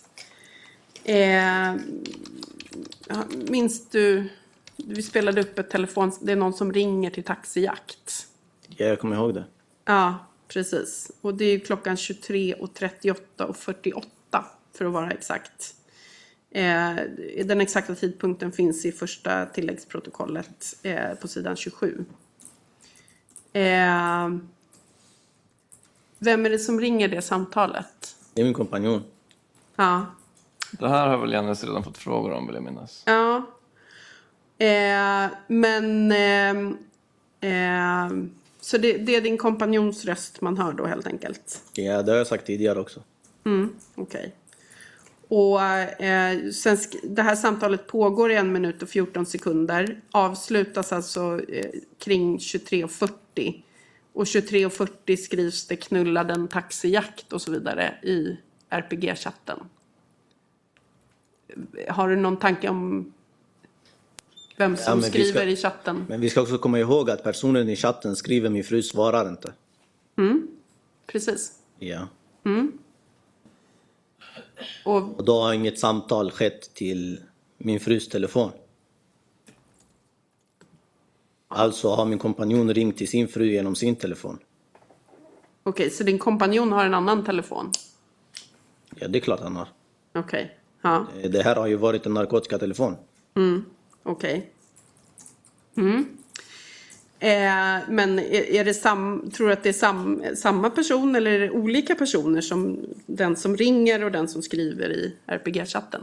Speaker 6: Eh, minns du, vi spelade upp ett telefon, det är någon som ringer till Taxijakt.
Speaker 7: Ja, jag kommer ihåg det.
Speaker 6: Ja, precis. Och det är klockan tjugotre och trettioåtta och fyrtioåtta för att vara exakt. Eh, den exakta tidpunkten finns i första tilläggsprotokollet eh, på sidan tjugosju. Eh, vem är det som ringer det samtalet?
Speaker 7: Det är min kompanjon.
Speaker 6: Ja.
Speaker 14: Det här har väl Jannes redan fått frågor om, vill jag minnas.
Speaker 6: Ja. Eh, men... Eh, eh, så det, det är din kompanjons röst man hör då helt enkelt?
Speaker 7: Ja, det har jag sagt tidigare också.
Speaker 6: Mm, okej. Okay. Och eh, sen sk- det här samtalet pågår i en minut och fjorton sekunder. Avslutas alltså eh, kring tjugotre och fyrtio. Och tjugotre och fyrtio skrivs det knulla den taxijakt och så vidare i R P G-chatten. Har du någon tanke om vem som
Speaker 7: Ja,
Speaker 6: skriver
Speaker 7: ska,
Speaker 6: i chatten?
Speaker 7: Men vi ska också komma ihåg att personen i chatten skriver min fru svarar inte.
Speaker 6: Mm, precis.
Speaker 7: Ja.
Speaker 6: Mm. Och,
Speaker 7: Och då har inget samtal skett till min frus telefon. Alltså har min kompanjon ringt till sin fru genom sin telefon.
Speaker 6: Okej, okay, så din kompanjon har en annan telefon?
Speaker 7: Ja, det är klart han har.
Speaker 6: Okej, okay. Ja.
Speaker 7: Det här har ju varit en narkotikatelefon.
Speaker 6: Mm, okej. Okay. Mm. Eh, men är, är det sam, tror du att det är sam, samma person eller är det olika personer som den som ringer och den som skriver i R P G-chatten?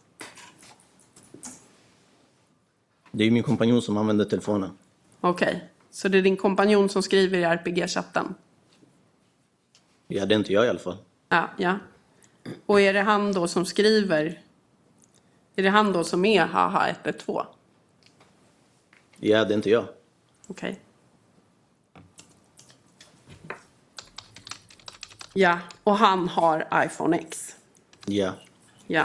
Speaker 7: Det är ju min kompanjon som använder telefonen.
Speaker 6: Okej, okay. Så det är din kompanjon som skriver i R P G-chatten?
Speaker 7: Ja, det är inte jag i alla fall.
Speaker 6: Ja, ja. Och är det han då som skriver? Är det han då som är haha ett ett två?
Speaker 7: Ja, det är inte jag.
Speaker 6: Okej. Okay. Ja, och han har iPhone X.
Speaker 7: Ja.
Speaker 6: Ja.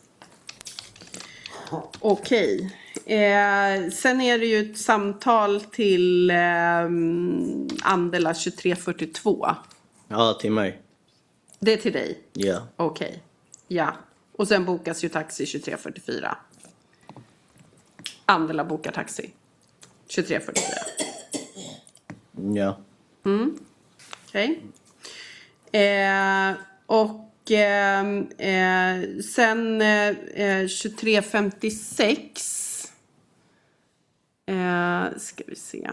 Speaker 6: Okej. Okay. Eh, sen är det ju ett samtal till eh, Andela tjugotre fyrtiotvå.
Speaker 7: Ja, till mig.
Speaker 6: Det är till dig?
Speaker 7: Ja.
Speaker 6: Okej. Okay. Ja. Och sen bokas ju taxi tjugotre fyrtiofyra. Andela bokar taxi tjugotre fyrtiofyra.
Speaker 7: Ja.
Speaker 6: Mm. Okej. Okay. Eh, och eh, eh, sen eh, tjugotre femtiosex eh, ska vi se.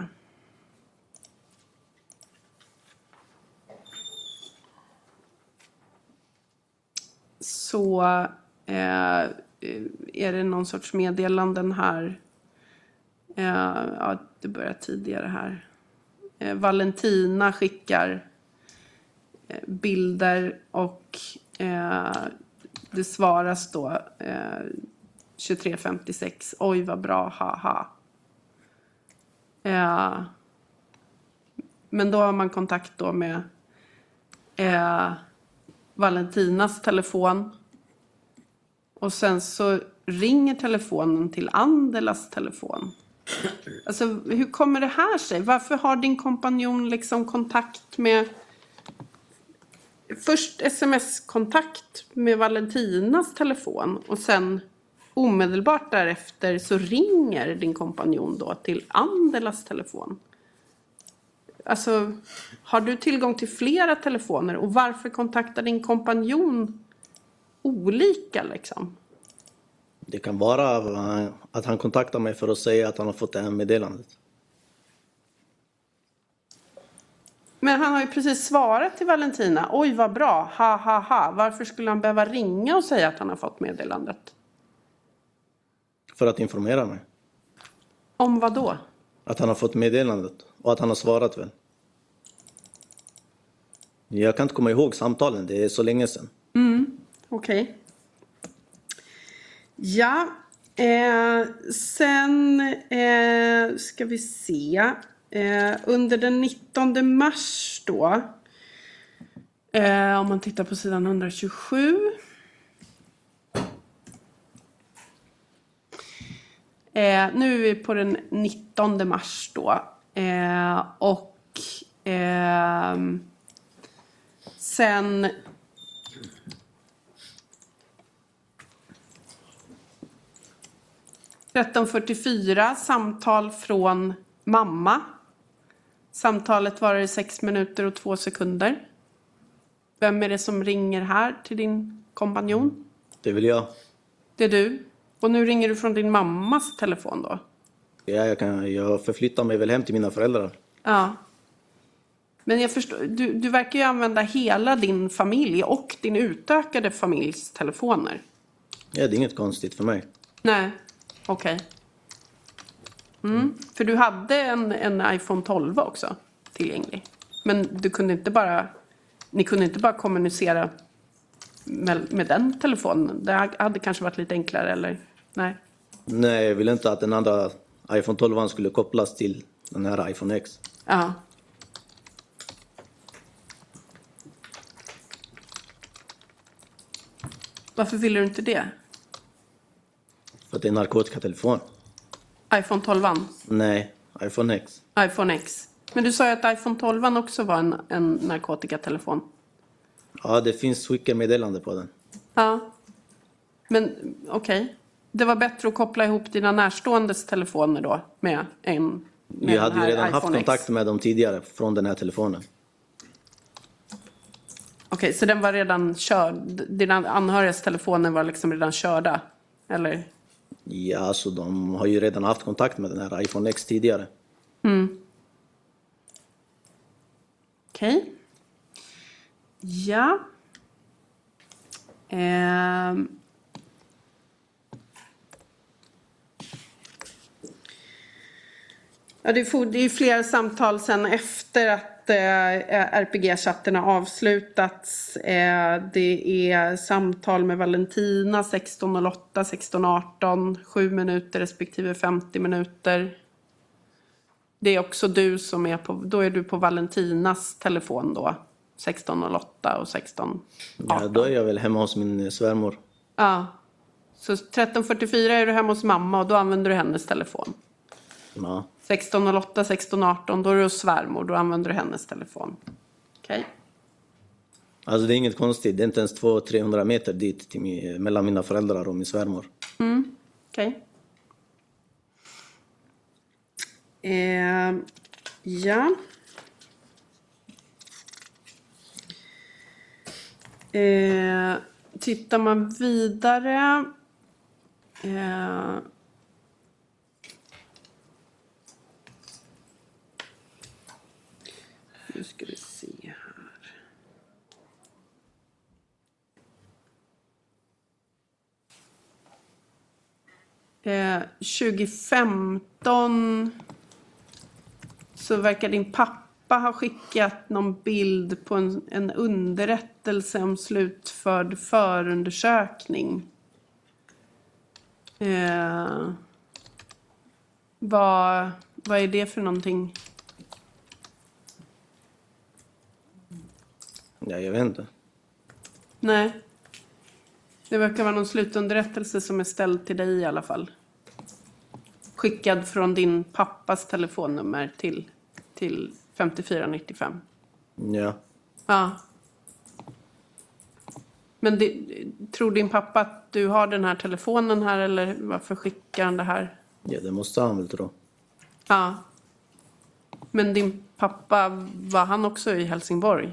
Speaker 6: Så eh, är det någon sorts meddelanden här. Eh, ja, det börjar tidigare här. Eh, Valentina skickar eh, bilder och eh, det svaras då eh, tjugotre femtiosex. Oj vad bra, haha. Eh, men då har man kontakt då med eh, Valentinas telefon. Och sen så ringer telefonen till Andelas telefon. Alltså hur kommer det här sig? Varför har din kompanjon liksom kontakt med... Först sms-kontakt med Valentinas telefon. Och sen omedelbart därefter så ringer din kompanjon då till Andelas telefon. Alltså, har du tillgång till flera telefoner? Och varför kontaktar din kompanjon olika liksom?
Speaker 7: Det kan vara att han kontaktar mig för att säga att han har fått det här meddelandet.
Speaker 6: Men han har ju precis svarat till Valentina. Oj vad bra, ha ha ha. Varför skulle han behöva ringa och säga att han har fått meddelandet?
Speaker 7: För att informera mig.
Speaker 6: Om vad då?
Speaker 7: Att han har fått meddelandet och att han har svarat väl. Jag kan inte komma ihåg samtalen, det är så länge sedan.
Speaker 6: Mm, okej. Okay. Ja, eh, sen eh, ska vi se. Eh, under den nittonde mars då. Eh, om man tittar på sidan etthundratjugosju. Eh, nu är vi på den nittonde mars då. Eh, och eh, sen... tretton fyrtiofyra, samtal från mamma. Samtalet varar i sex minuter och två sekunder. Vem är det som ringer här till din kompanjon?
Speaker 7: Det vill jag.
Speaker 6: Det är du. Och nu ringer du från din mammas telefon då?
Speaker 7: Ja, jag, kan, jag förflyttar mig väl hem till mina föräldrar.
Speaker 6: Ja. Men jag förstår, du, du verkar ju använda hela din familj och din utökade familjs telefoner.
Speaker 7: Ja, det är inget konstigt för mig.
Speaker 6: Nej, okej. Okay. Mm. För du hade en, en iPhone tolv också tillgänglig. Men du kunde inte bara, ni kunde inte bara kommunicera med, med den telefonen? Det hade kanske varit lite enklare, eller? Nej.
Speaker 7: Nej, jag vill inte att den andra iPhone tolv skulle kopplas till den här iPhone X.
Speaker 6: Ja. Varför vill du inte det?
Speaker 7: För att det är en narkotikatelefon.
Speaker 6: iPhone tolv?
Speaker 7: Nej, iPhone X.
Speaker 6: iPhone X. Men du sa ju att iPhone tolv också var en, en narkotikatelefon.
Speaker 7: Ja, det finns skickermeddelande på den.
Speaker 6: Ja. Men okej. Okay. Det var bättre att koppla ihop dina närståendes telefoner då med en... Med
Speaker 7: Jag hade ju redan
Speaker 6: iPhone
Speaker 7: haft kontakt
Speaker 6: X.
Speaker 7: med dem tidigare från den här telefonen.
Speaker 6: Okej, okay, så den var redan körd. Dina anhörigas telefoner var liksom redan körda? Eller?
Speaker 7: Ja, alltså de har ju redan haft kontakt med den här iPhone X tidigare.
Speaker 6: Mm. Okej. Okay. Ja. Ehm. Ja, det är, det är flera samtal sen efter att eh, R P G-chatten har avslutats. Eh, det är samtal med Valentina sexton noll åtta, sexton arton, sju minuter respektive femtio minuter. Det är också du som är på, då är du på Valentinas telefon då, sexton noll åtta och sexton arton.
Speaker 7: Ja, då är jag väl hemma hos min svärmor.
Speaker 6: Ja, så tretton fyrtiofyra är du hemma hos mamma och då använder du hennes telefon.
Speaker 7: Ja.
Speaker 6: sexton noll åtta, sexton arton, då är du hos svärmor, då använder du hennes telefon. Okej. Okay.
Speaker 7: Alltså det är inget konstigt, det är inte ens två till trehundra meter dit till min, mellan mina föräldrar och min svärmor.
Speaker 6: Mm, okej. Okay. Eh, ja. Eh, tittar man vidare... Eh, nu ska vi se här. Eh, tjugo femton så verkar din pappa ha skickat någon bild på en, en underrättelse om slutförd förundersökning. Eh, vad, vad är det för någonting?
Speaker 7: Ja, jag vet inte.
Speaker 6: Nej. Det verkar vara någon slutunderrättelse som är ställd till dig i alla fall. Skickad från din pappas telefonnummer till, till femtiofyra nittiofem.
Speaker 7: Ja.
Speaker 6: Ja. Men det, tror din pappa att du har den här telefonen här, eller varför skickar han det här?
Speaker 7: Ja, det måste han väl tro.
Speaker 6: Ja. Men din pappa, var han också i Helsingborg?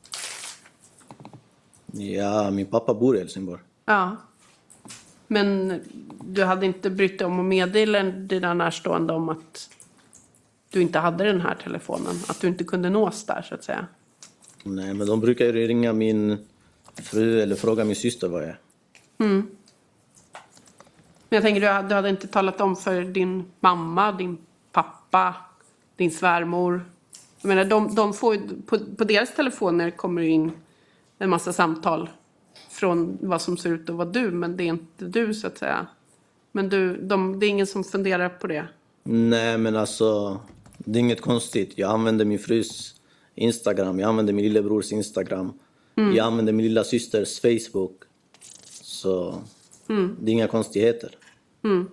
Speaker 7: Ja, min pappa bor i Helsingborg.
Speaker 6: Ja. Men du hade inte brytt dig om att meddela dina närstående om att du inte hade den här telefonen? Att du inte kunde nås där, så att säga?
Speaker 7: Nej, men de brukar ju ringa min fru eller fråga min syster vad jag är.
Speaker 6: Mm. Men jag tänker, du, du hade inte talat om för din mamma, din pappa, din svärmor. Jag menar, de, de får, på, på deras telefoner kommer det in en massa samtal från vad som ser ut att vara du, men det är inte du, så att säga. Men du, de, det är ingen som funderar på det?
Speaker 7: Nej, men alltså, det är inget konstigt. Jag använder min frus Instagram, jag använder min lillebrors Instagram. Mm. Jag använder min lilla systers Facebook. Så mm. det är inga konstigheter.
Speaker 6: Mm.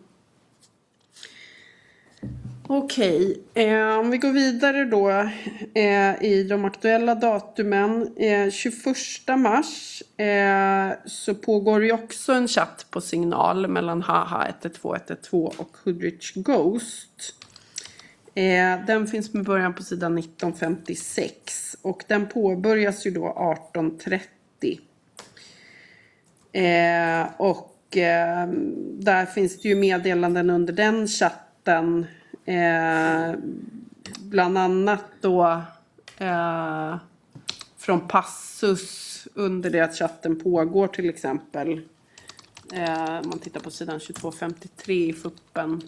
Speaker 6: Okej, eh, om vi går vidare då eh, i de aktuella datumen. Eh, tjugoförsta mars eh, så pågår ju också en chatt på Signal mellan Haha ett ett två ett ett två och Hoodrich Ghost. Eh, den finns med början på sidan nitton femtiosex och den påbörjas ju då arton trettio. Eh, och eh, där finns det ju meddelanden under den chatten. Eh, bland annat då eh, från Passus under det att chatten pågår, till exempel. Eh, man tittar på sidan tjugotvå femtiotre i fuppen.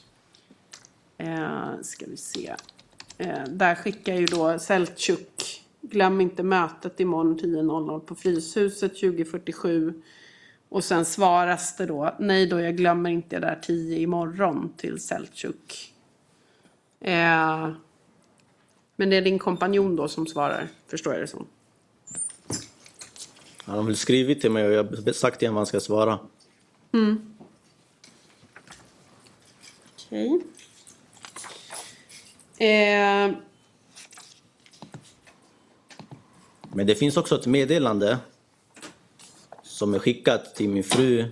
Speaker 6: Eh, ska vi se. Eh, där skickar ju då Seltjuk Glöm inte mötet imorgon tio noll noll på Fryshuset tjugo fyrtiosju. Och sen svaras det då, nej då jag glömmer inte det där tio imorgon till Selçuk. Eh, men det är din kompanjon då som svarar, förstår jag det som.
Speaker 7: Han har väl skrivit till mig och jag har sagt till honom vad han ska svara.
Speaker 6: Mm. Okej. Okay. Eh,
Speaker 7: Men det finns också ett meddelande som är skickat till min fru.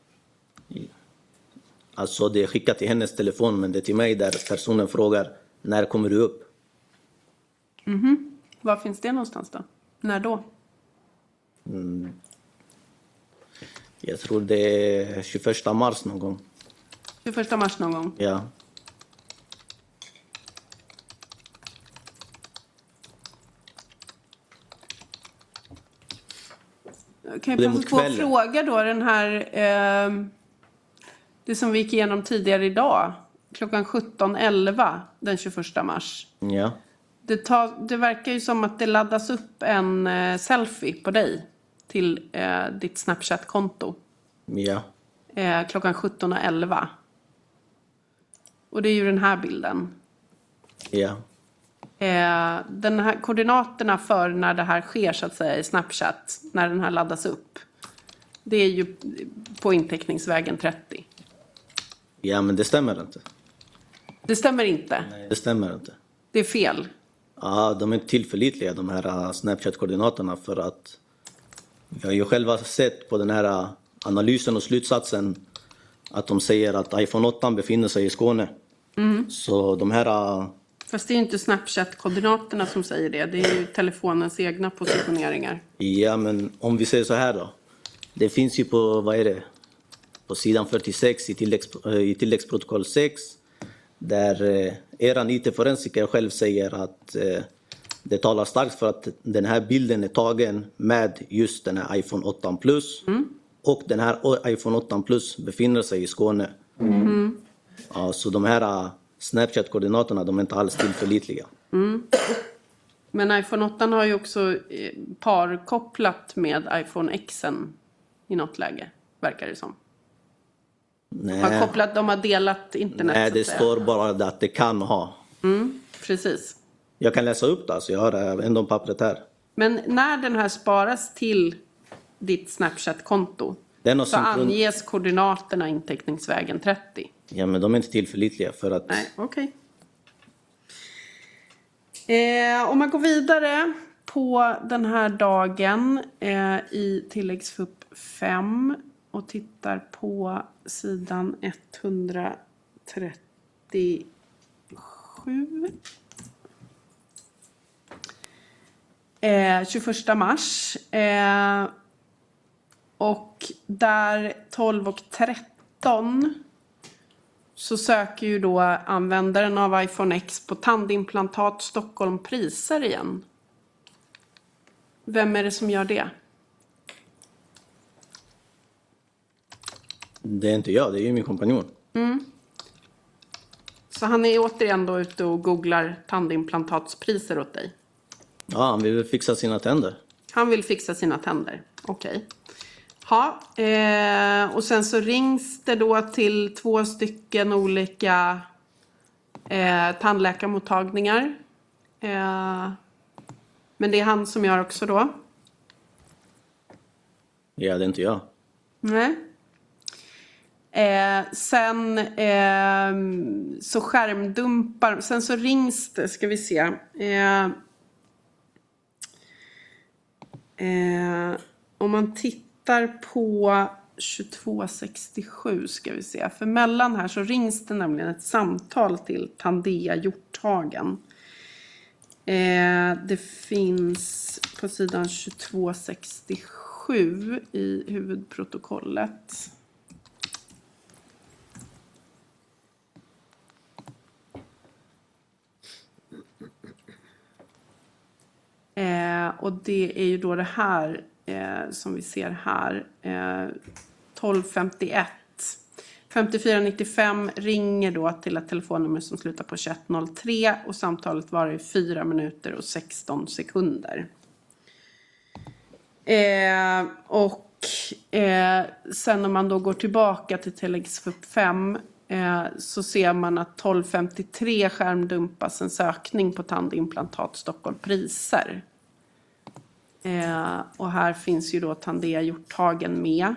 Speaker 7: Alltså det är skickat till hennes telefon, men det är till mig där personen frågar när kommer du upp?
Speaker 6: Mm-hmm. Var finns det någonstans då? När då?
Speaker 7: Mm. Jag tror det är tjugoförsta mars någon gång.
Speaker 6: tjugoförsta mars någon gång?
Speaker 7: Ja.
Speaker 6: Kan jag passa på att fråga då den här, eh, det som vi gick igenom tidigare idag, klockan sjutton elva den tjugoförsta mars.
Speaker 7: Ja.
Speaker 6: Det, tar, det verkar ju som att det laddas upp en eh, selfie på dig till eh, ditt Snapchat-konto.
Speaker 7: Ja.
Speaker 6: Eh, klockan sjutton elva. Och det är ju den här bilden.
Speaker 7: Ja.
Speaker 6: Eh, den här koordinaterna för när det här sker så att säga i Snapchat, när den här laddas upp, det är ju på inteckningsvägen trettio.
Speaker 7: Ja, men det stämmer inte.
Speaker 6: Det stämmer inte.
Speaker 7: Nej, det stämmer inte.
Speaker 6: Det är fel.
Speaker 7: Ja, de är inte tillförlitliga de här Snapchat-koordinaterna, för att jag har ju själva sett på den här analysen och slutsatsen att de säger att iPhone åtta befinner sig i Skåne.
Speaker 6: Mm.
Speaker 7: Så de här...
Speaker 6: Fast det är ju inte Snapchat-koordinaterna som säger det. Det är ju telefonens egna positioneringar.
Speaker 7: Ja, men om vi säger så här då. Det finns ju på, vad är det? På sidan fyrtiosex i, tilläggs, i tilläggsprotokoll sex. Där eh, eran I T-forensiker själv säger att eh, det talar starkt för att den här bilden är tagen med just den här iPhone åtta Plus. Mm. Och den här iPhone åtta Plus befinner sig i Skåne.
Speaker 6: Mm.
Speaker 7: Ja, så de här Snapchat-koordinaterna, de är inte alls tillförlitliga.
Speaker 6: Mm. Men iPhone åtta har ju också parkopplat med iPhone X i något läge, verkar det som.
Speaker 7: Nej.
Speaker 6: Har kopplat, de har delat internet.
Speaker 7: Nej, det står bara att det kan ha.
Speaker 6: Mm, precis.
Speaker 7: Jag kan läsa upp det, alltså jag har ändå pappret här.
Speaker 6: Men när den här sparas till ditt Snapchat-konto så synkron... anges koordinaterna inteckningsvägen trettio.
Speaker 7: Ja, men de är inte tillförlitliga för att...
Speaker 6: Nej, okej. Okay. Eh, om man går vidare på den här dagen eh, i tilläggsfupp fem och tittar på sidan etthundratrettiosju. Eh, tjugoförsta mars. Eh, och där tolv och tretton så söker ju då användaren av iPhone X på tandimplantat Stockholm priser igen. Vem är det som gör det?
Speaker 7: Det är inte jag, det är ju min kompanjon.
Speaker 6: Mm. Så han är återigen då ute och googlar tandimplantatspriser åt dig?
Speaker 7: Ja, han vill fixa sina tänder.
Speaker 6: Han vill fixa sina tänder, okej. Okay. Ja, eh, och sen så rings det då till två stycken olika eh, tandläkarmottagningar. Eh, men det är han som gör också då?
Speaker 7: Ja, det är inte jag.
Speaker 6: Nej. Eh, sen eh, så skärmdumpar, sen så rings det, ska vi se. Eh, eh, om man tittar på tjugotvå sextiosju ska vi se. För mellan här så rings det nämligen ett samtal till Tandea Hjorthagen. Eh, det finns på sidan tjugotvå sextiosju i huvudprotokollet. Eh, och det är ju då det här eh, som vi ser här. Eh, tolv femtioett. femtiofyra nittiofem ringer då till ett telefonnummer som slutar på tjugoett noll tre och samtalet var i fyra minuter och sexton sekunder. Eh, och eh, sen när man då går tillbaka till tilläggsfupp fem eh, så ser man att tolv femtiotre skärmdumpas en sökning på tandimplantat Stockholm priser. Eh, och här finns ju då Tandea Hjorthagen med.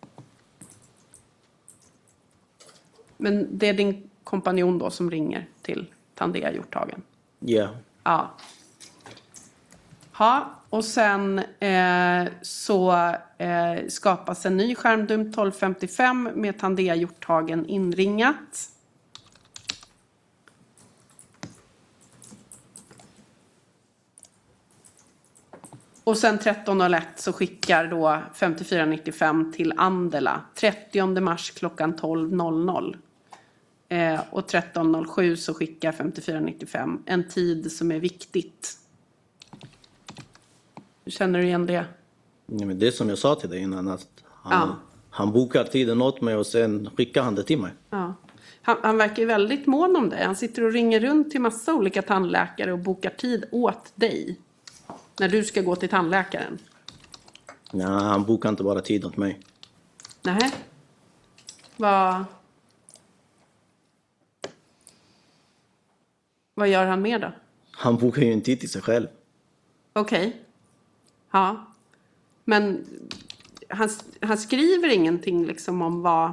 Speaker 6: Men det är din kompanjon då som ringer till Tandea Hjorthagen?
Speaker 7: Ja. Yeah.
Speaker 6: Ja. Ja, och sen eh, så eh, skapas en ny skärmdump tolv femtiofem med Tandea Hjorthagen inringat. Och sen tretton noll ett så skickar då femtiofyra nittiofem till Andela trettionde mars klockan tolv noll noll. Eh, och tretton noll sju så skickar femtiofyra nittiofem en tid som är viktigt. Känner du igen det?
Speaker 7: Ja, men det som jag sa till dig innan, att han,
Speaker 6: ja.
Speaker 7: han bokar tiden åt mig och sen skickar han det till mig.
Speaker 6: Ja. Han, han verkar ju väldigt mån om dig. Han sitter och ringer runt till massa olika tandläkare och bokar tid åt dig. När du ska gå till tandläkaren.
Speaker 7: Ja, han bokar inte bara tid åt mig.
Speaker 6: Nej. Vad... Vad gör han mer då?
Speaker 7: Han bokar ju en tid till sig själv.
Speaker 6: Okej. Okay. Ja. Men han, han skriver ingenting liksom om vad,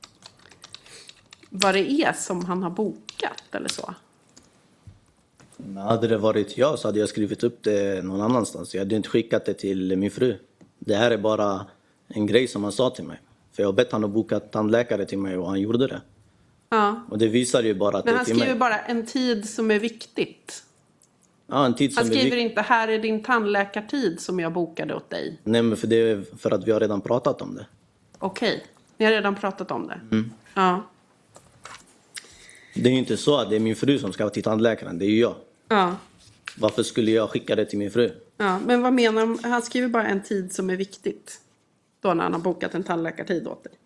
Speaker 6: vad det är som han har bokat eller så?
Speaker 7: Men hade det varit jag så hade jag skrivit upp det någon annanstans. Jag hade inte skickat det till min fru. Det här är bara en grej som han sa till mig. För jag har bett han att boka tandläkare till mig och han gjorde det.
Speaker 6: Ja.
Speaker 7: Och det visar ju bara att
Speaker 6: men
Speaker 7: det är
Speaker 6: han
Speaker 7: till
Speaker 6: skriver
Speaker 7: mig.
Speaker 6: bara en tid som är viktigt.
Speaker 7: Ja, en tid som
Speaker 6: han skriver
Speaker 7: är vik-
Speaker 6: inte här är din tandläkartid som jag bokade åt dig.
Speaker 7: Nej, men för det är för att vi har redan pratat om det.
Speaker 6: Okej, okay. Ni har redan pratat om det.
Speaker 7: Mm.
Speaker 6: Ja.
Speaker 7: Det är ju inte så att det är min fru som ska till tandläkaren, det är ju jag.
Speaker 6: Ja.
Speaker 7: Varför skulle jag skicka det till min fru?
Speaker 6: Ja, men vad menar han? Han skriver bara en tid som är viktigt. Då när han har bokat en tandläkartid åt dig.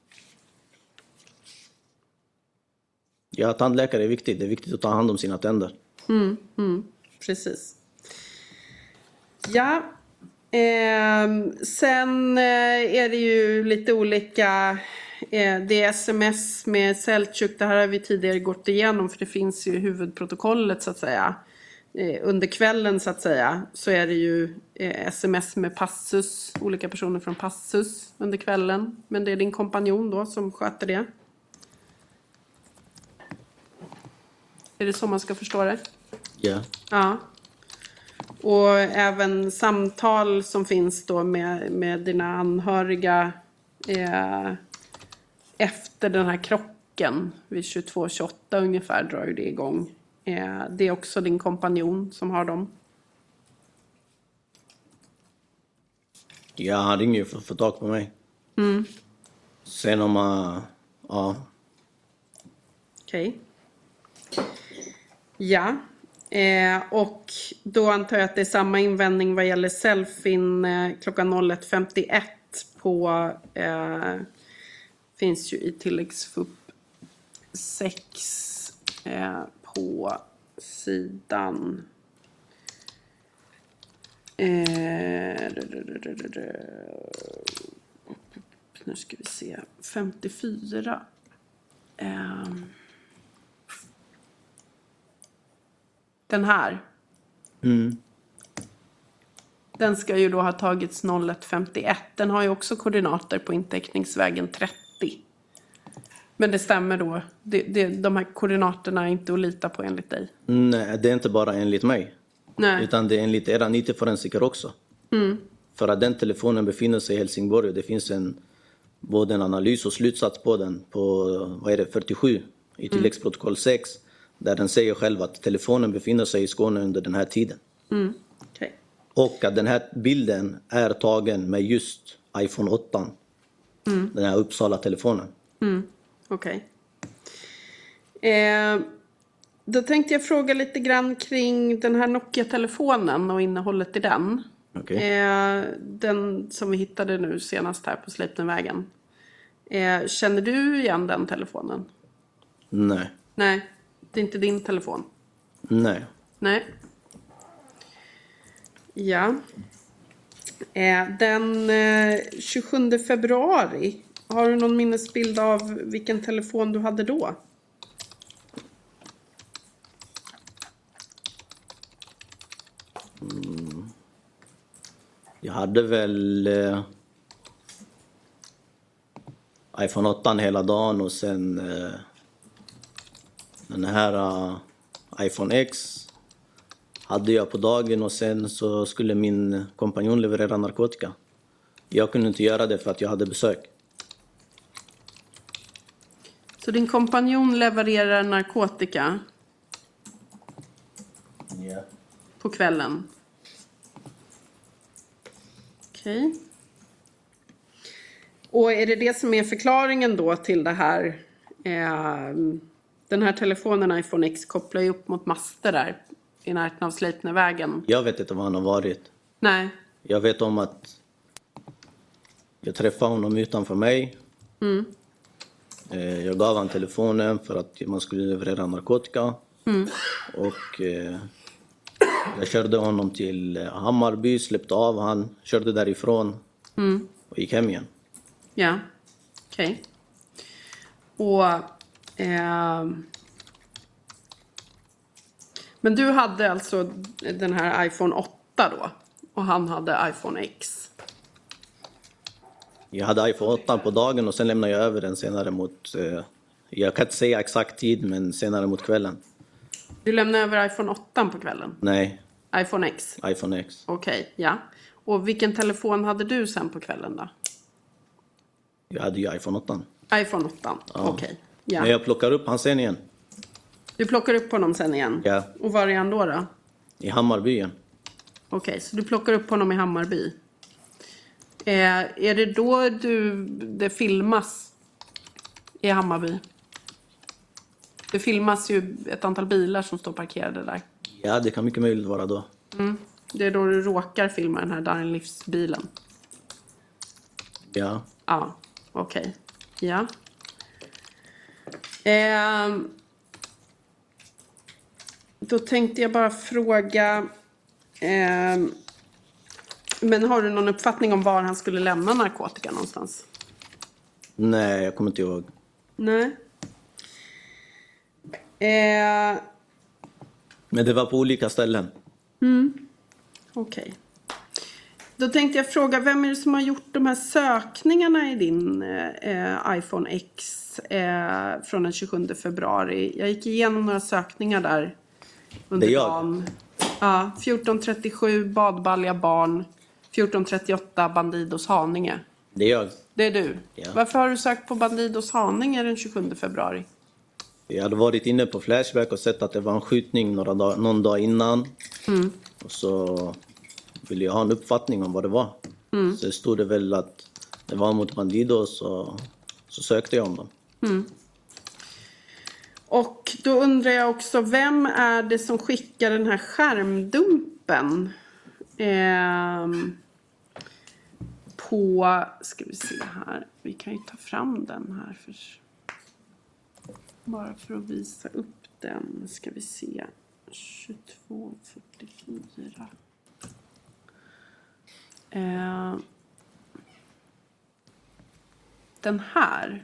Speaker 7: Ja, tandläkare är viktigt. Det är viktigt att ta hand om sina tänder.
Speaker 6: Mm, mm, precis. Ja. Eh, sen eh, är det ju lite olika... Eh, det är sms med Seltjuk. Det här har vi tidigare gått igenom. För det finns ju huvudprotokollet så att säga. Eh, under kvällen så att säga. Så är det ju eh, sms med Passus. Olika personer från Passus under kvällen. Men det är din kompanjon då som sköter det. Är det så man ska förstå det?
Speaker 7: Ja.
Speaker 6: Ja. Och även samtal som finns då med, med dina anhöriga eh, efter den här krocken vid tjugotvå tjugoåtta ungefär drar ju det igång. Eh, det är också din kompanjon som har dem.
Speaker 7: Ja, han ringer ju för att få tag på mig.
Speaker 6: Mm.
Speaker 7: Sen om man... Ja.
Speaker 6: Okej. Okay. Ja, eh, och då antar jag att det är samma invändning vad gäller selfien eh, klockan noll ett femtioett på, eh, finns ju i tilläggsfupp sex eh, på sidan eh, nu ska vi se, femtiofyra. Eh, Den här.
Speaker 7: Mm.
Speaker 6: Den ska ju då ha tagits noll ett femtioett. Den har ju också koordinater på inteckningsvägen trettio. Men det stämmer då. Det, det, de här koordinaterna är inte att lita på enligt dig.
Speaker 7: Nej, det är inte bara enligt mig.
Speaker 6: Nej.
Speaker 7: Utan det är enligt era I T-forensiker också.
Speaker 6: Mm.
Speaker 7: För att den telefonen befinner sig i Helsingborg och det finns en, både en analys och slutsats på den på vad är det, fyrtiosju i tilläggsprotokoll sex. Där den säger själv att telefonen befinner sig i Skåne under den här tiden.
Speaker 6: Mm. Okay.
Speaker 7: Och att den här bilden är tagen med just iPhone åtta.
Speaker 6: Mm.
Speaker 7: Den här Uppsala-telefonen.
Speaker 6: Mm. Okej. Okay. Eh, då tänkte jag fråga lite grann kring den här Nokia-telefonen och innehållet i den.
Speaker 7: Okay.
Speaker 6: Eh, den som vi hittade nu senast här på Sleipnervägen. Eh, känner du igen den telefonen?
Speaker 7: Nej.
Speaker 6: Nej, det är inte din telefon.
Speaker 7: Nej.
Speaker 6: Nej. Ja. Eh, den eh, tjugosjunde februari, har du någon minnesbild av vilken telefon du hade då?
Speaker 7: Mm. Jag hade väl eh, iPhone åtta hela dagen och sen eh, den här uh, iPhone X hade jag på dagen och sen så skulle min kompanjon leverera narkotika. Jag kunde inte göra det för att jag hade besök.
Speaker 6: Så din kompanjon levererar narkotika?
Speaker 7: Ja.
Speaker 6: På kvällen? Okej. Okay. Och är det det som är förklaringen då till det här? Eh, den här telefonen iPhone X kopplar ju upp mot master där i närheten av Sleipnervägen.
Speaker 7: Jag vet inte var han har varit.
Speaker 6: Nej.
Speaker 7: Jag vet om att jag träffade honom utanför mig.
Speaker 6: Mm.
Speaker 7: Eh, jag gav han telefonen för att man skulle leverera narkotika.
Speaker 6: Mm.
Speaker 7: Och eh, jag körde honom till Hammarby, släppte av han, körde därifrån
Speaker 6: mm.
Speaker 7: och gick hem igen.
Speaker 6: Ja, okej. Okay. Och eh, men du hade alltså den här iPhone åtta då och han hade iPhone X.
Speaker 7: Jag hade iPhone åtta på dagen och sen lämnade jag över den senare mot, eh, jag kan inte säga exakt tid, men senare mot kvällen.
Speaker 6: Du lämnade över iPhone åtta på kvällen?
Speaker 7: Nej.
Speaker 6: iPhone X?
Speaker 7: iPhone X.
Speaker 6: Okej, okay, ja. Och vilken telefon hade du sen på kvällen då?
Speaker 7: Jag hade ju iPhone åtta.
Speaker 6: iPhone åtta, ja. Okej. Okay, ja.
Speaker 7: Men jag plockar upp han sen igen.
Speaker 6: Du plockar upp honom sen igen?
Speaker 7: Ja.
Speaker 6: Och var är han då då?
Speaker 7: I Hammarby igen.
Speaker 6: Okej, okay, så du plockar upp honom i Hammarby. Eh, är det då du, det filmas i Hammarby? Det filmas ju ett antal bilar som står parkerade där.
Speaker 7: Ja, det kan mycket möjligt vara då.
Speaker 6: Mm. Det är då du råkar filma den här Darin Livs-bilen.
Speaker 7: Ja.
Speaker 6: Ja, okej. Okay. Ja. Eh, då tänkte jag bara fråga... Eh, men har du någon uppfattning om var han skulle lämna narkotika någonstans?
Speaker 7: Nej, jag kommer inte ihåg.
Speaker 6: Nej. Eh...
Speaker 7: Men det var på olika ställen.
Speaker 6: Mm. Okej. Okay. Då tänkte jag fråga, vem är det som har gjort de här sökningarna i din eh, iPhone X eh, från den tjugosjunde februari? Jag gick igenom några sökningar där under
Speaker 7: det är jag.
Speaker 6: dagen. Ja, fjorton trettiosju badbalja barn, fjorton trettioåtta Bandidos Haninge.
Speaker 7: Det är jag.
Speaker 6: Det är du.
Speaker 7: Ja.
Speaker 6: Varför har du sökt på Bandidos Haninge den tjugosjunde februari?
Speaker 7: Jag hade varit inne på Flashback och sett att det var en skjutning några dag, någon dag innan.
Speaker 6: Mm.
Speaker 7: Och så ville jag ha en uppfattning om vad det var.
Speaker 6: Mm.
Speaker 7: Så stod det väl att det var mot Bandidos och så sökte jag om dem.
Speaker 6: Mm. Och då undrar jag också, vem är det som skickar den här skärmdumpen? Ehm, på, ska vi se här, vi kan ju ta fram den här för, bara för att visa upp den, ska vi se, tjugotvå fyrtiofyra. Ehm, den här.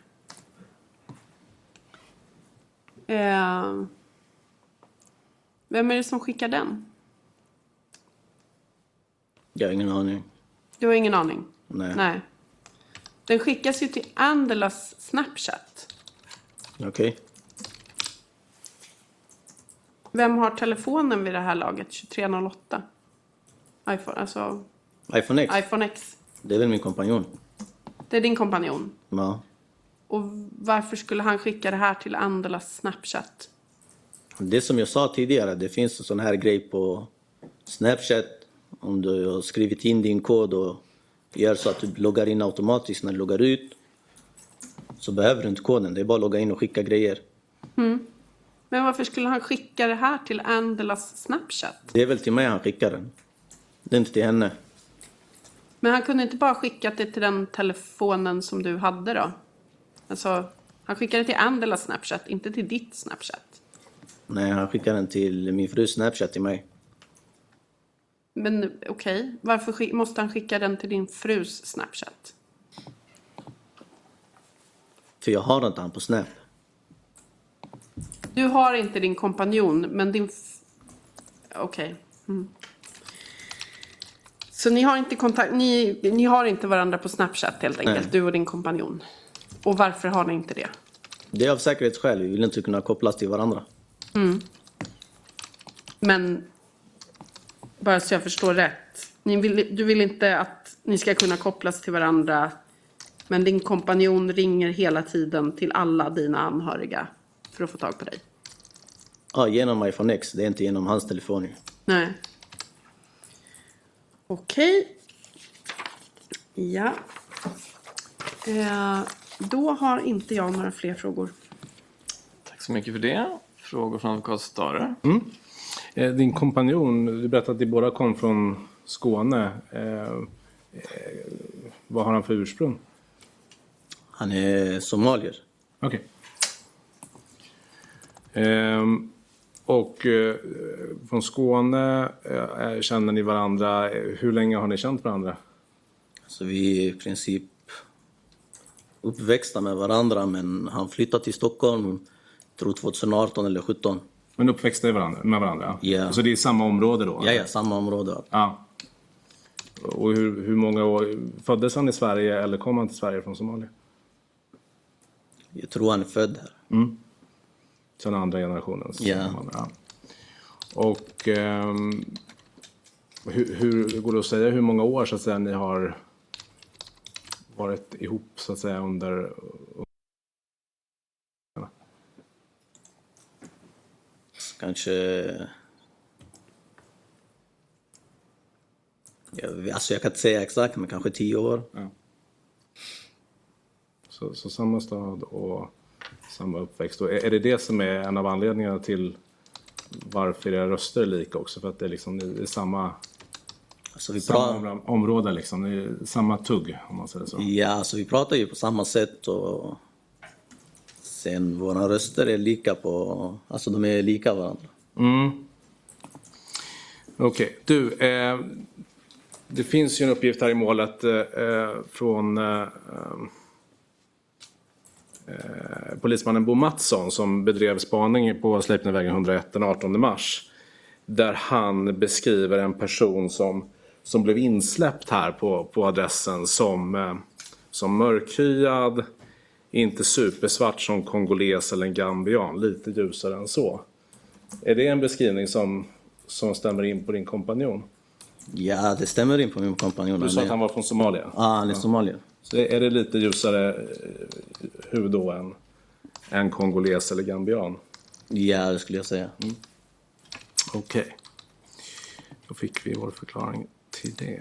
Speaker 6: Eh, vem är det som skickar den?
Speaker 7: Jag har ingen aning.
Speaker 6: Du har ingen aning?
Speaker 7: Nej.
Speaker 6: Nej. Den skickas ju till Andelas Snapchat.
Speaker 7: Okej. Okay.
Speaker 6: Vem har telefonen vid det här laget? tjugotre noll åtta. iPhone, alltså...
Speaker 7: iPhone X?
Speaker 6: iPhone X.
Speaker 7: Det är väl min kompanjon.
Speaker 6: Det är din kompanjon?
Speaker 7: Ja.
Speaker 6: Och varför skulle han skicka det här till Andelas Snapchat?
Speaker 7: Det som jag sa tidigare, det finns en sån här grej på Snapchat. Om du har skrivit in din kod och gör så att du loggar in automatiskt när du loggar ut, så behöver du inte koden. Det är bara att logga in och skicka grejer.
Speaker 6: Mm. Men varför skulle han skicka det här till Andelas Snapchat?
Speaker 7: Det är väl till mig han skickar den. Det är inte till henne.
Speaker 6: Men han kunde inte bara skicka det till den telefonen som du hade då? Alltså, han skickade till Angela Snapchat, inte till ditt Snapchat.
Speaker 7: Nej, han skickade den till min frus Snapchat till mig.
Speaker 6: Men okej, okay. Varför sk- måste han skicka den till din frus Snapchat?
Speaker 7: För jag har inte han på Snap.
Speaker 6: Du har inte din kompanjon, men din... F- okej. Okay. Mm. Så ni har inte kontakt... Ni, ni har inte varandra på Snapchat helt enkelt, Nej. Du och din kompanjon. Och varför har ni inte det?
Speaker 7: Det är av säkerhetsskäl. Vi vill inte kunna kopplas till varandra.
Speaker 6: Mm. Men... Bara så jag förstår rätt. Ni vill, du vill inte att ni ska kunna kopplas till varandra. Men din kompanjon ringer hela tiden till alla dina anhöriga för att få tag på dig.
Speaker 7: Ja, genom iPhone X. Det är inte genom hans telefon.
Speaker 6: Nej. Okej. Ja. Eh, då har inte jag några fler frågor.
Speaker 14: Tack så mycket för det. Frågor från advokat Stare.
Speaker 13: Mm. Eh, din kompanjon, du berättade att de båda kom från Skåne. Eh, eh, vad har han för ursprung?
Speaker 7: Han är somalier.
Speaker 13: Okej. Okay. Eh, och eh, från Skåne eh, känner ni varandra. Hur länge har ni känt varandra?
Speaker 7: Så vi är i princip uppväxta med varandra, men han flyttade till Stockholm, tror tjugoarton eller sjutton.
Speaker 13: Men uppväxta varandra, med varandra? Ja. Yeah. Så det är samma område då?
Speaker 7: Ja, ja, samma område.
Speaker 13: Ja. Och hur, hur många år, föddes han i Sverige eller kom han till Sverige från Somalia?
Speaker 7: Jag tror han är född här.
Speaker 13: Mm. Så den andra generationens?
Speaker 7: Ja. Yeah.
Speaker 13: Ja. Och um, hur, hur går det att säga hur många år så att säga ni har varit ihop så att säga under...
Speaker 7: Kanske... Jag, alltså jag kan inte säga exakt, men kanske tio år.
Speaker 13: Ja. Så, så samma stad och samma uppväxt. Och är, är det det som är en av anledningarna till varför era röster är lika också? För att det är liksom det är samma,
Speaker 7: alltså vi
Speaker 13: samma pra- område liksom. Det är samma tugg om man säger så.
Speaker 7: Ja, alltså vi pratar ju på samma sätt och sen våra röster är lika på... Alltså de är lika varandra.
Speaker 13: Mm. Okej, okay. Du, eh, det finns ju en uppgift här i målet eh, från eh, eh, polismannen Bo Mattsson som bedrev spaning på Sleipnervägen hundraett den artonde mars. Där han beskriver en person som, som blev insläppt här på, på adressen som, eh, som mörkhyad, inte supersvart som kongoles eller en gambian, lite ljusare än så. Är det en beskrivning som, som stämmer in på din kompanjon?
Speaker 7: Ja, det stämmer in på min kompanjon.
Speaker 13: Du sa att han var från Somalia?
Speaker 7: Ja, han är ja. Somalier.
Speaker 13: Så är det lite ljusare hud då än, än kongoles eller gambian?
Speaker 7: Ja, det skulle jag säga. Mm.
Speaker 13: Okej. Okay. Då fick vi vår förklaring till det.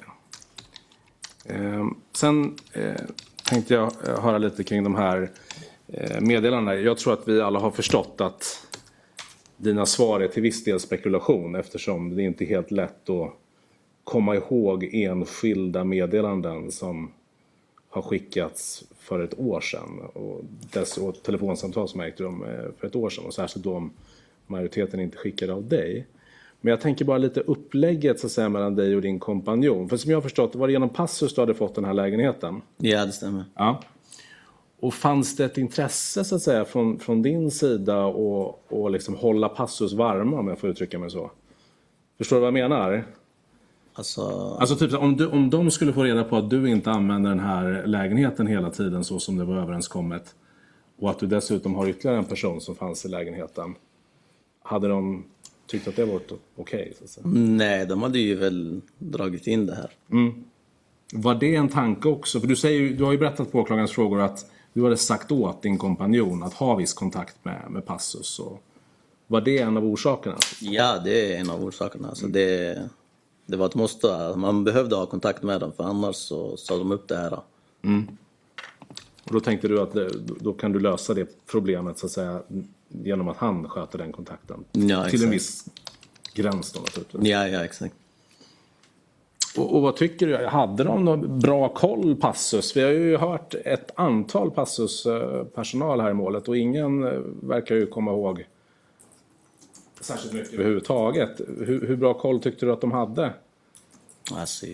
Speaker 13: Eh, sen eh, tänkte jag höra lite kring de här eh, meddelandena. Jag tror att vi alla har förstått att dina svar är till viss del spekulation eftersom det inte är helt lätt att komma ihåg enskilda meddelanden som har skickats för ett år sedan och, dess, och telefonsamtal som ägt rum för ett år sedan och särskilt då om majoriteten inte skickade av dig. Men jag tänker bara lite upplägget så att säga, mellan dig och din kompanjon. För som jag har förstått, det var det genom Passus du hade fått den här lägenheten?
Speaker 7: Ja, det stämmer.
Speaker 13: Ja. Och fanns det ett intresse så att säga från, från din sida och, och liksom hålla Passus varma, om jag får uttrycka mig så? Förstår du vad jag menar?
Speaker 7: Alltså,
Speaker 13: alltså typ om, du, om de skulle få reda på att du inte använder den här lägenheten hela tiden så som det var överenskommet och att du dessutom har ytterligare en person som fanns i lägenheten, hade de tyckt att det var okej? Okay,
Speaker 7: nej, de hade ju väl dragit in det här.
Speaker 13: Mm. Var det en tanke också? För du, säger ju, du har ju berättat på åklagarens frågor att du hade sagt åt din kompanjon att ha viss kontakt med, med Passus. Och var det en av orsakerna?
Speaker 7: Ja, det är en av orsakerna. Alltså det, det var ett måste. Man behövde ha kontakt med dem för annars så sa de upp det här.
Speaker 13: Mm. Och då tänkte du att det, då kan du lösa det problemet så att säga genom att han sköter den kontakten.
Speaker 7: Ja,
Speaker 13: till en viss gräns då naturligtvis.
Speaker 7: Ja, ja, exakt.
Speaker 13: Och, och vad tycker du? Hade de någon bra koll, Passus? Vi har ju hört ett antal Passus-personal här i målet och ingen verkar ju komma ihåg särskilt mycket överhuvudtaget. Hur, hur bra koll tyckte du att de hade?
Speaker 7: Alltså,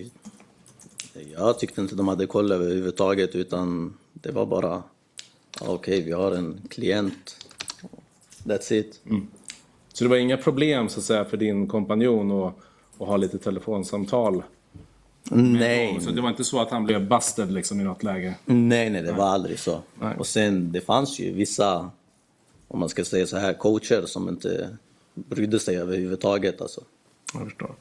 Speaker 7: jag tyckte inte de hade koll överhuvudtaget, utan det var bara okej, okay, vi har en klient. That's it.
Speaker 13: Mm. Så det var inga problem så att säga för din kompanjon och, och ha lite telefonsamtal?
Speaker 7: Nej.
Speaker 13: Så det var inte så att han blev busted liksom i något läge?
Speaker 7: Nej, nej, det var aldrig så.
Speaker 13: Nej.
Speaker 7: Och sen, det fanns ju vissa, om man ska säga så här, coacher som inte brydde sig överhuvudtaget. Alltså.
Speaker 13: Jag förstår.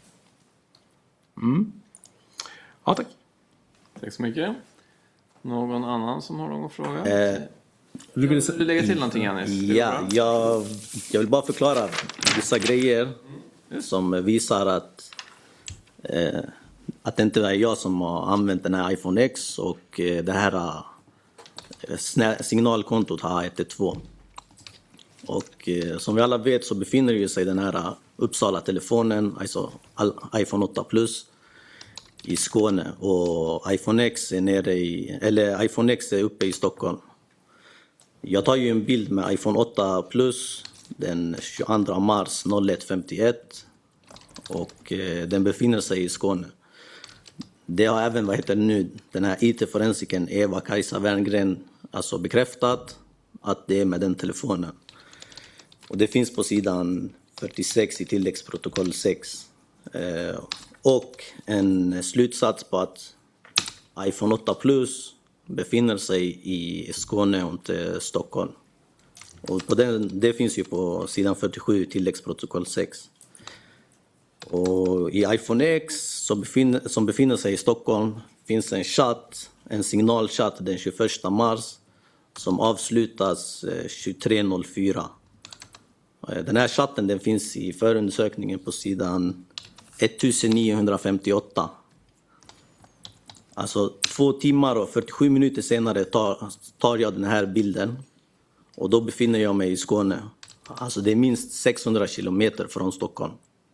Speaker 13: Mm. Ja, tack.
Speaker 14: Tack så mycket. Någon annan som har någon fråga?
Speaker 7: Eh,
Speaker 14: du vill du lägga till någonting, Janis?
Speaker 7: Ja, jag, jag vill bara förklara vissa grejer mm. som visar att eh, att det inte är jag som har använt den här iPhone X och eh, det här eh, signalkontot har ett ett två. Och eh, som vi alla vet så befinner ju sig den här Uppsala-telefonen, alltså iPhone åtta plus, i Skåne, och iPhone X är nere i, eller iPhone X är uppe i Stockholm. Jag tar ju en bild med iPhone åtta plus den tjugoandra mars noll ett femtioett och eh, den befinner sig i Skåne. Det har även, vad heter det nu, den här I T-forensiken Eva-Kajsa Werngren alltså bekräftat att det är med den telefonen. Och det finns på sidan fyrtiosex i tilläggsprotokoll sex. Eh, och en slutsats på att iPhone åtta plus befinner sig i Skåne och inte Stockholm. Och på den, det finns ju på sidan fyrtiosju tilläggsprotokoll sex. Och i iPhone X som befinner, som befinner sig i Stockholm finns en chatt, en signalchatt den tjugoförsta mars som avslutas tjugotre noll fyra. Den här chatten den finns i förundersökningen på sidan nittonhundrafemtioåtta. Alltså två timmar och fyrtiosju minuter senare tar, tar jag den här bilden och då befinner jag mig i Skåne. Alltså det är minst sexhundra kilometer från Stockholm.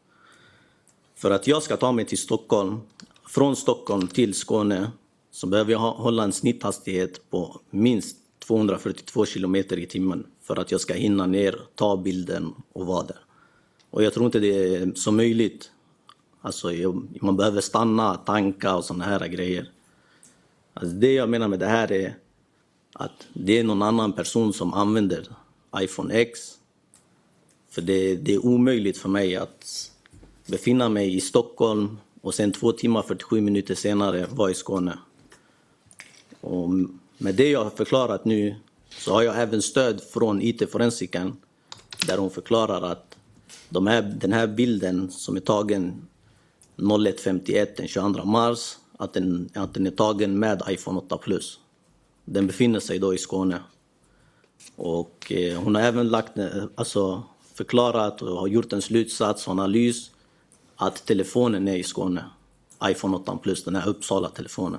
Speaker 7: För att jag ska ta mig till Stockholm, från Stockholm till Skåne, så behöver jag hålla en snitthastighet på minst tvåhundrafyrtiotvå kilometer i timmen för att jag ska hinna ner, ta bilden och vara där. Och jag tror inte det är så möjligt. Alltså man behöver stanna, tanka och såna här grejer. Alltså det jag menar med det här är att det är någon annan person som använder iPhone X. För det, det är omöjligt för mig att befinna mig i Stockholm och sen två timmar fyrtiosju minuter senare vara i Skåne. Och med det jag har förklarat nu så har jag även stöd från I T-forensiken där hon förklarar att de här, den här bilden som är tagen noll ett femtioett den tjugoandra mars, att den, att den är tagen med iPhone åtta plus. Den befinner sig då i Skåne. Och eh, hon har även lagt, alltså, förklarat och har gjort en slutsats och analys att telefonen är i Skåne. iPhone åtta plus, den här Uppsala-telefonen.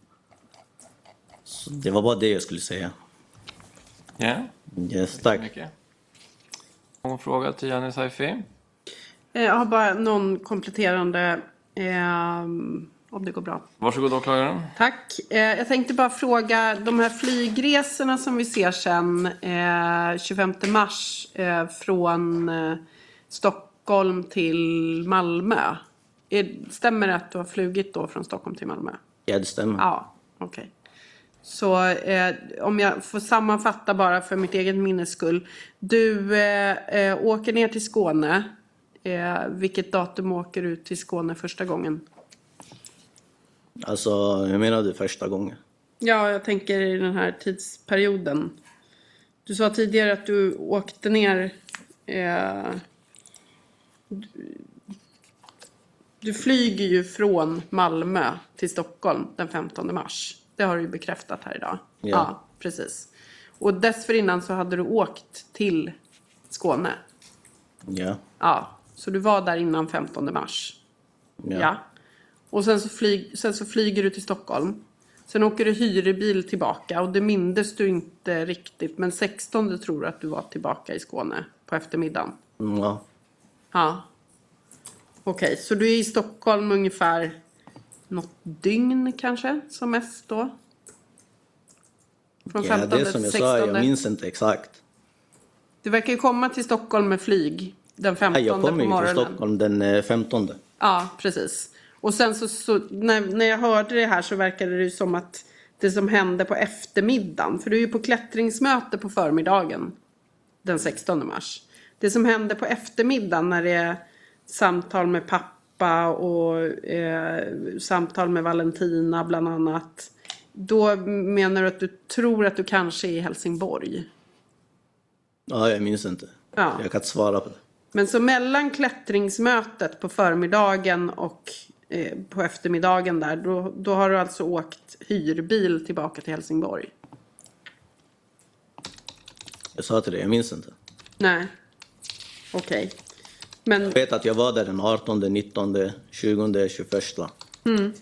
Speaker 7: Så det var bara det jag skulle säga.
Speaker 14: Ja. Yeah.
Speaker 7: Yes, tack.
Speaker 14: Någon fråga till Janis Haifi?
Speaker 6: Jag har bara någon kompletterande, eh, om det går bra.
Speaker 14: Varsågod åklagaren.
Speaker 6: Tack. Eh, jag tänkte bara fråga, de här flygresorna som vi ser sen eh, tjugofemte mars eh, från eh, Stockholm till Malmö. Är, stämmer det att du har flugit då från Stockholm till Malmö?
Speaker 7: Ja, det stämmer.
Speaker 6: Ja, okej. Okay. Så eh, om jag får sammanfatta bara för mitt eget minnes skull. Du eh, eh, åker ner till Skåne. Eh, vilket datum åker du till Skåne första gången?
Speaker 7: Alltså, jag menar du första gången?
Speaker 6: Ja, jag tänker i den här tidsperioden. Du sa tidigare att du åkte ner... Eh, du, du flyger ju från Malmö till Stockholm den femtonde mars. Det har du ju bekräftat här idag.
Speaker 7: Ja.
Speaker 6: Ja, precis. Och dessförinnan så hade du åkt till Skåne.
Speaker 7: Ja.
Speaker 6: Ja, så du var där innan femtonde mars.
Speaker 7: Ja.
Speaker 6: Ja. Och sen så, flyg, sen så flyger du till Stockholm. Sen åker du hyrbil tillbaka. Och det mindes du inte riktigt. Men sextonde tror du att du var tillbaka i Skåne på eftermiddagen.
Speaker 7: Ja.
Speaker 6: Ja. Okej, okay, så du är i Stockholm ungefär något dygn kanske som mest då?
Speaker 7: Från ja, det som jag sa, jag minns inte exakt.
Speaker 6: Du verkar ju komma till Stockholm med flyg den femtonde
Speaker 7: ja, jag
Speaker 6: på morgonen.
Speaker 7: Jag kommer ju till Stockholm den femtonde.
Speaker 6: Ja, precis. Och sen så, så när, när jag hörde det här så verkade det ju som att det som hände på eftermiddagen. För du är ju på klättringsmöte på förmiddagen den sextonde mars. Det som hände på eftermiddagen när det är samtal med pappa och eh, samtal med Valentina bland annat. Då menar du att du tror att du kanske är i Helsingborg?
Speaker 7: Ja, jag minns inte. Ja. Jag kan inte svara på det.
Speaker 6: Men så mellan klättringsmötet på förmiddagen och eh, på eftermiddagen där, då, då har du alltså åkt hyrbil tillbaka till Helsingborg?
Speaker 7: Jag sa till det, jag minns inte.
Speaker 6: Nej, okej. Okay. Men...
Speaker 7: Jag vet att jag var där den artonde, nittonde, tjugonde, tjugoförsta.
Speaker 6: Mm.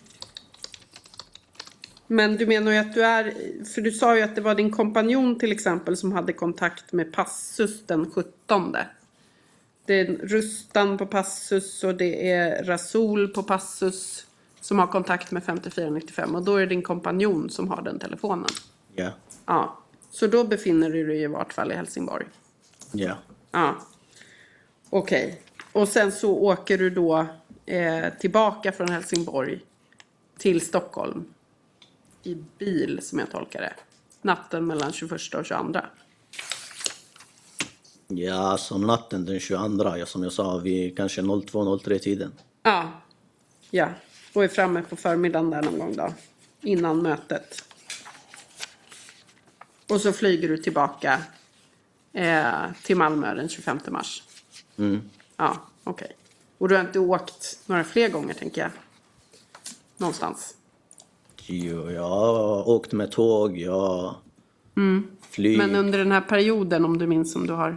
Speaker 6: Men du menar ju att du är, för du sa ju att det var din kompanjon till exempel som hade kontakt med Passus den sjuttonde. Det är Rustan på Passus och det är Rasul på Passus som har kontakt med femtiofyra nittiofem. Och då är det din kompanjon som har den telefonen.
Speaker 7: Ja. Yeah.
Speaker 6: Ja, så då befinner du dig i vart fall i Helsingborg.
Speaker 7: Ja. Yeah.
Speaker 6: Ja, okej. Okay. Och sen så åker du då eh, tillbaka från Helsingborg till Stockholm. I bil som jag tolkar det. Natten mellan tjugoförsta och tjugoandra.
Speaker 7: Ja, som natten den tjugoandra. Ja, som jag sa, vi kanske noll två noll tre tiden.
Speaker 6: Ja, ja. Och är framme på förmiddagen där någon gång då. Innan mötet. Och så flyger du tillbaka eh, till Malmö den tjugofemte mars.
Speaker 7: Mm.
Speaker 6: Ja, okej. Okay. Och du har inte åkt några fler gånger tänker jag. Någonstans.
Speaker 7: Jo, jag har åkt med tåg, jag
Speaker 6: mm.
Speaker 7: flyg.
Speaker 6: Men under den här perioden, om du minns som du har...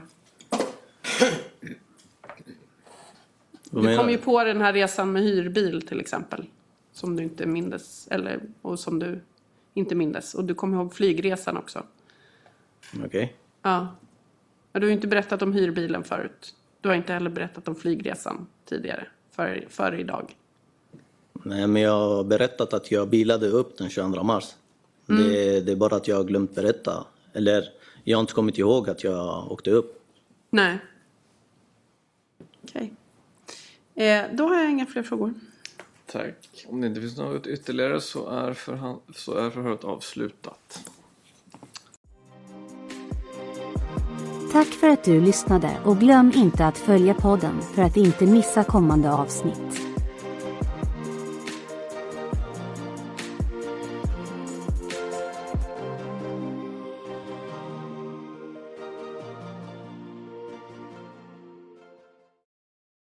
Speaker 6: Du kom ju på den här resan med hyrbil till exempel. Som du inte mindes, eller, och som du inte mindes. Och du kom ihåg flygresan också.
Speaker 7: Okej. Okay.
Speaker 6: Ja. Men du har ju inte berättat om hyrbilen förut. Du har inte heller berättat om flygresan tidigare, före, före idag.
Speaker 7: Nej, men jag har berättat att jag bilade upp den tjugoandra mars. Mm. Det, det är bara att jag har glömt berätta. Eller jag har inte kommit ihåg att jag åkte upp.
Speaker 6: Nej. Okej. Okay. Eh, då har jag inga fler frågor.
Speaker 14: Tack. Om det inte finns något ytterligare så är, förhan- så är förhöret avslutat.
Speaker 15: Tack för att du lyssnade och glöm inte att följa podden för att inte missa kommande avsnitt.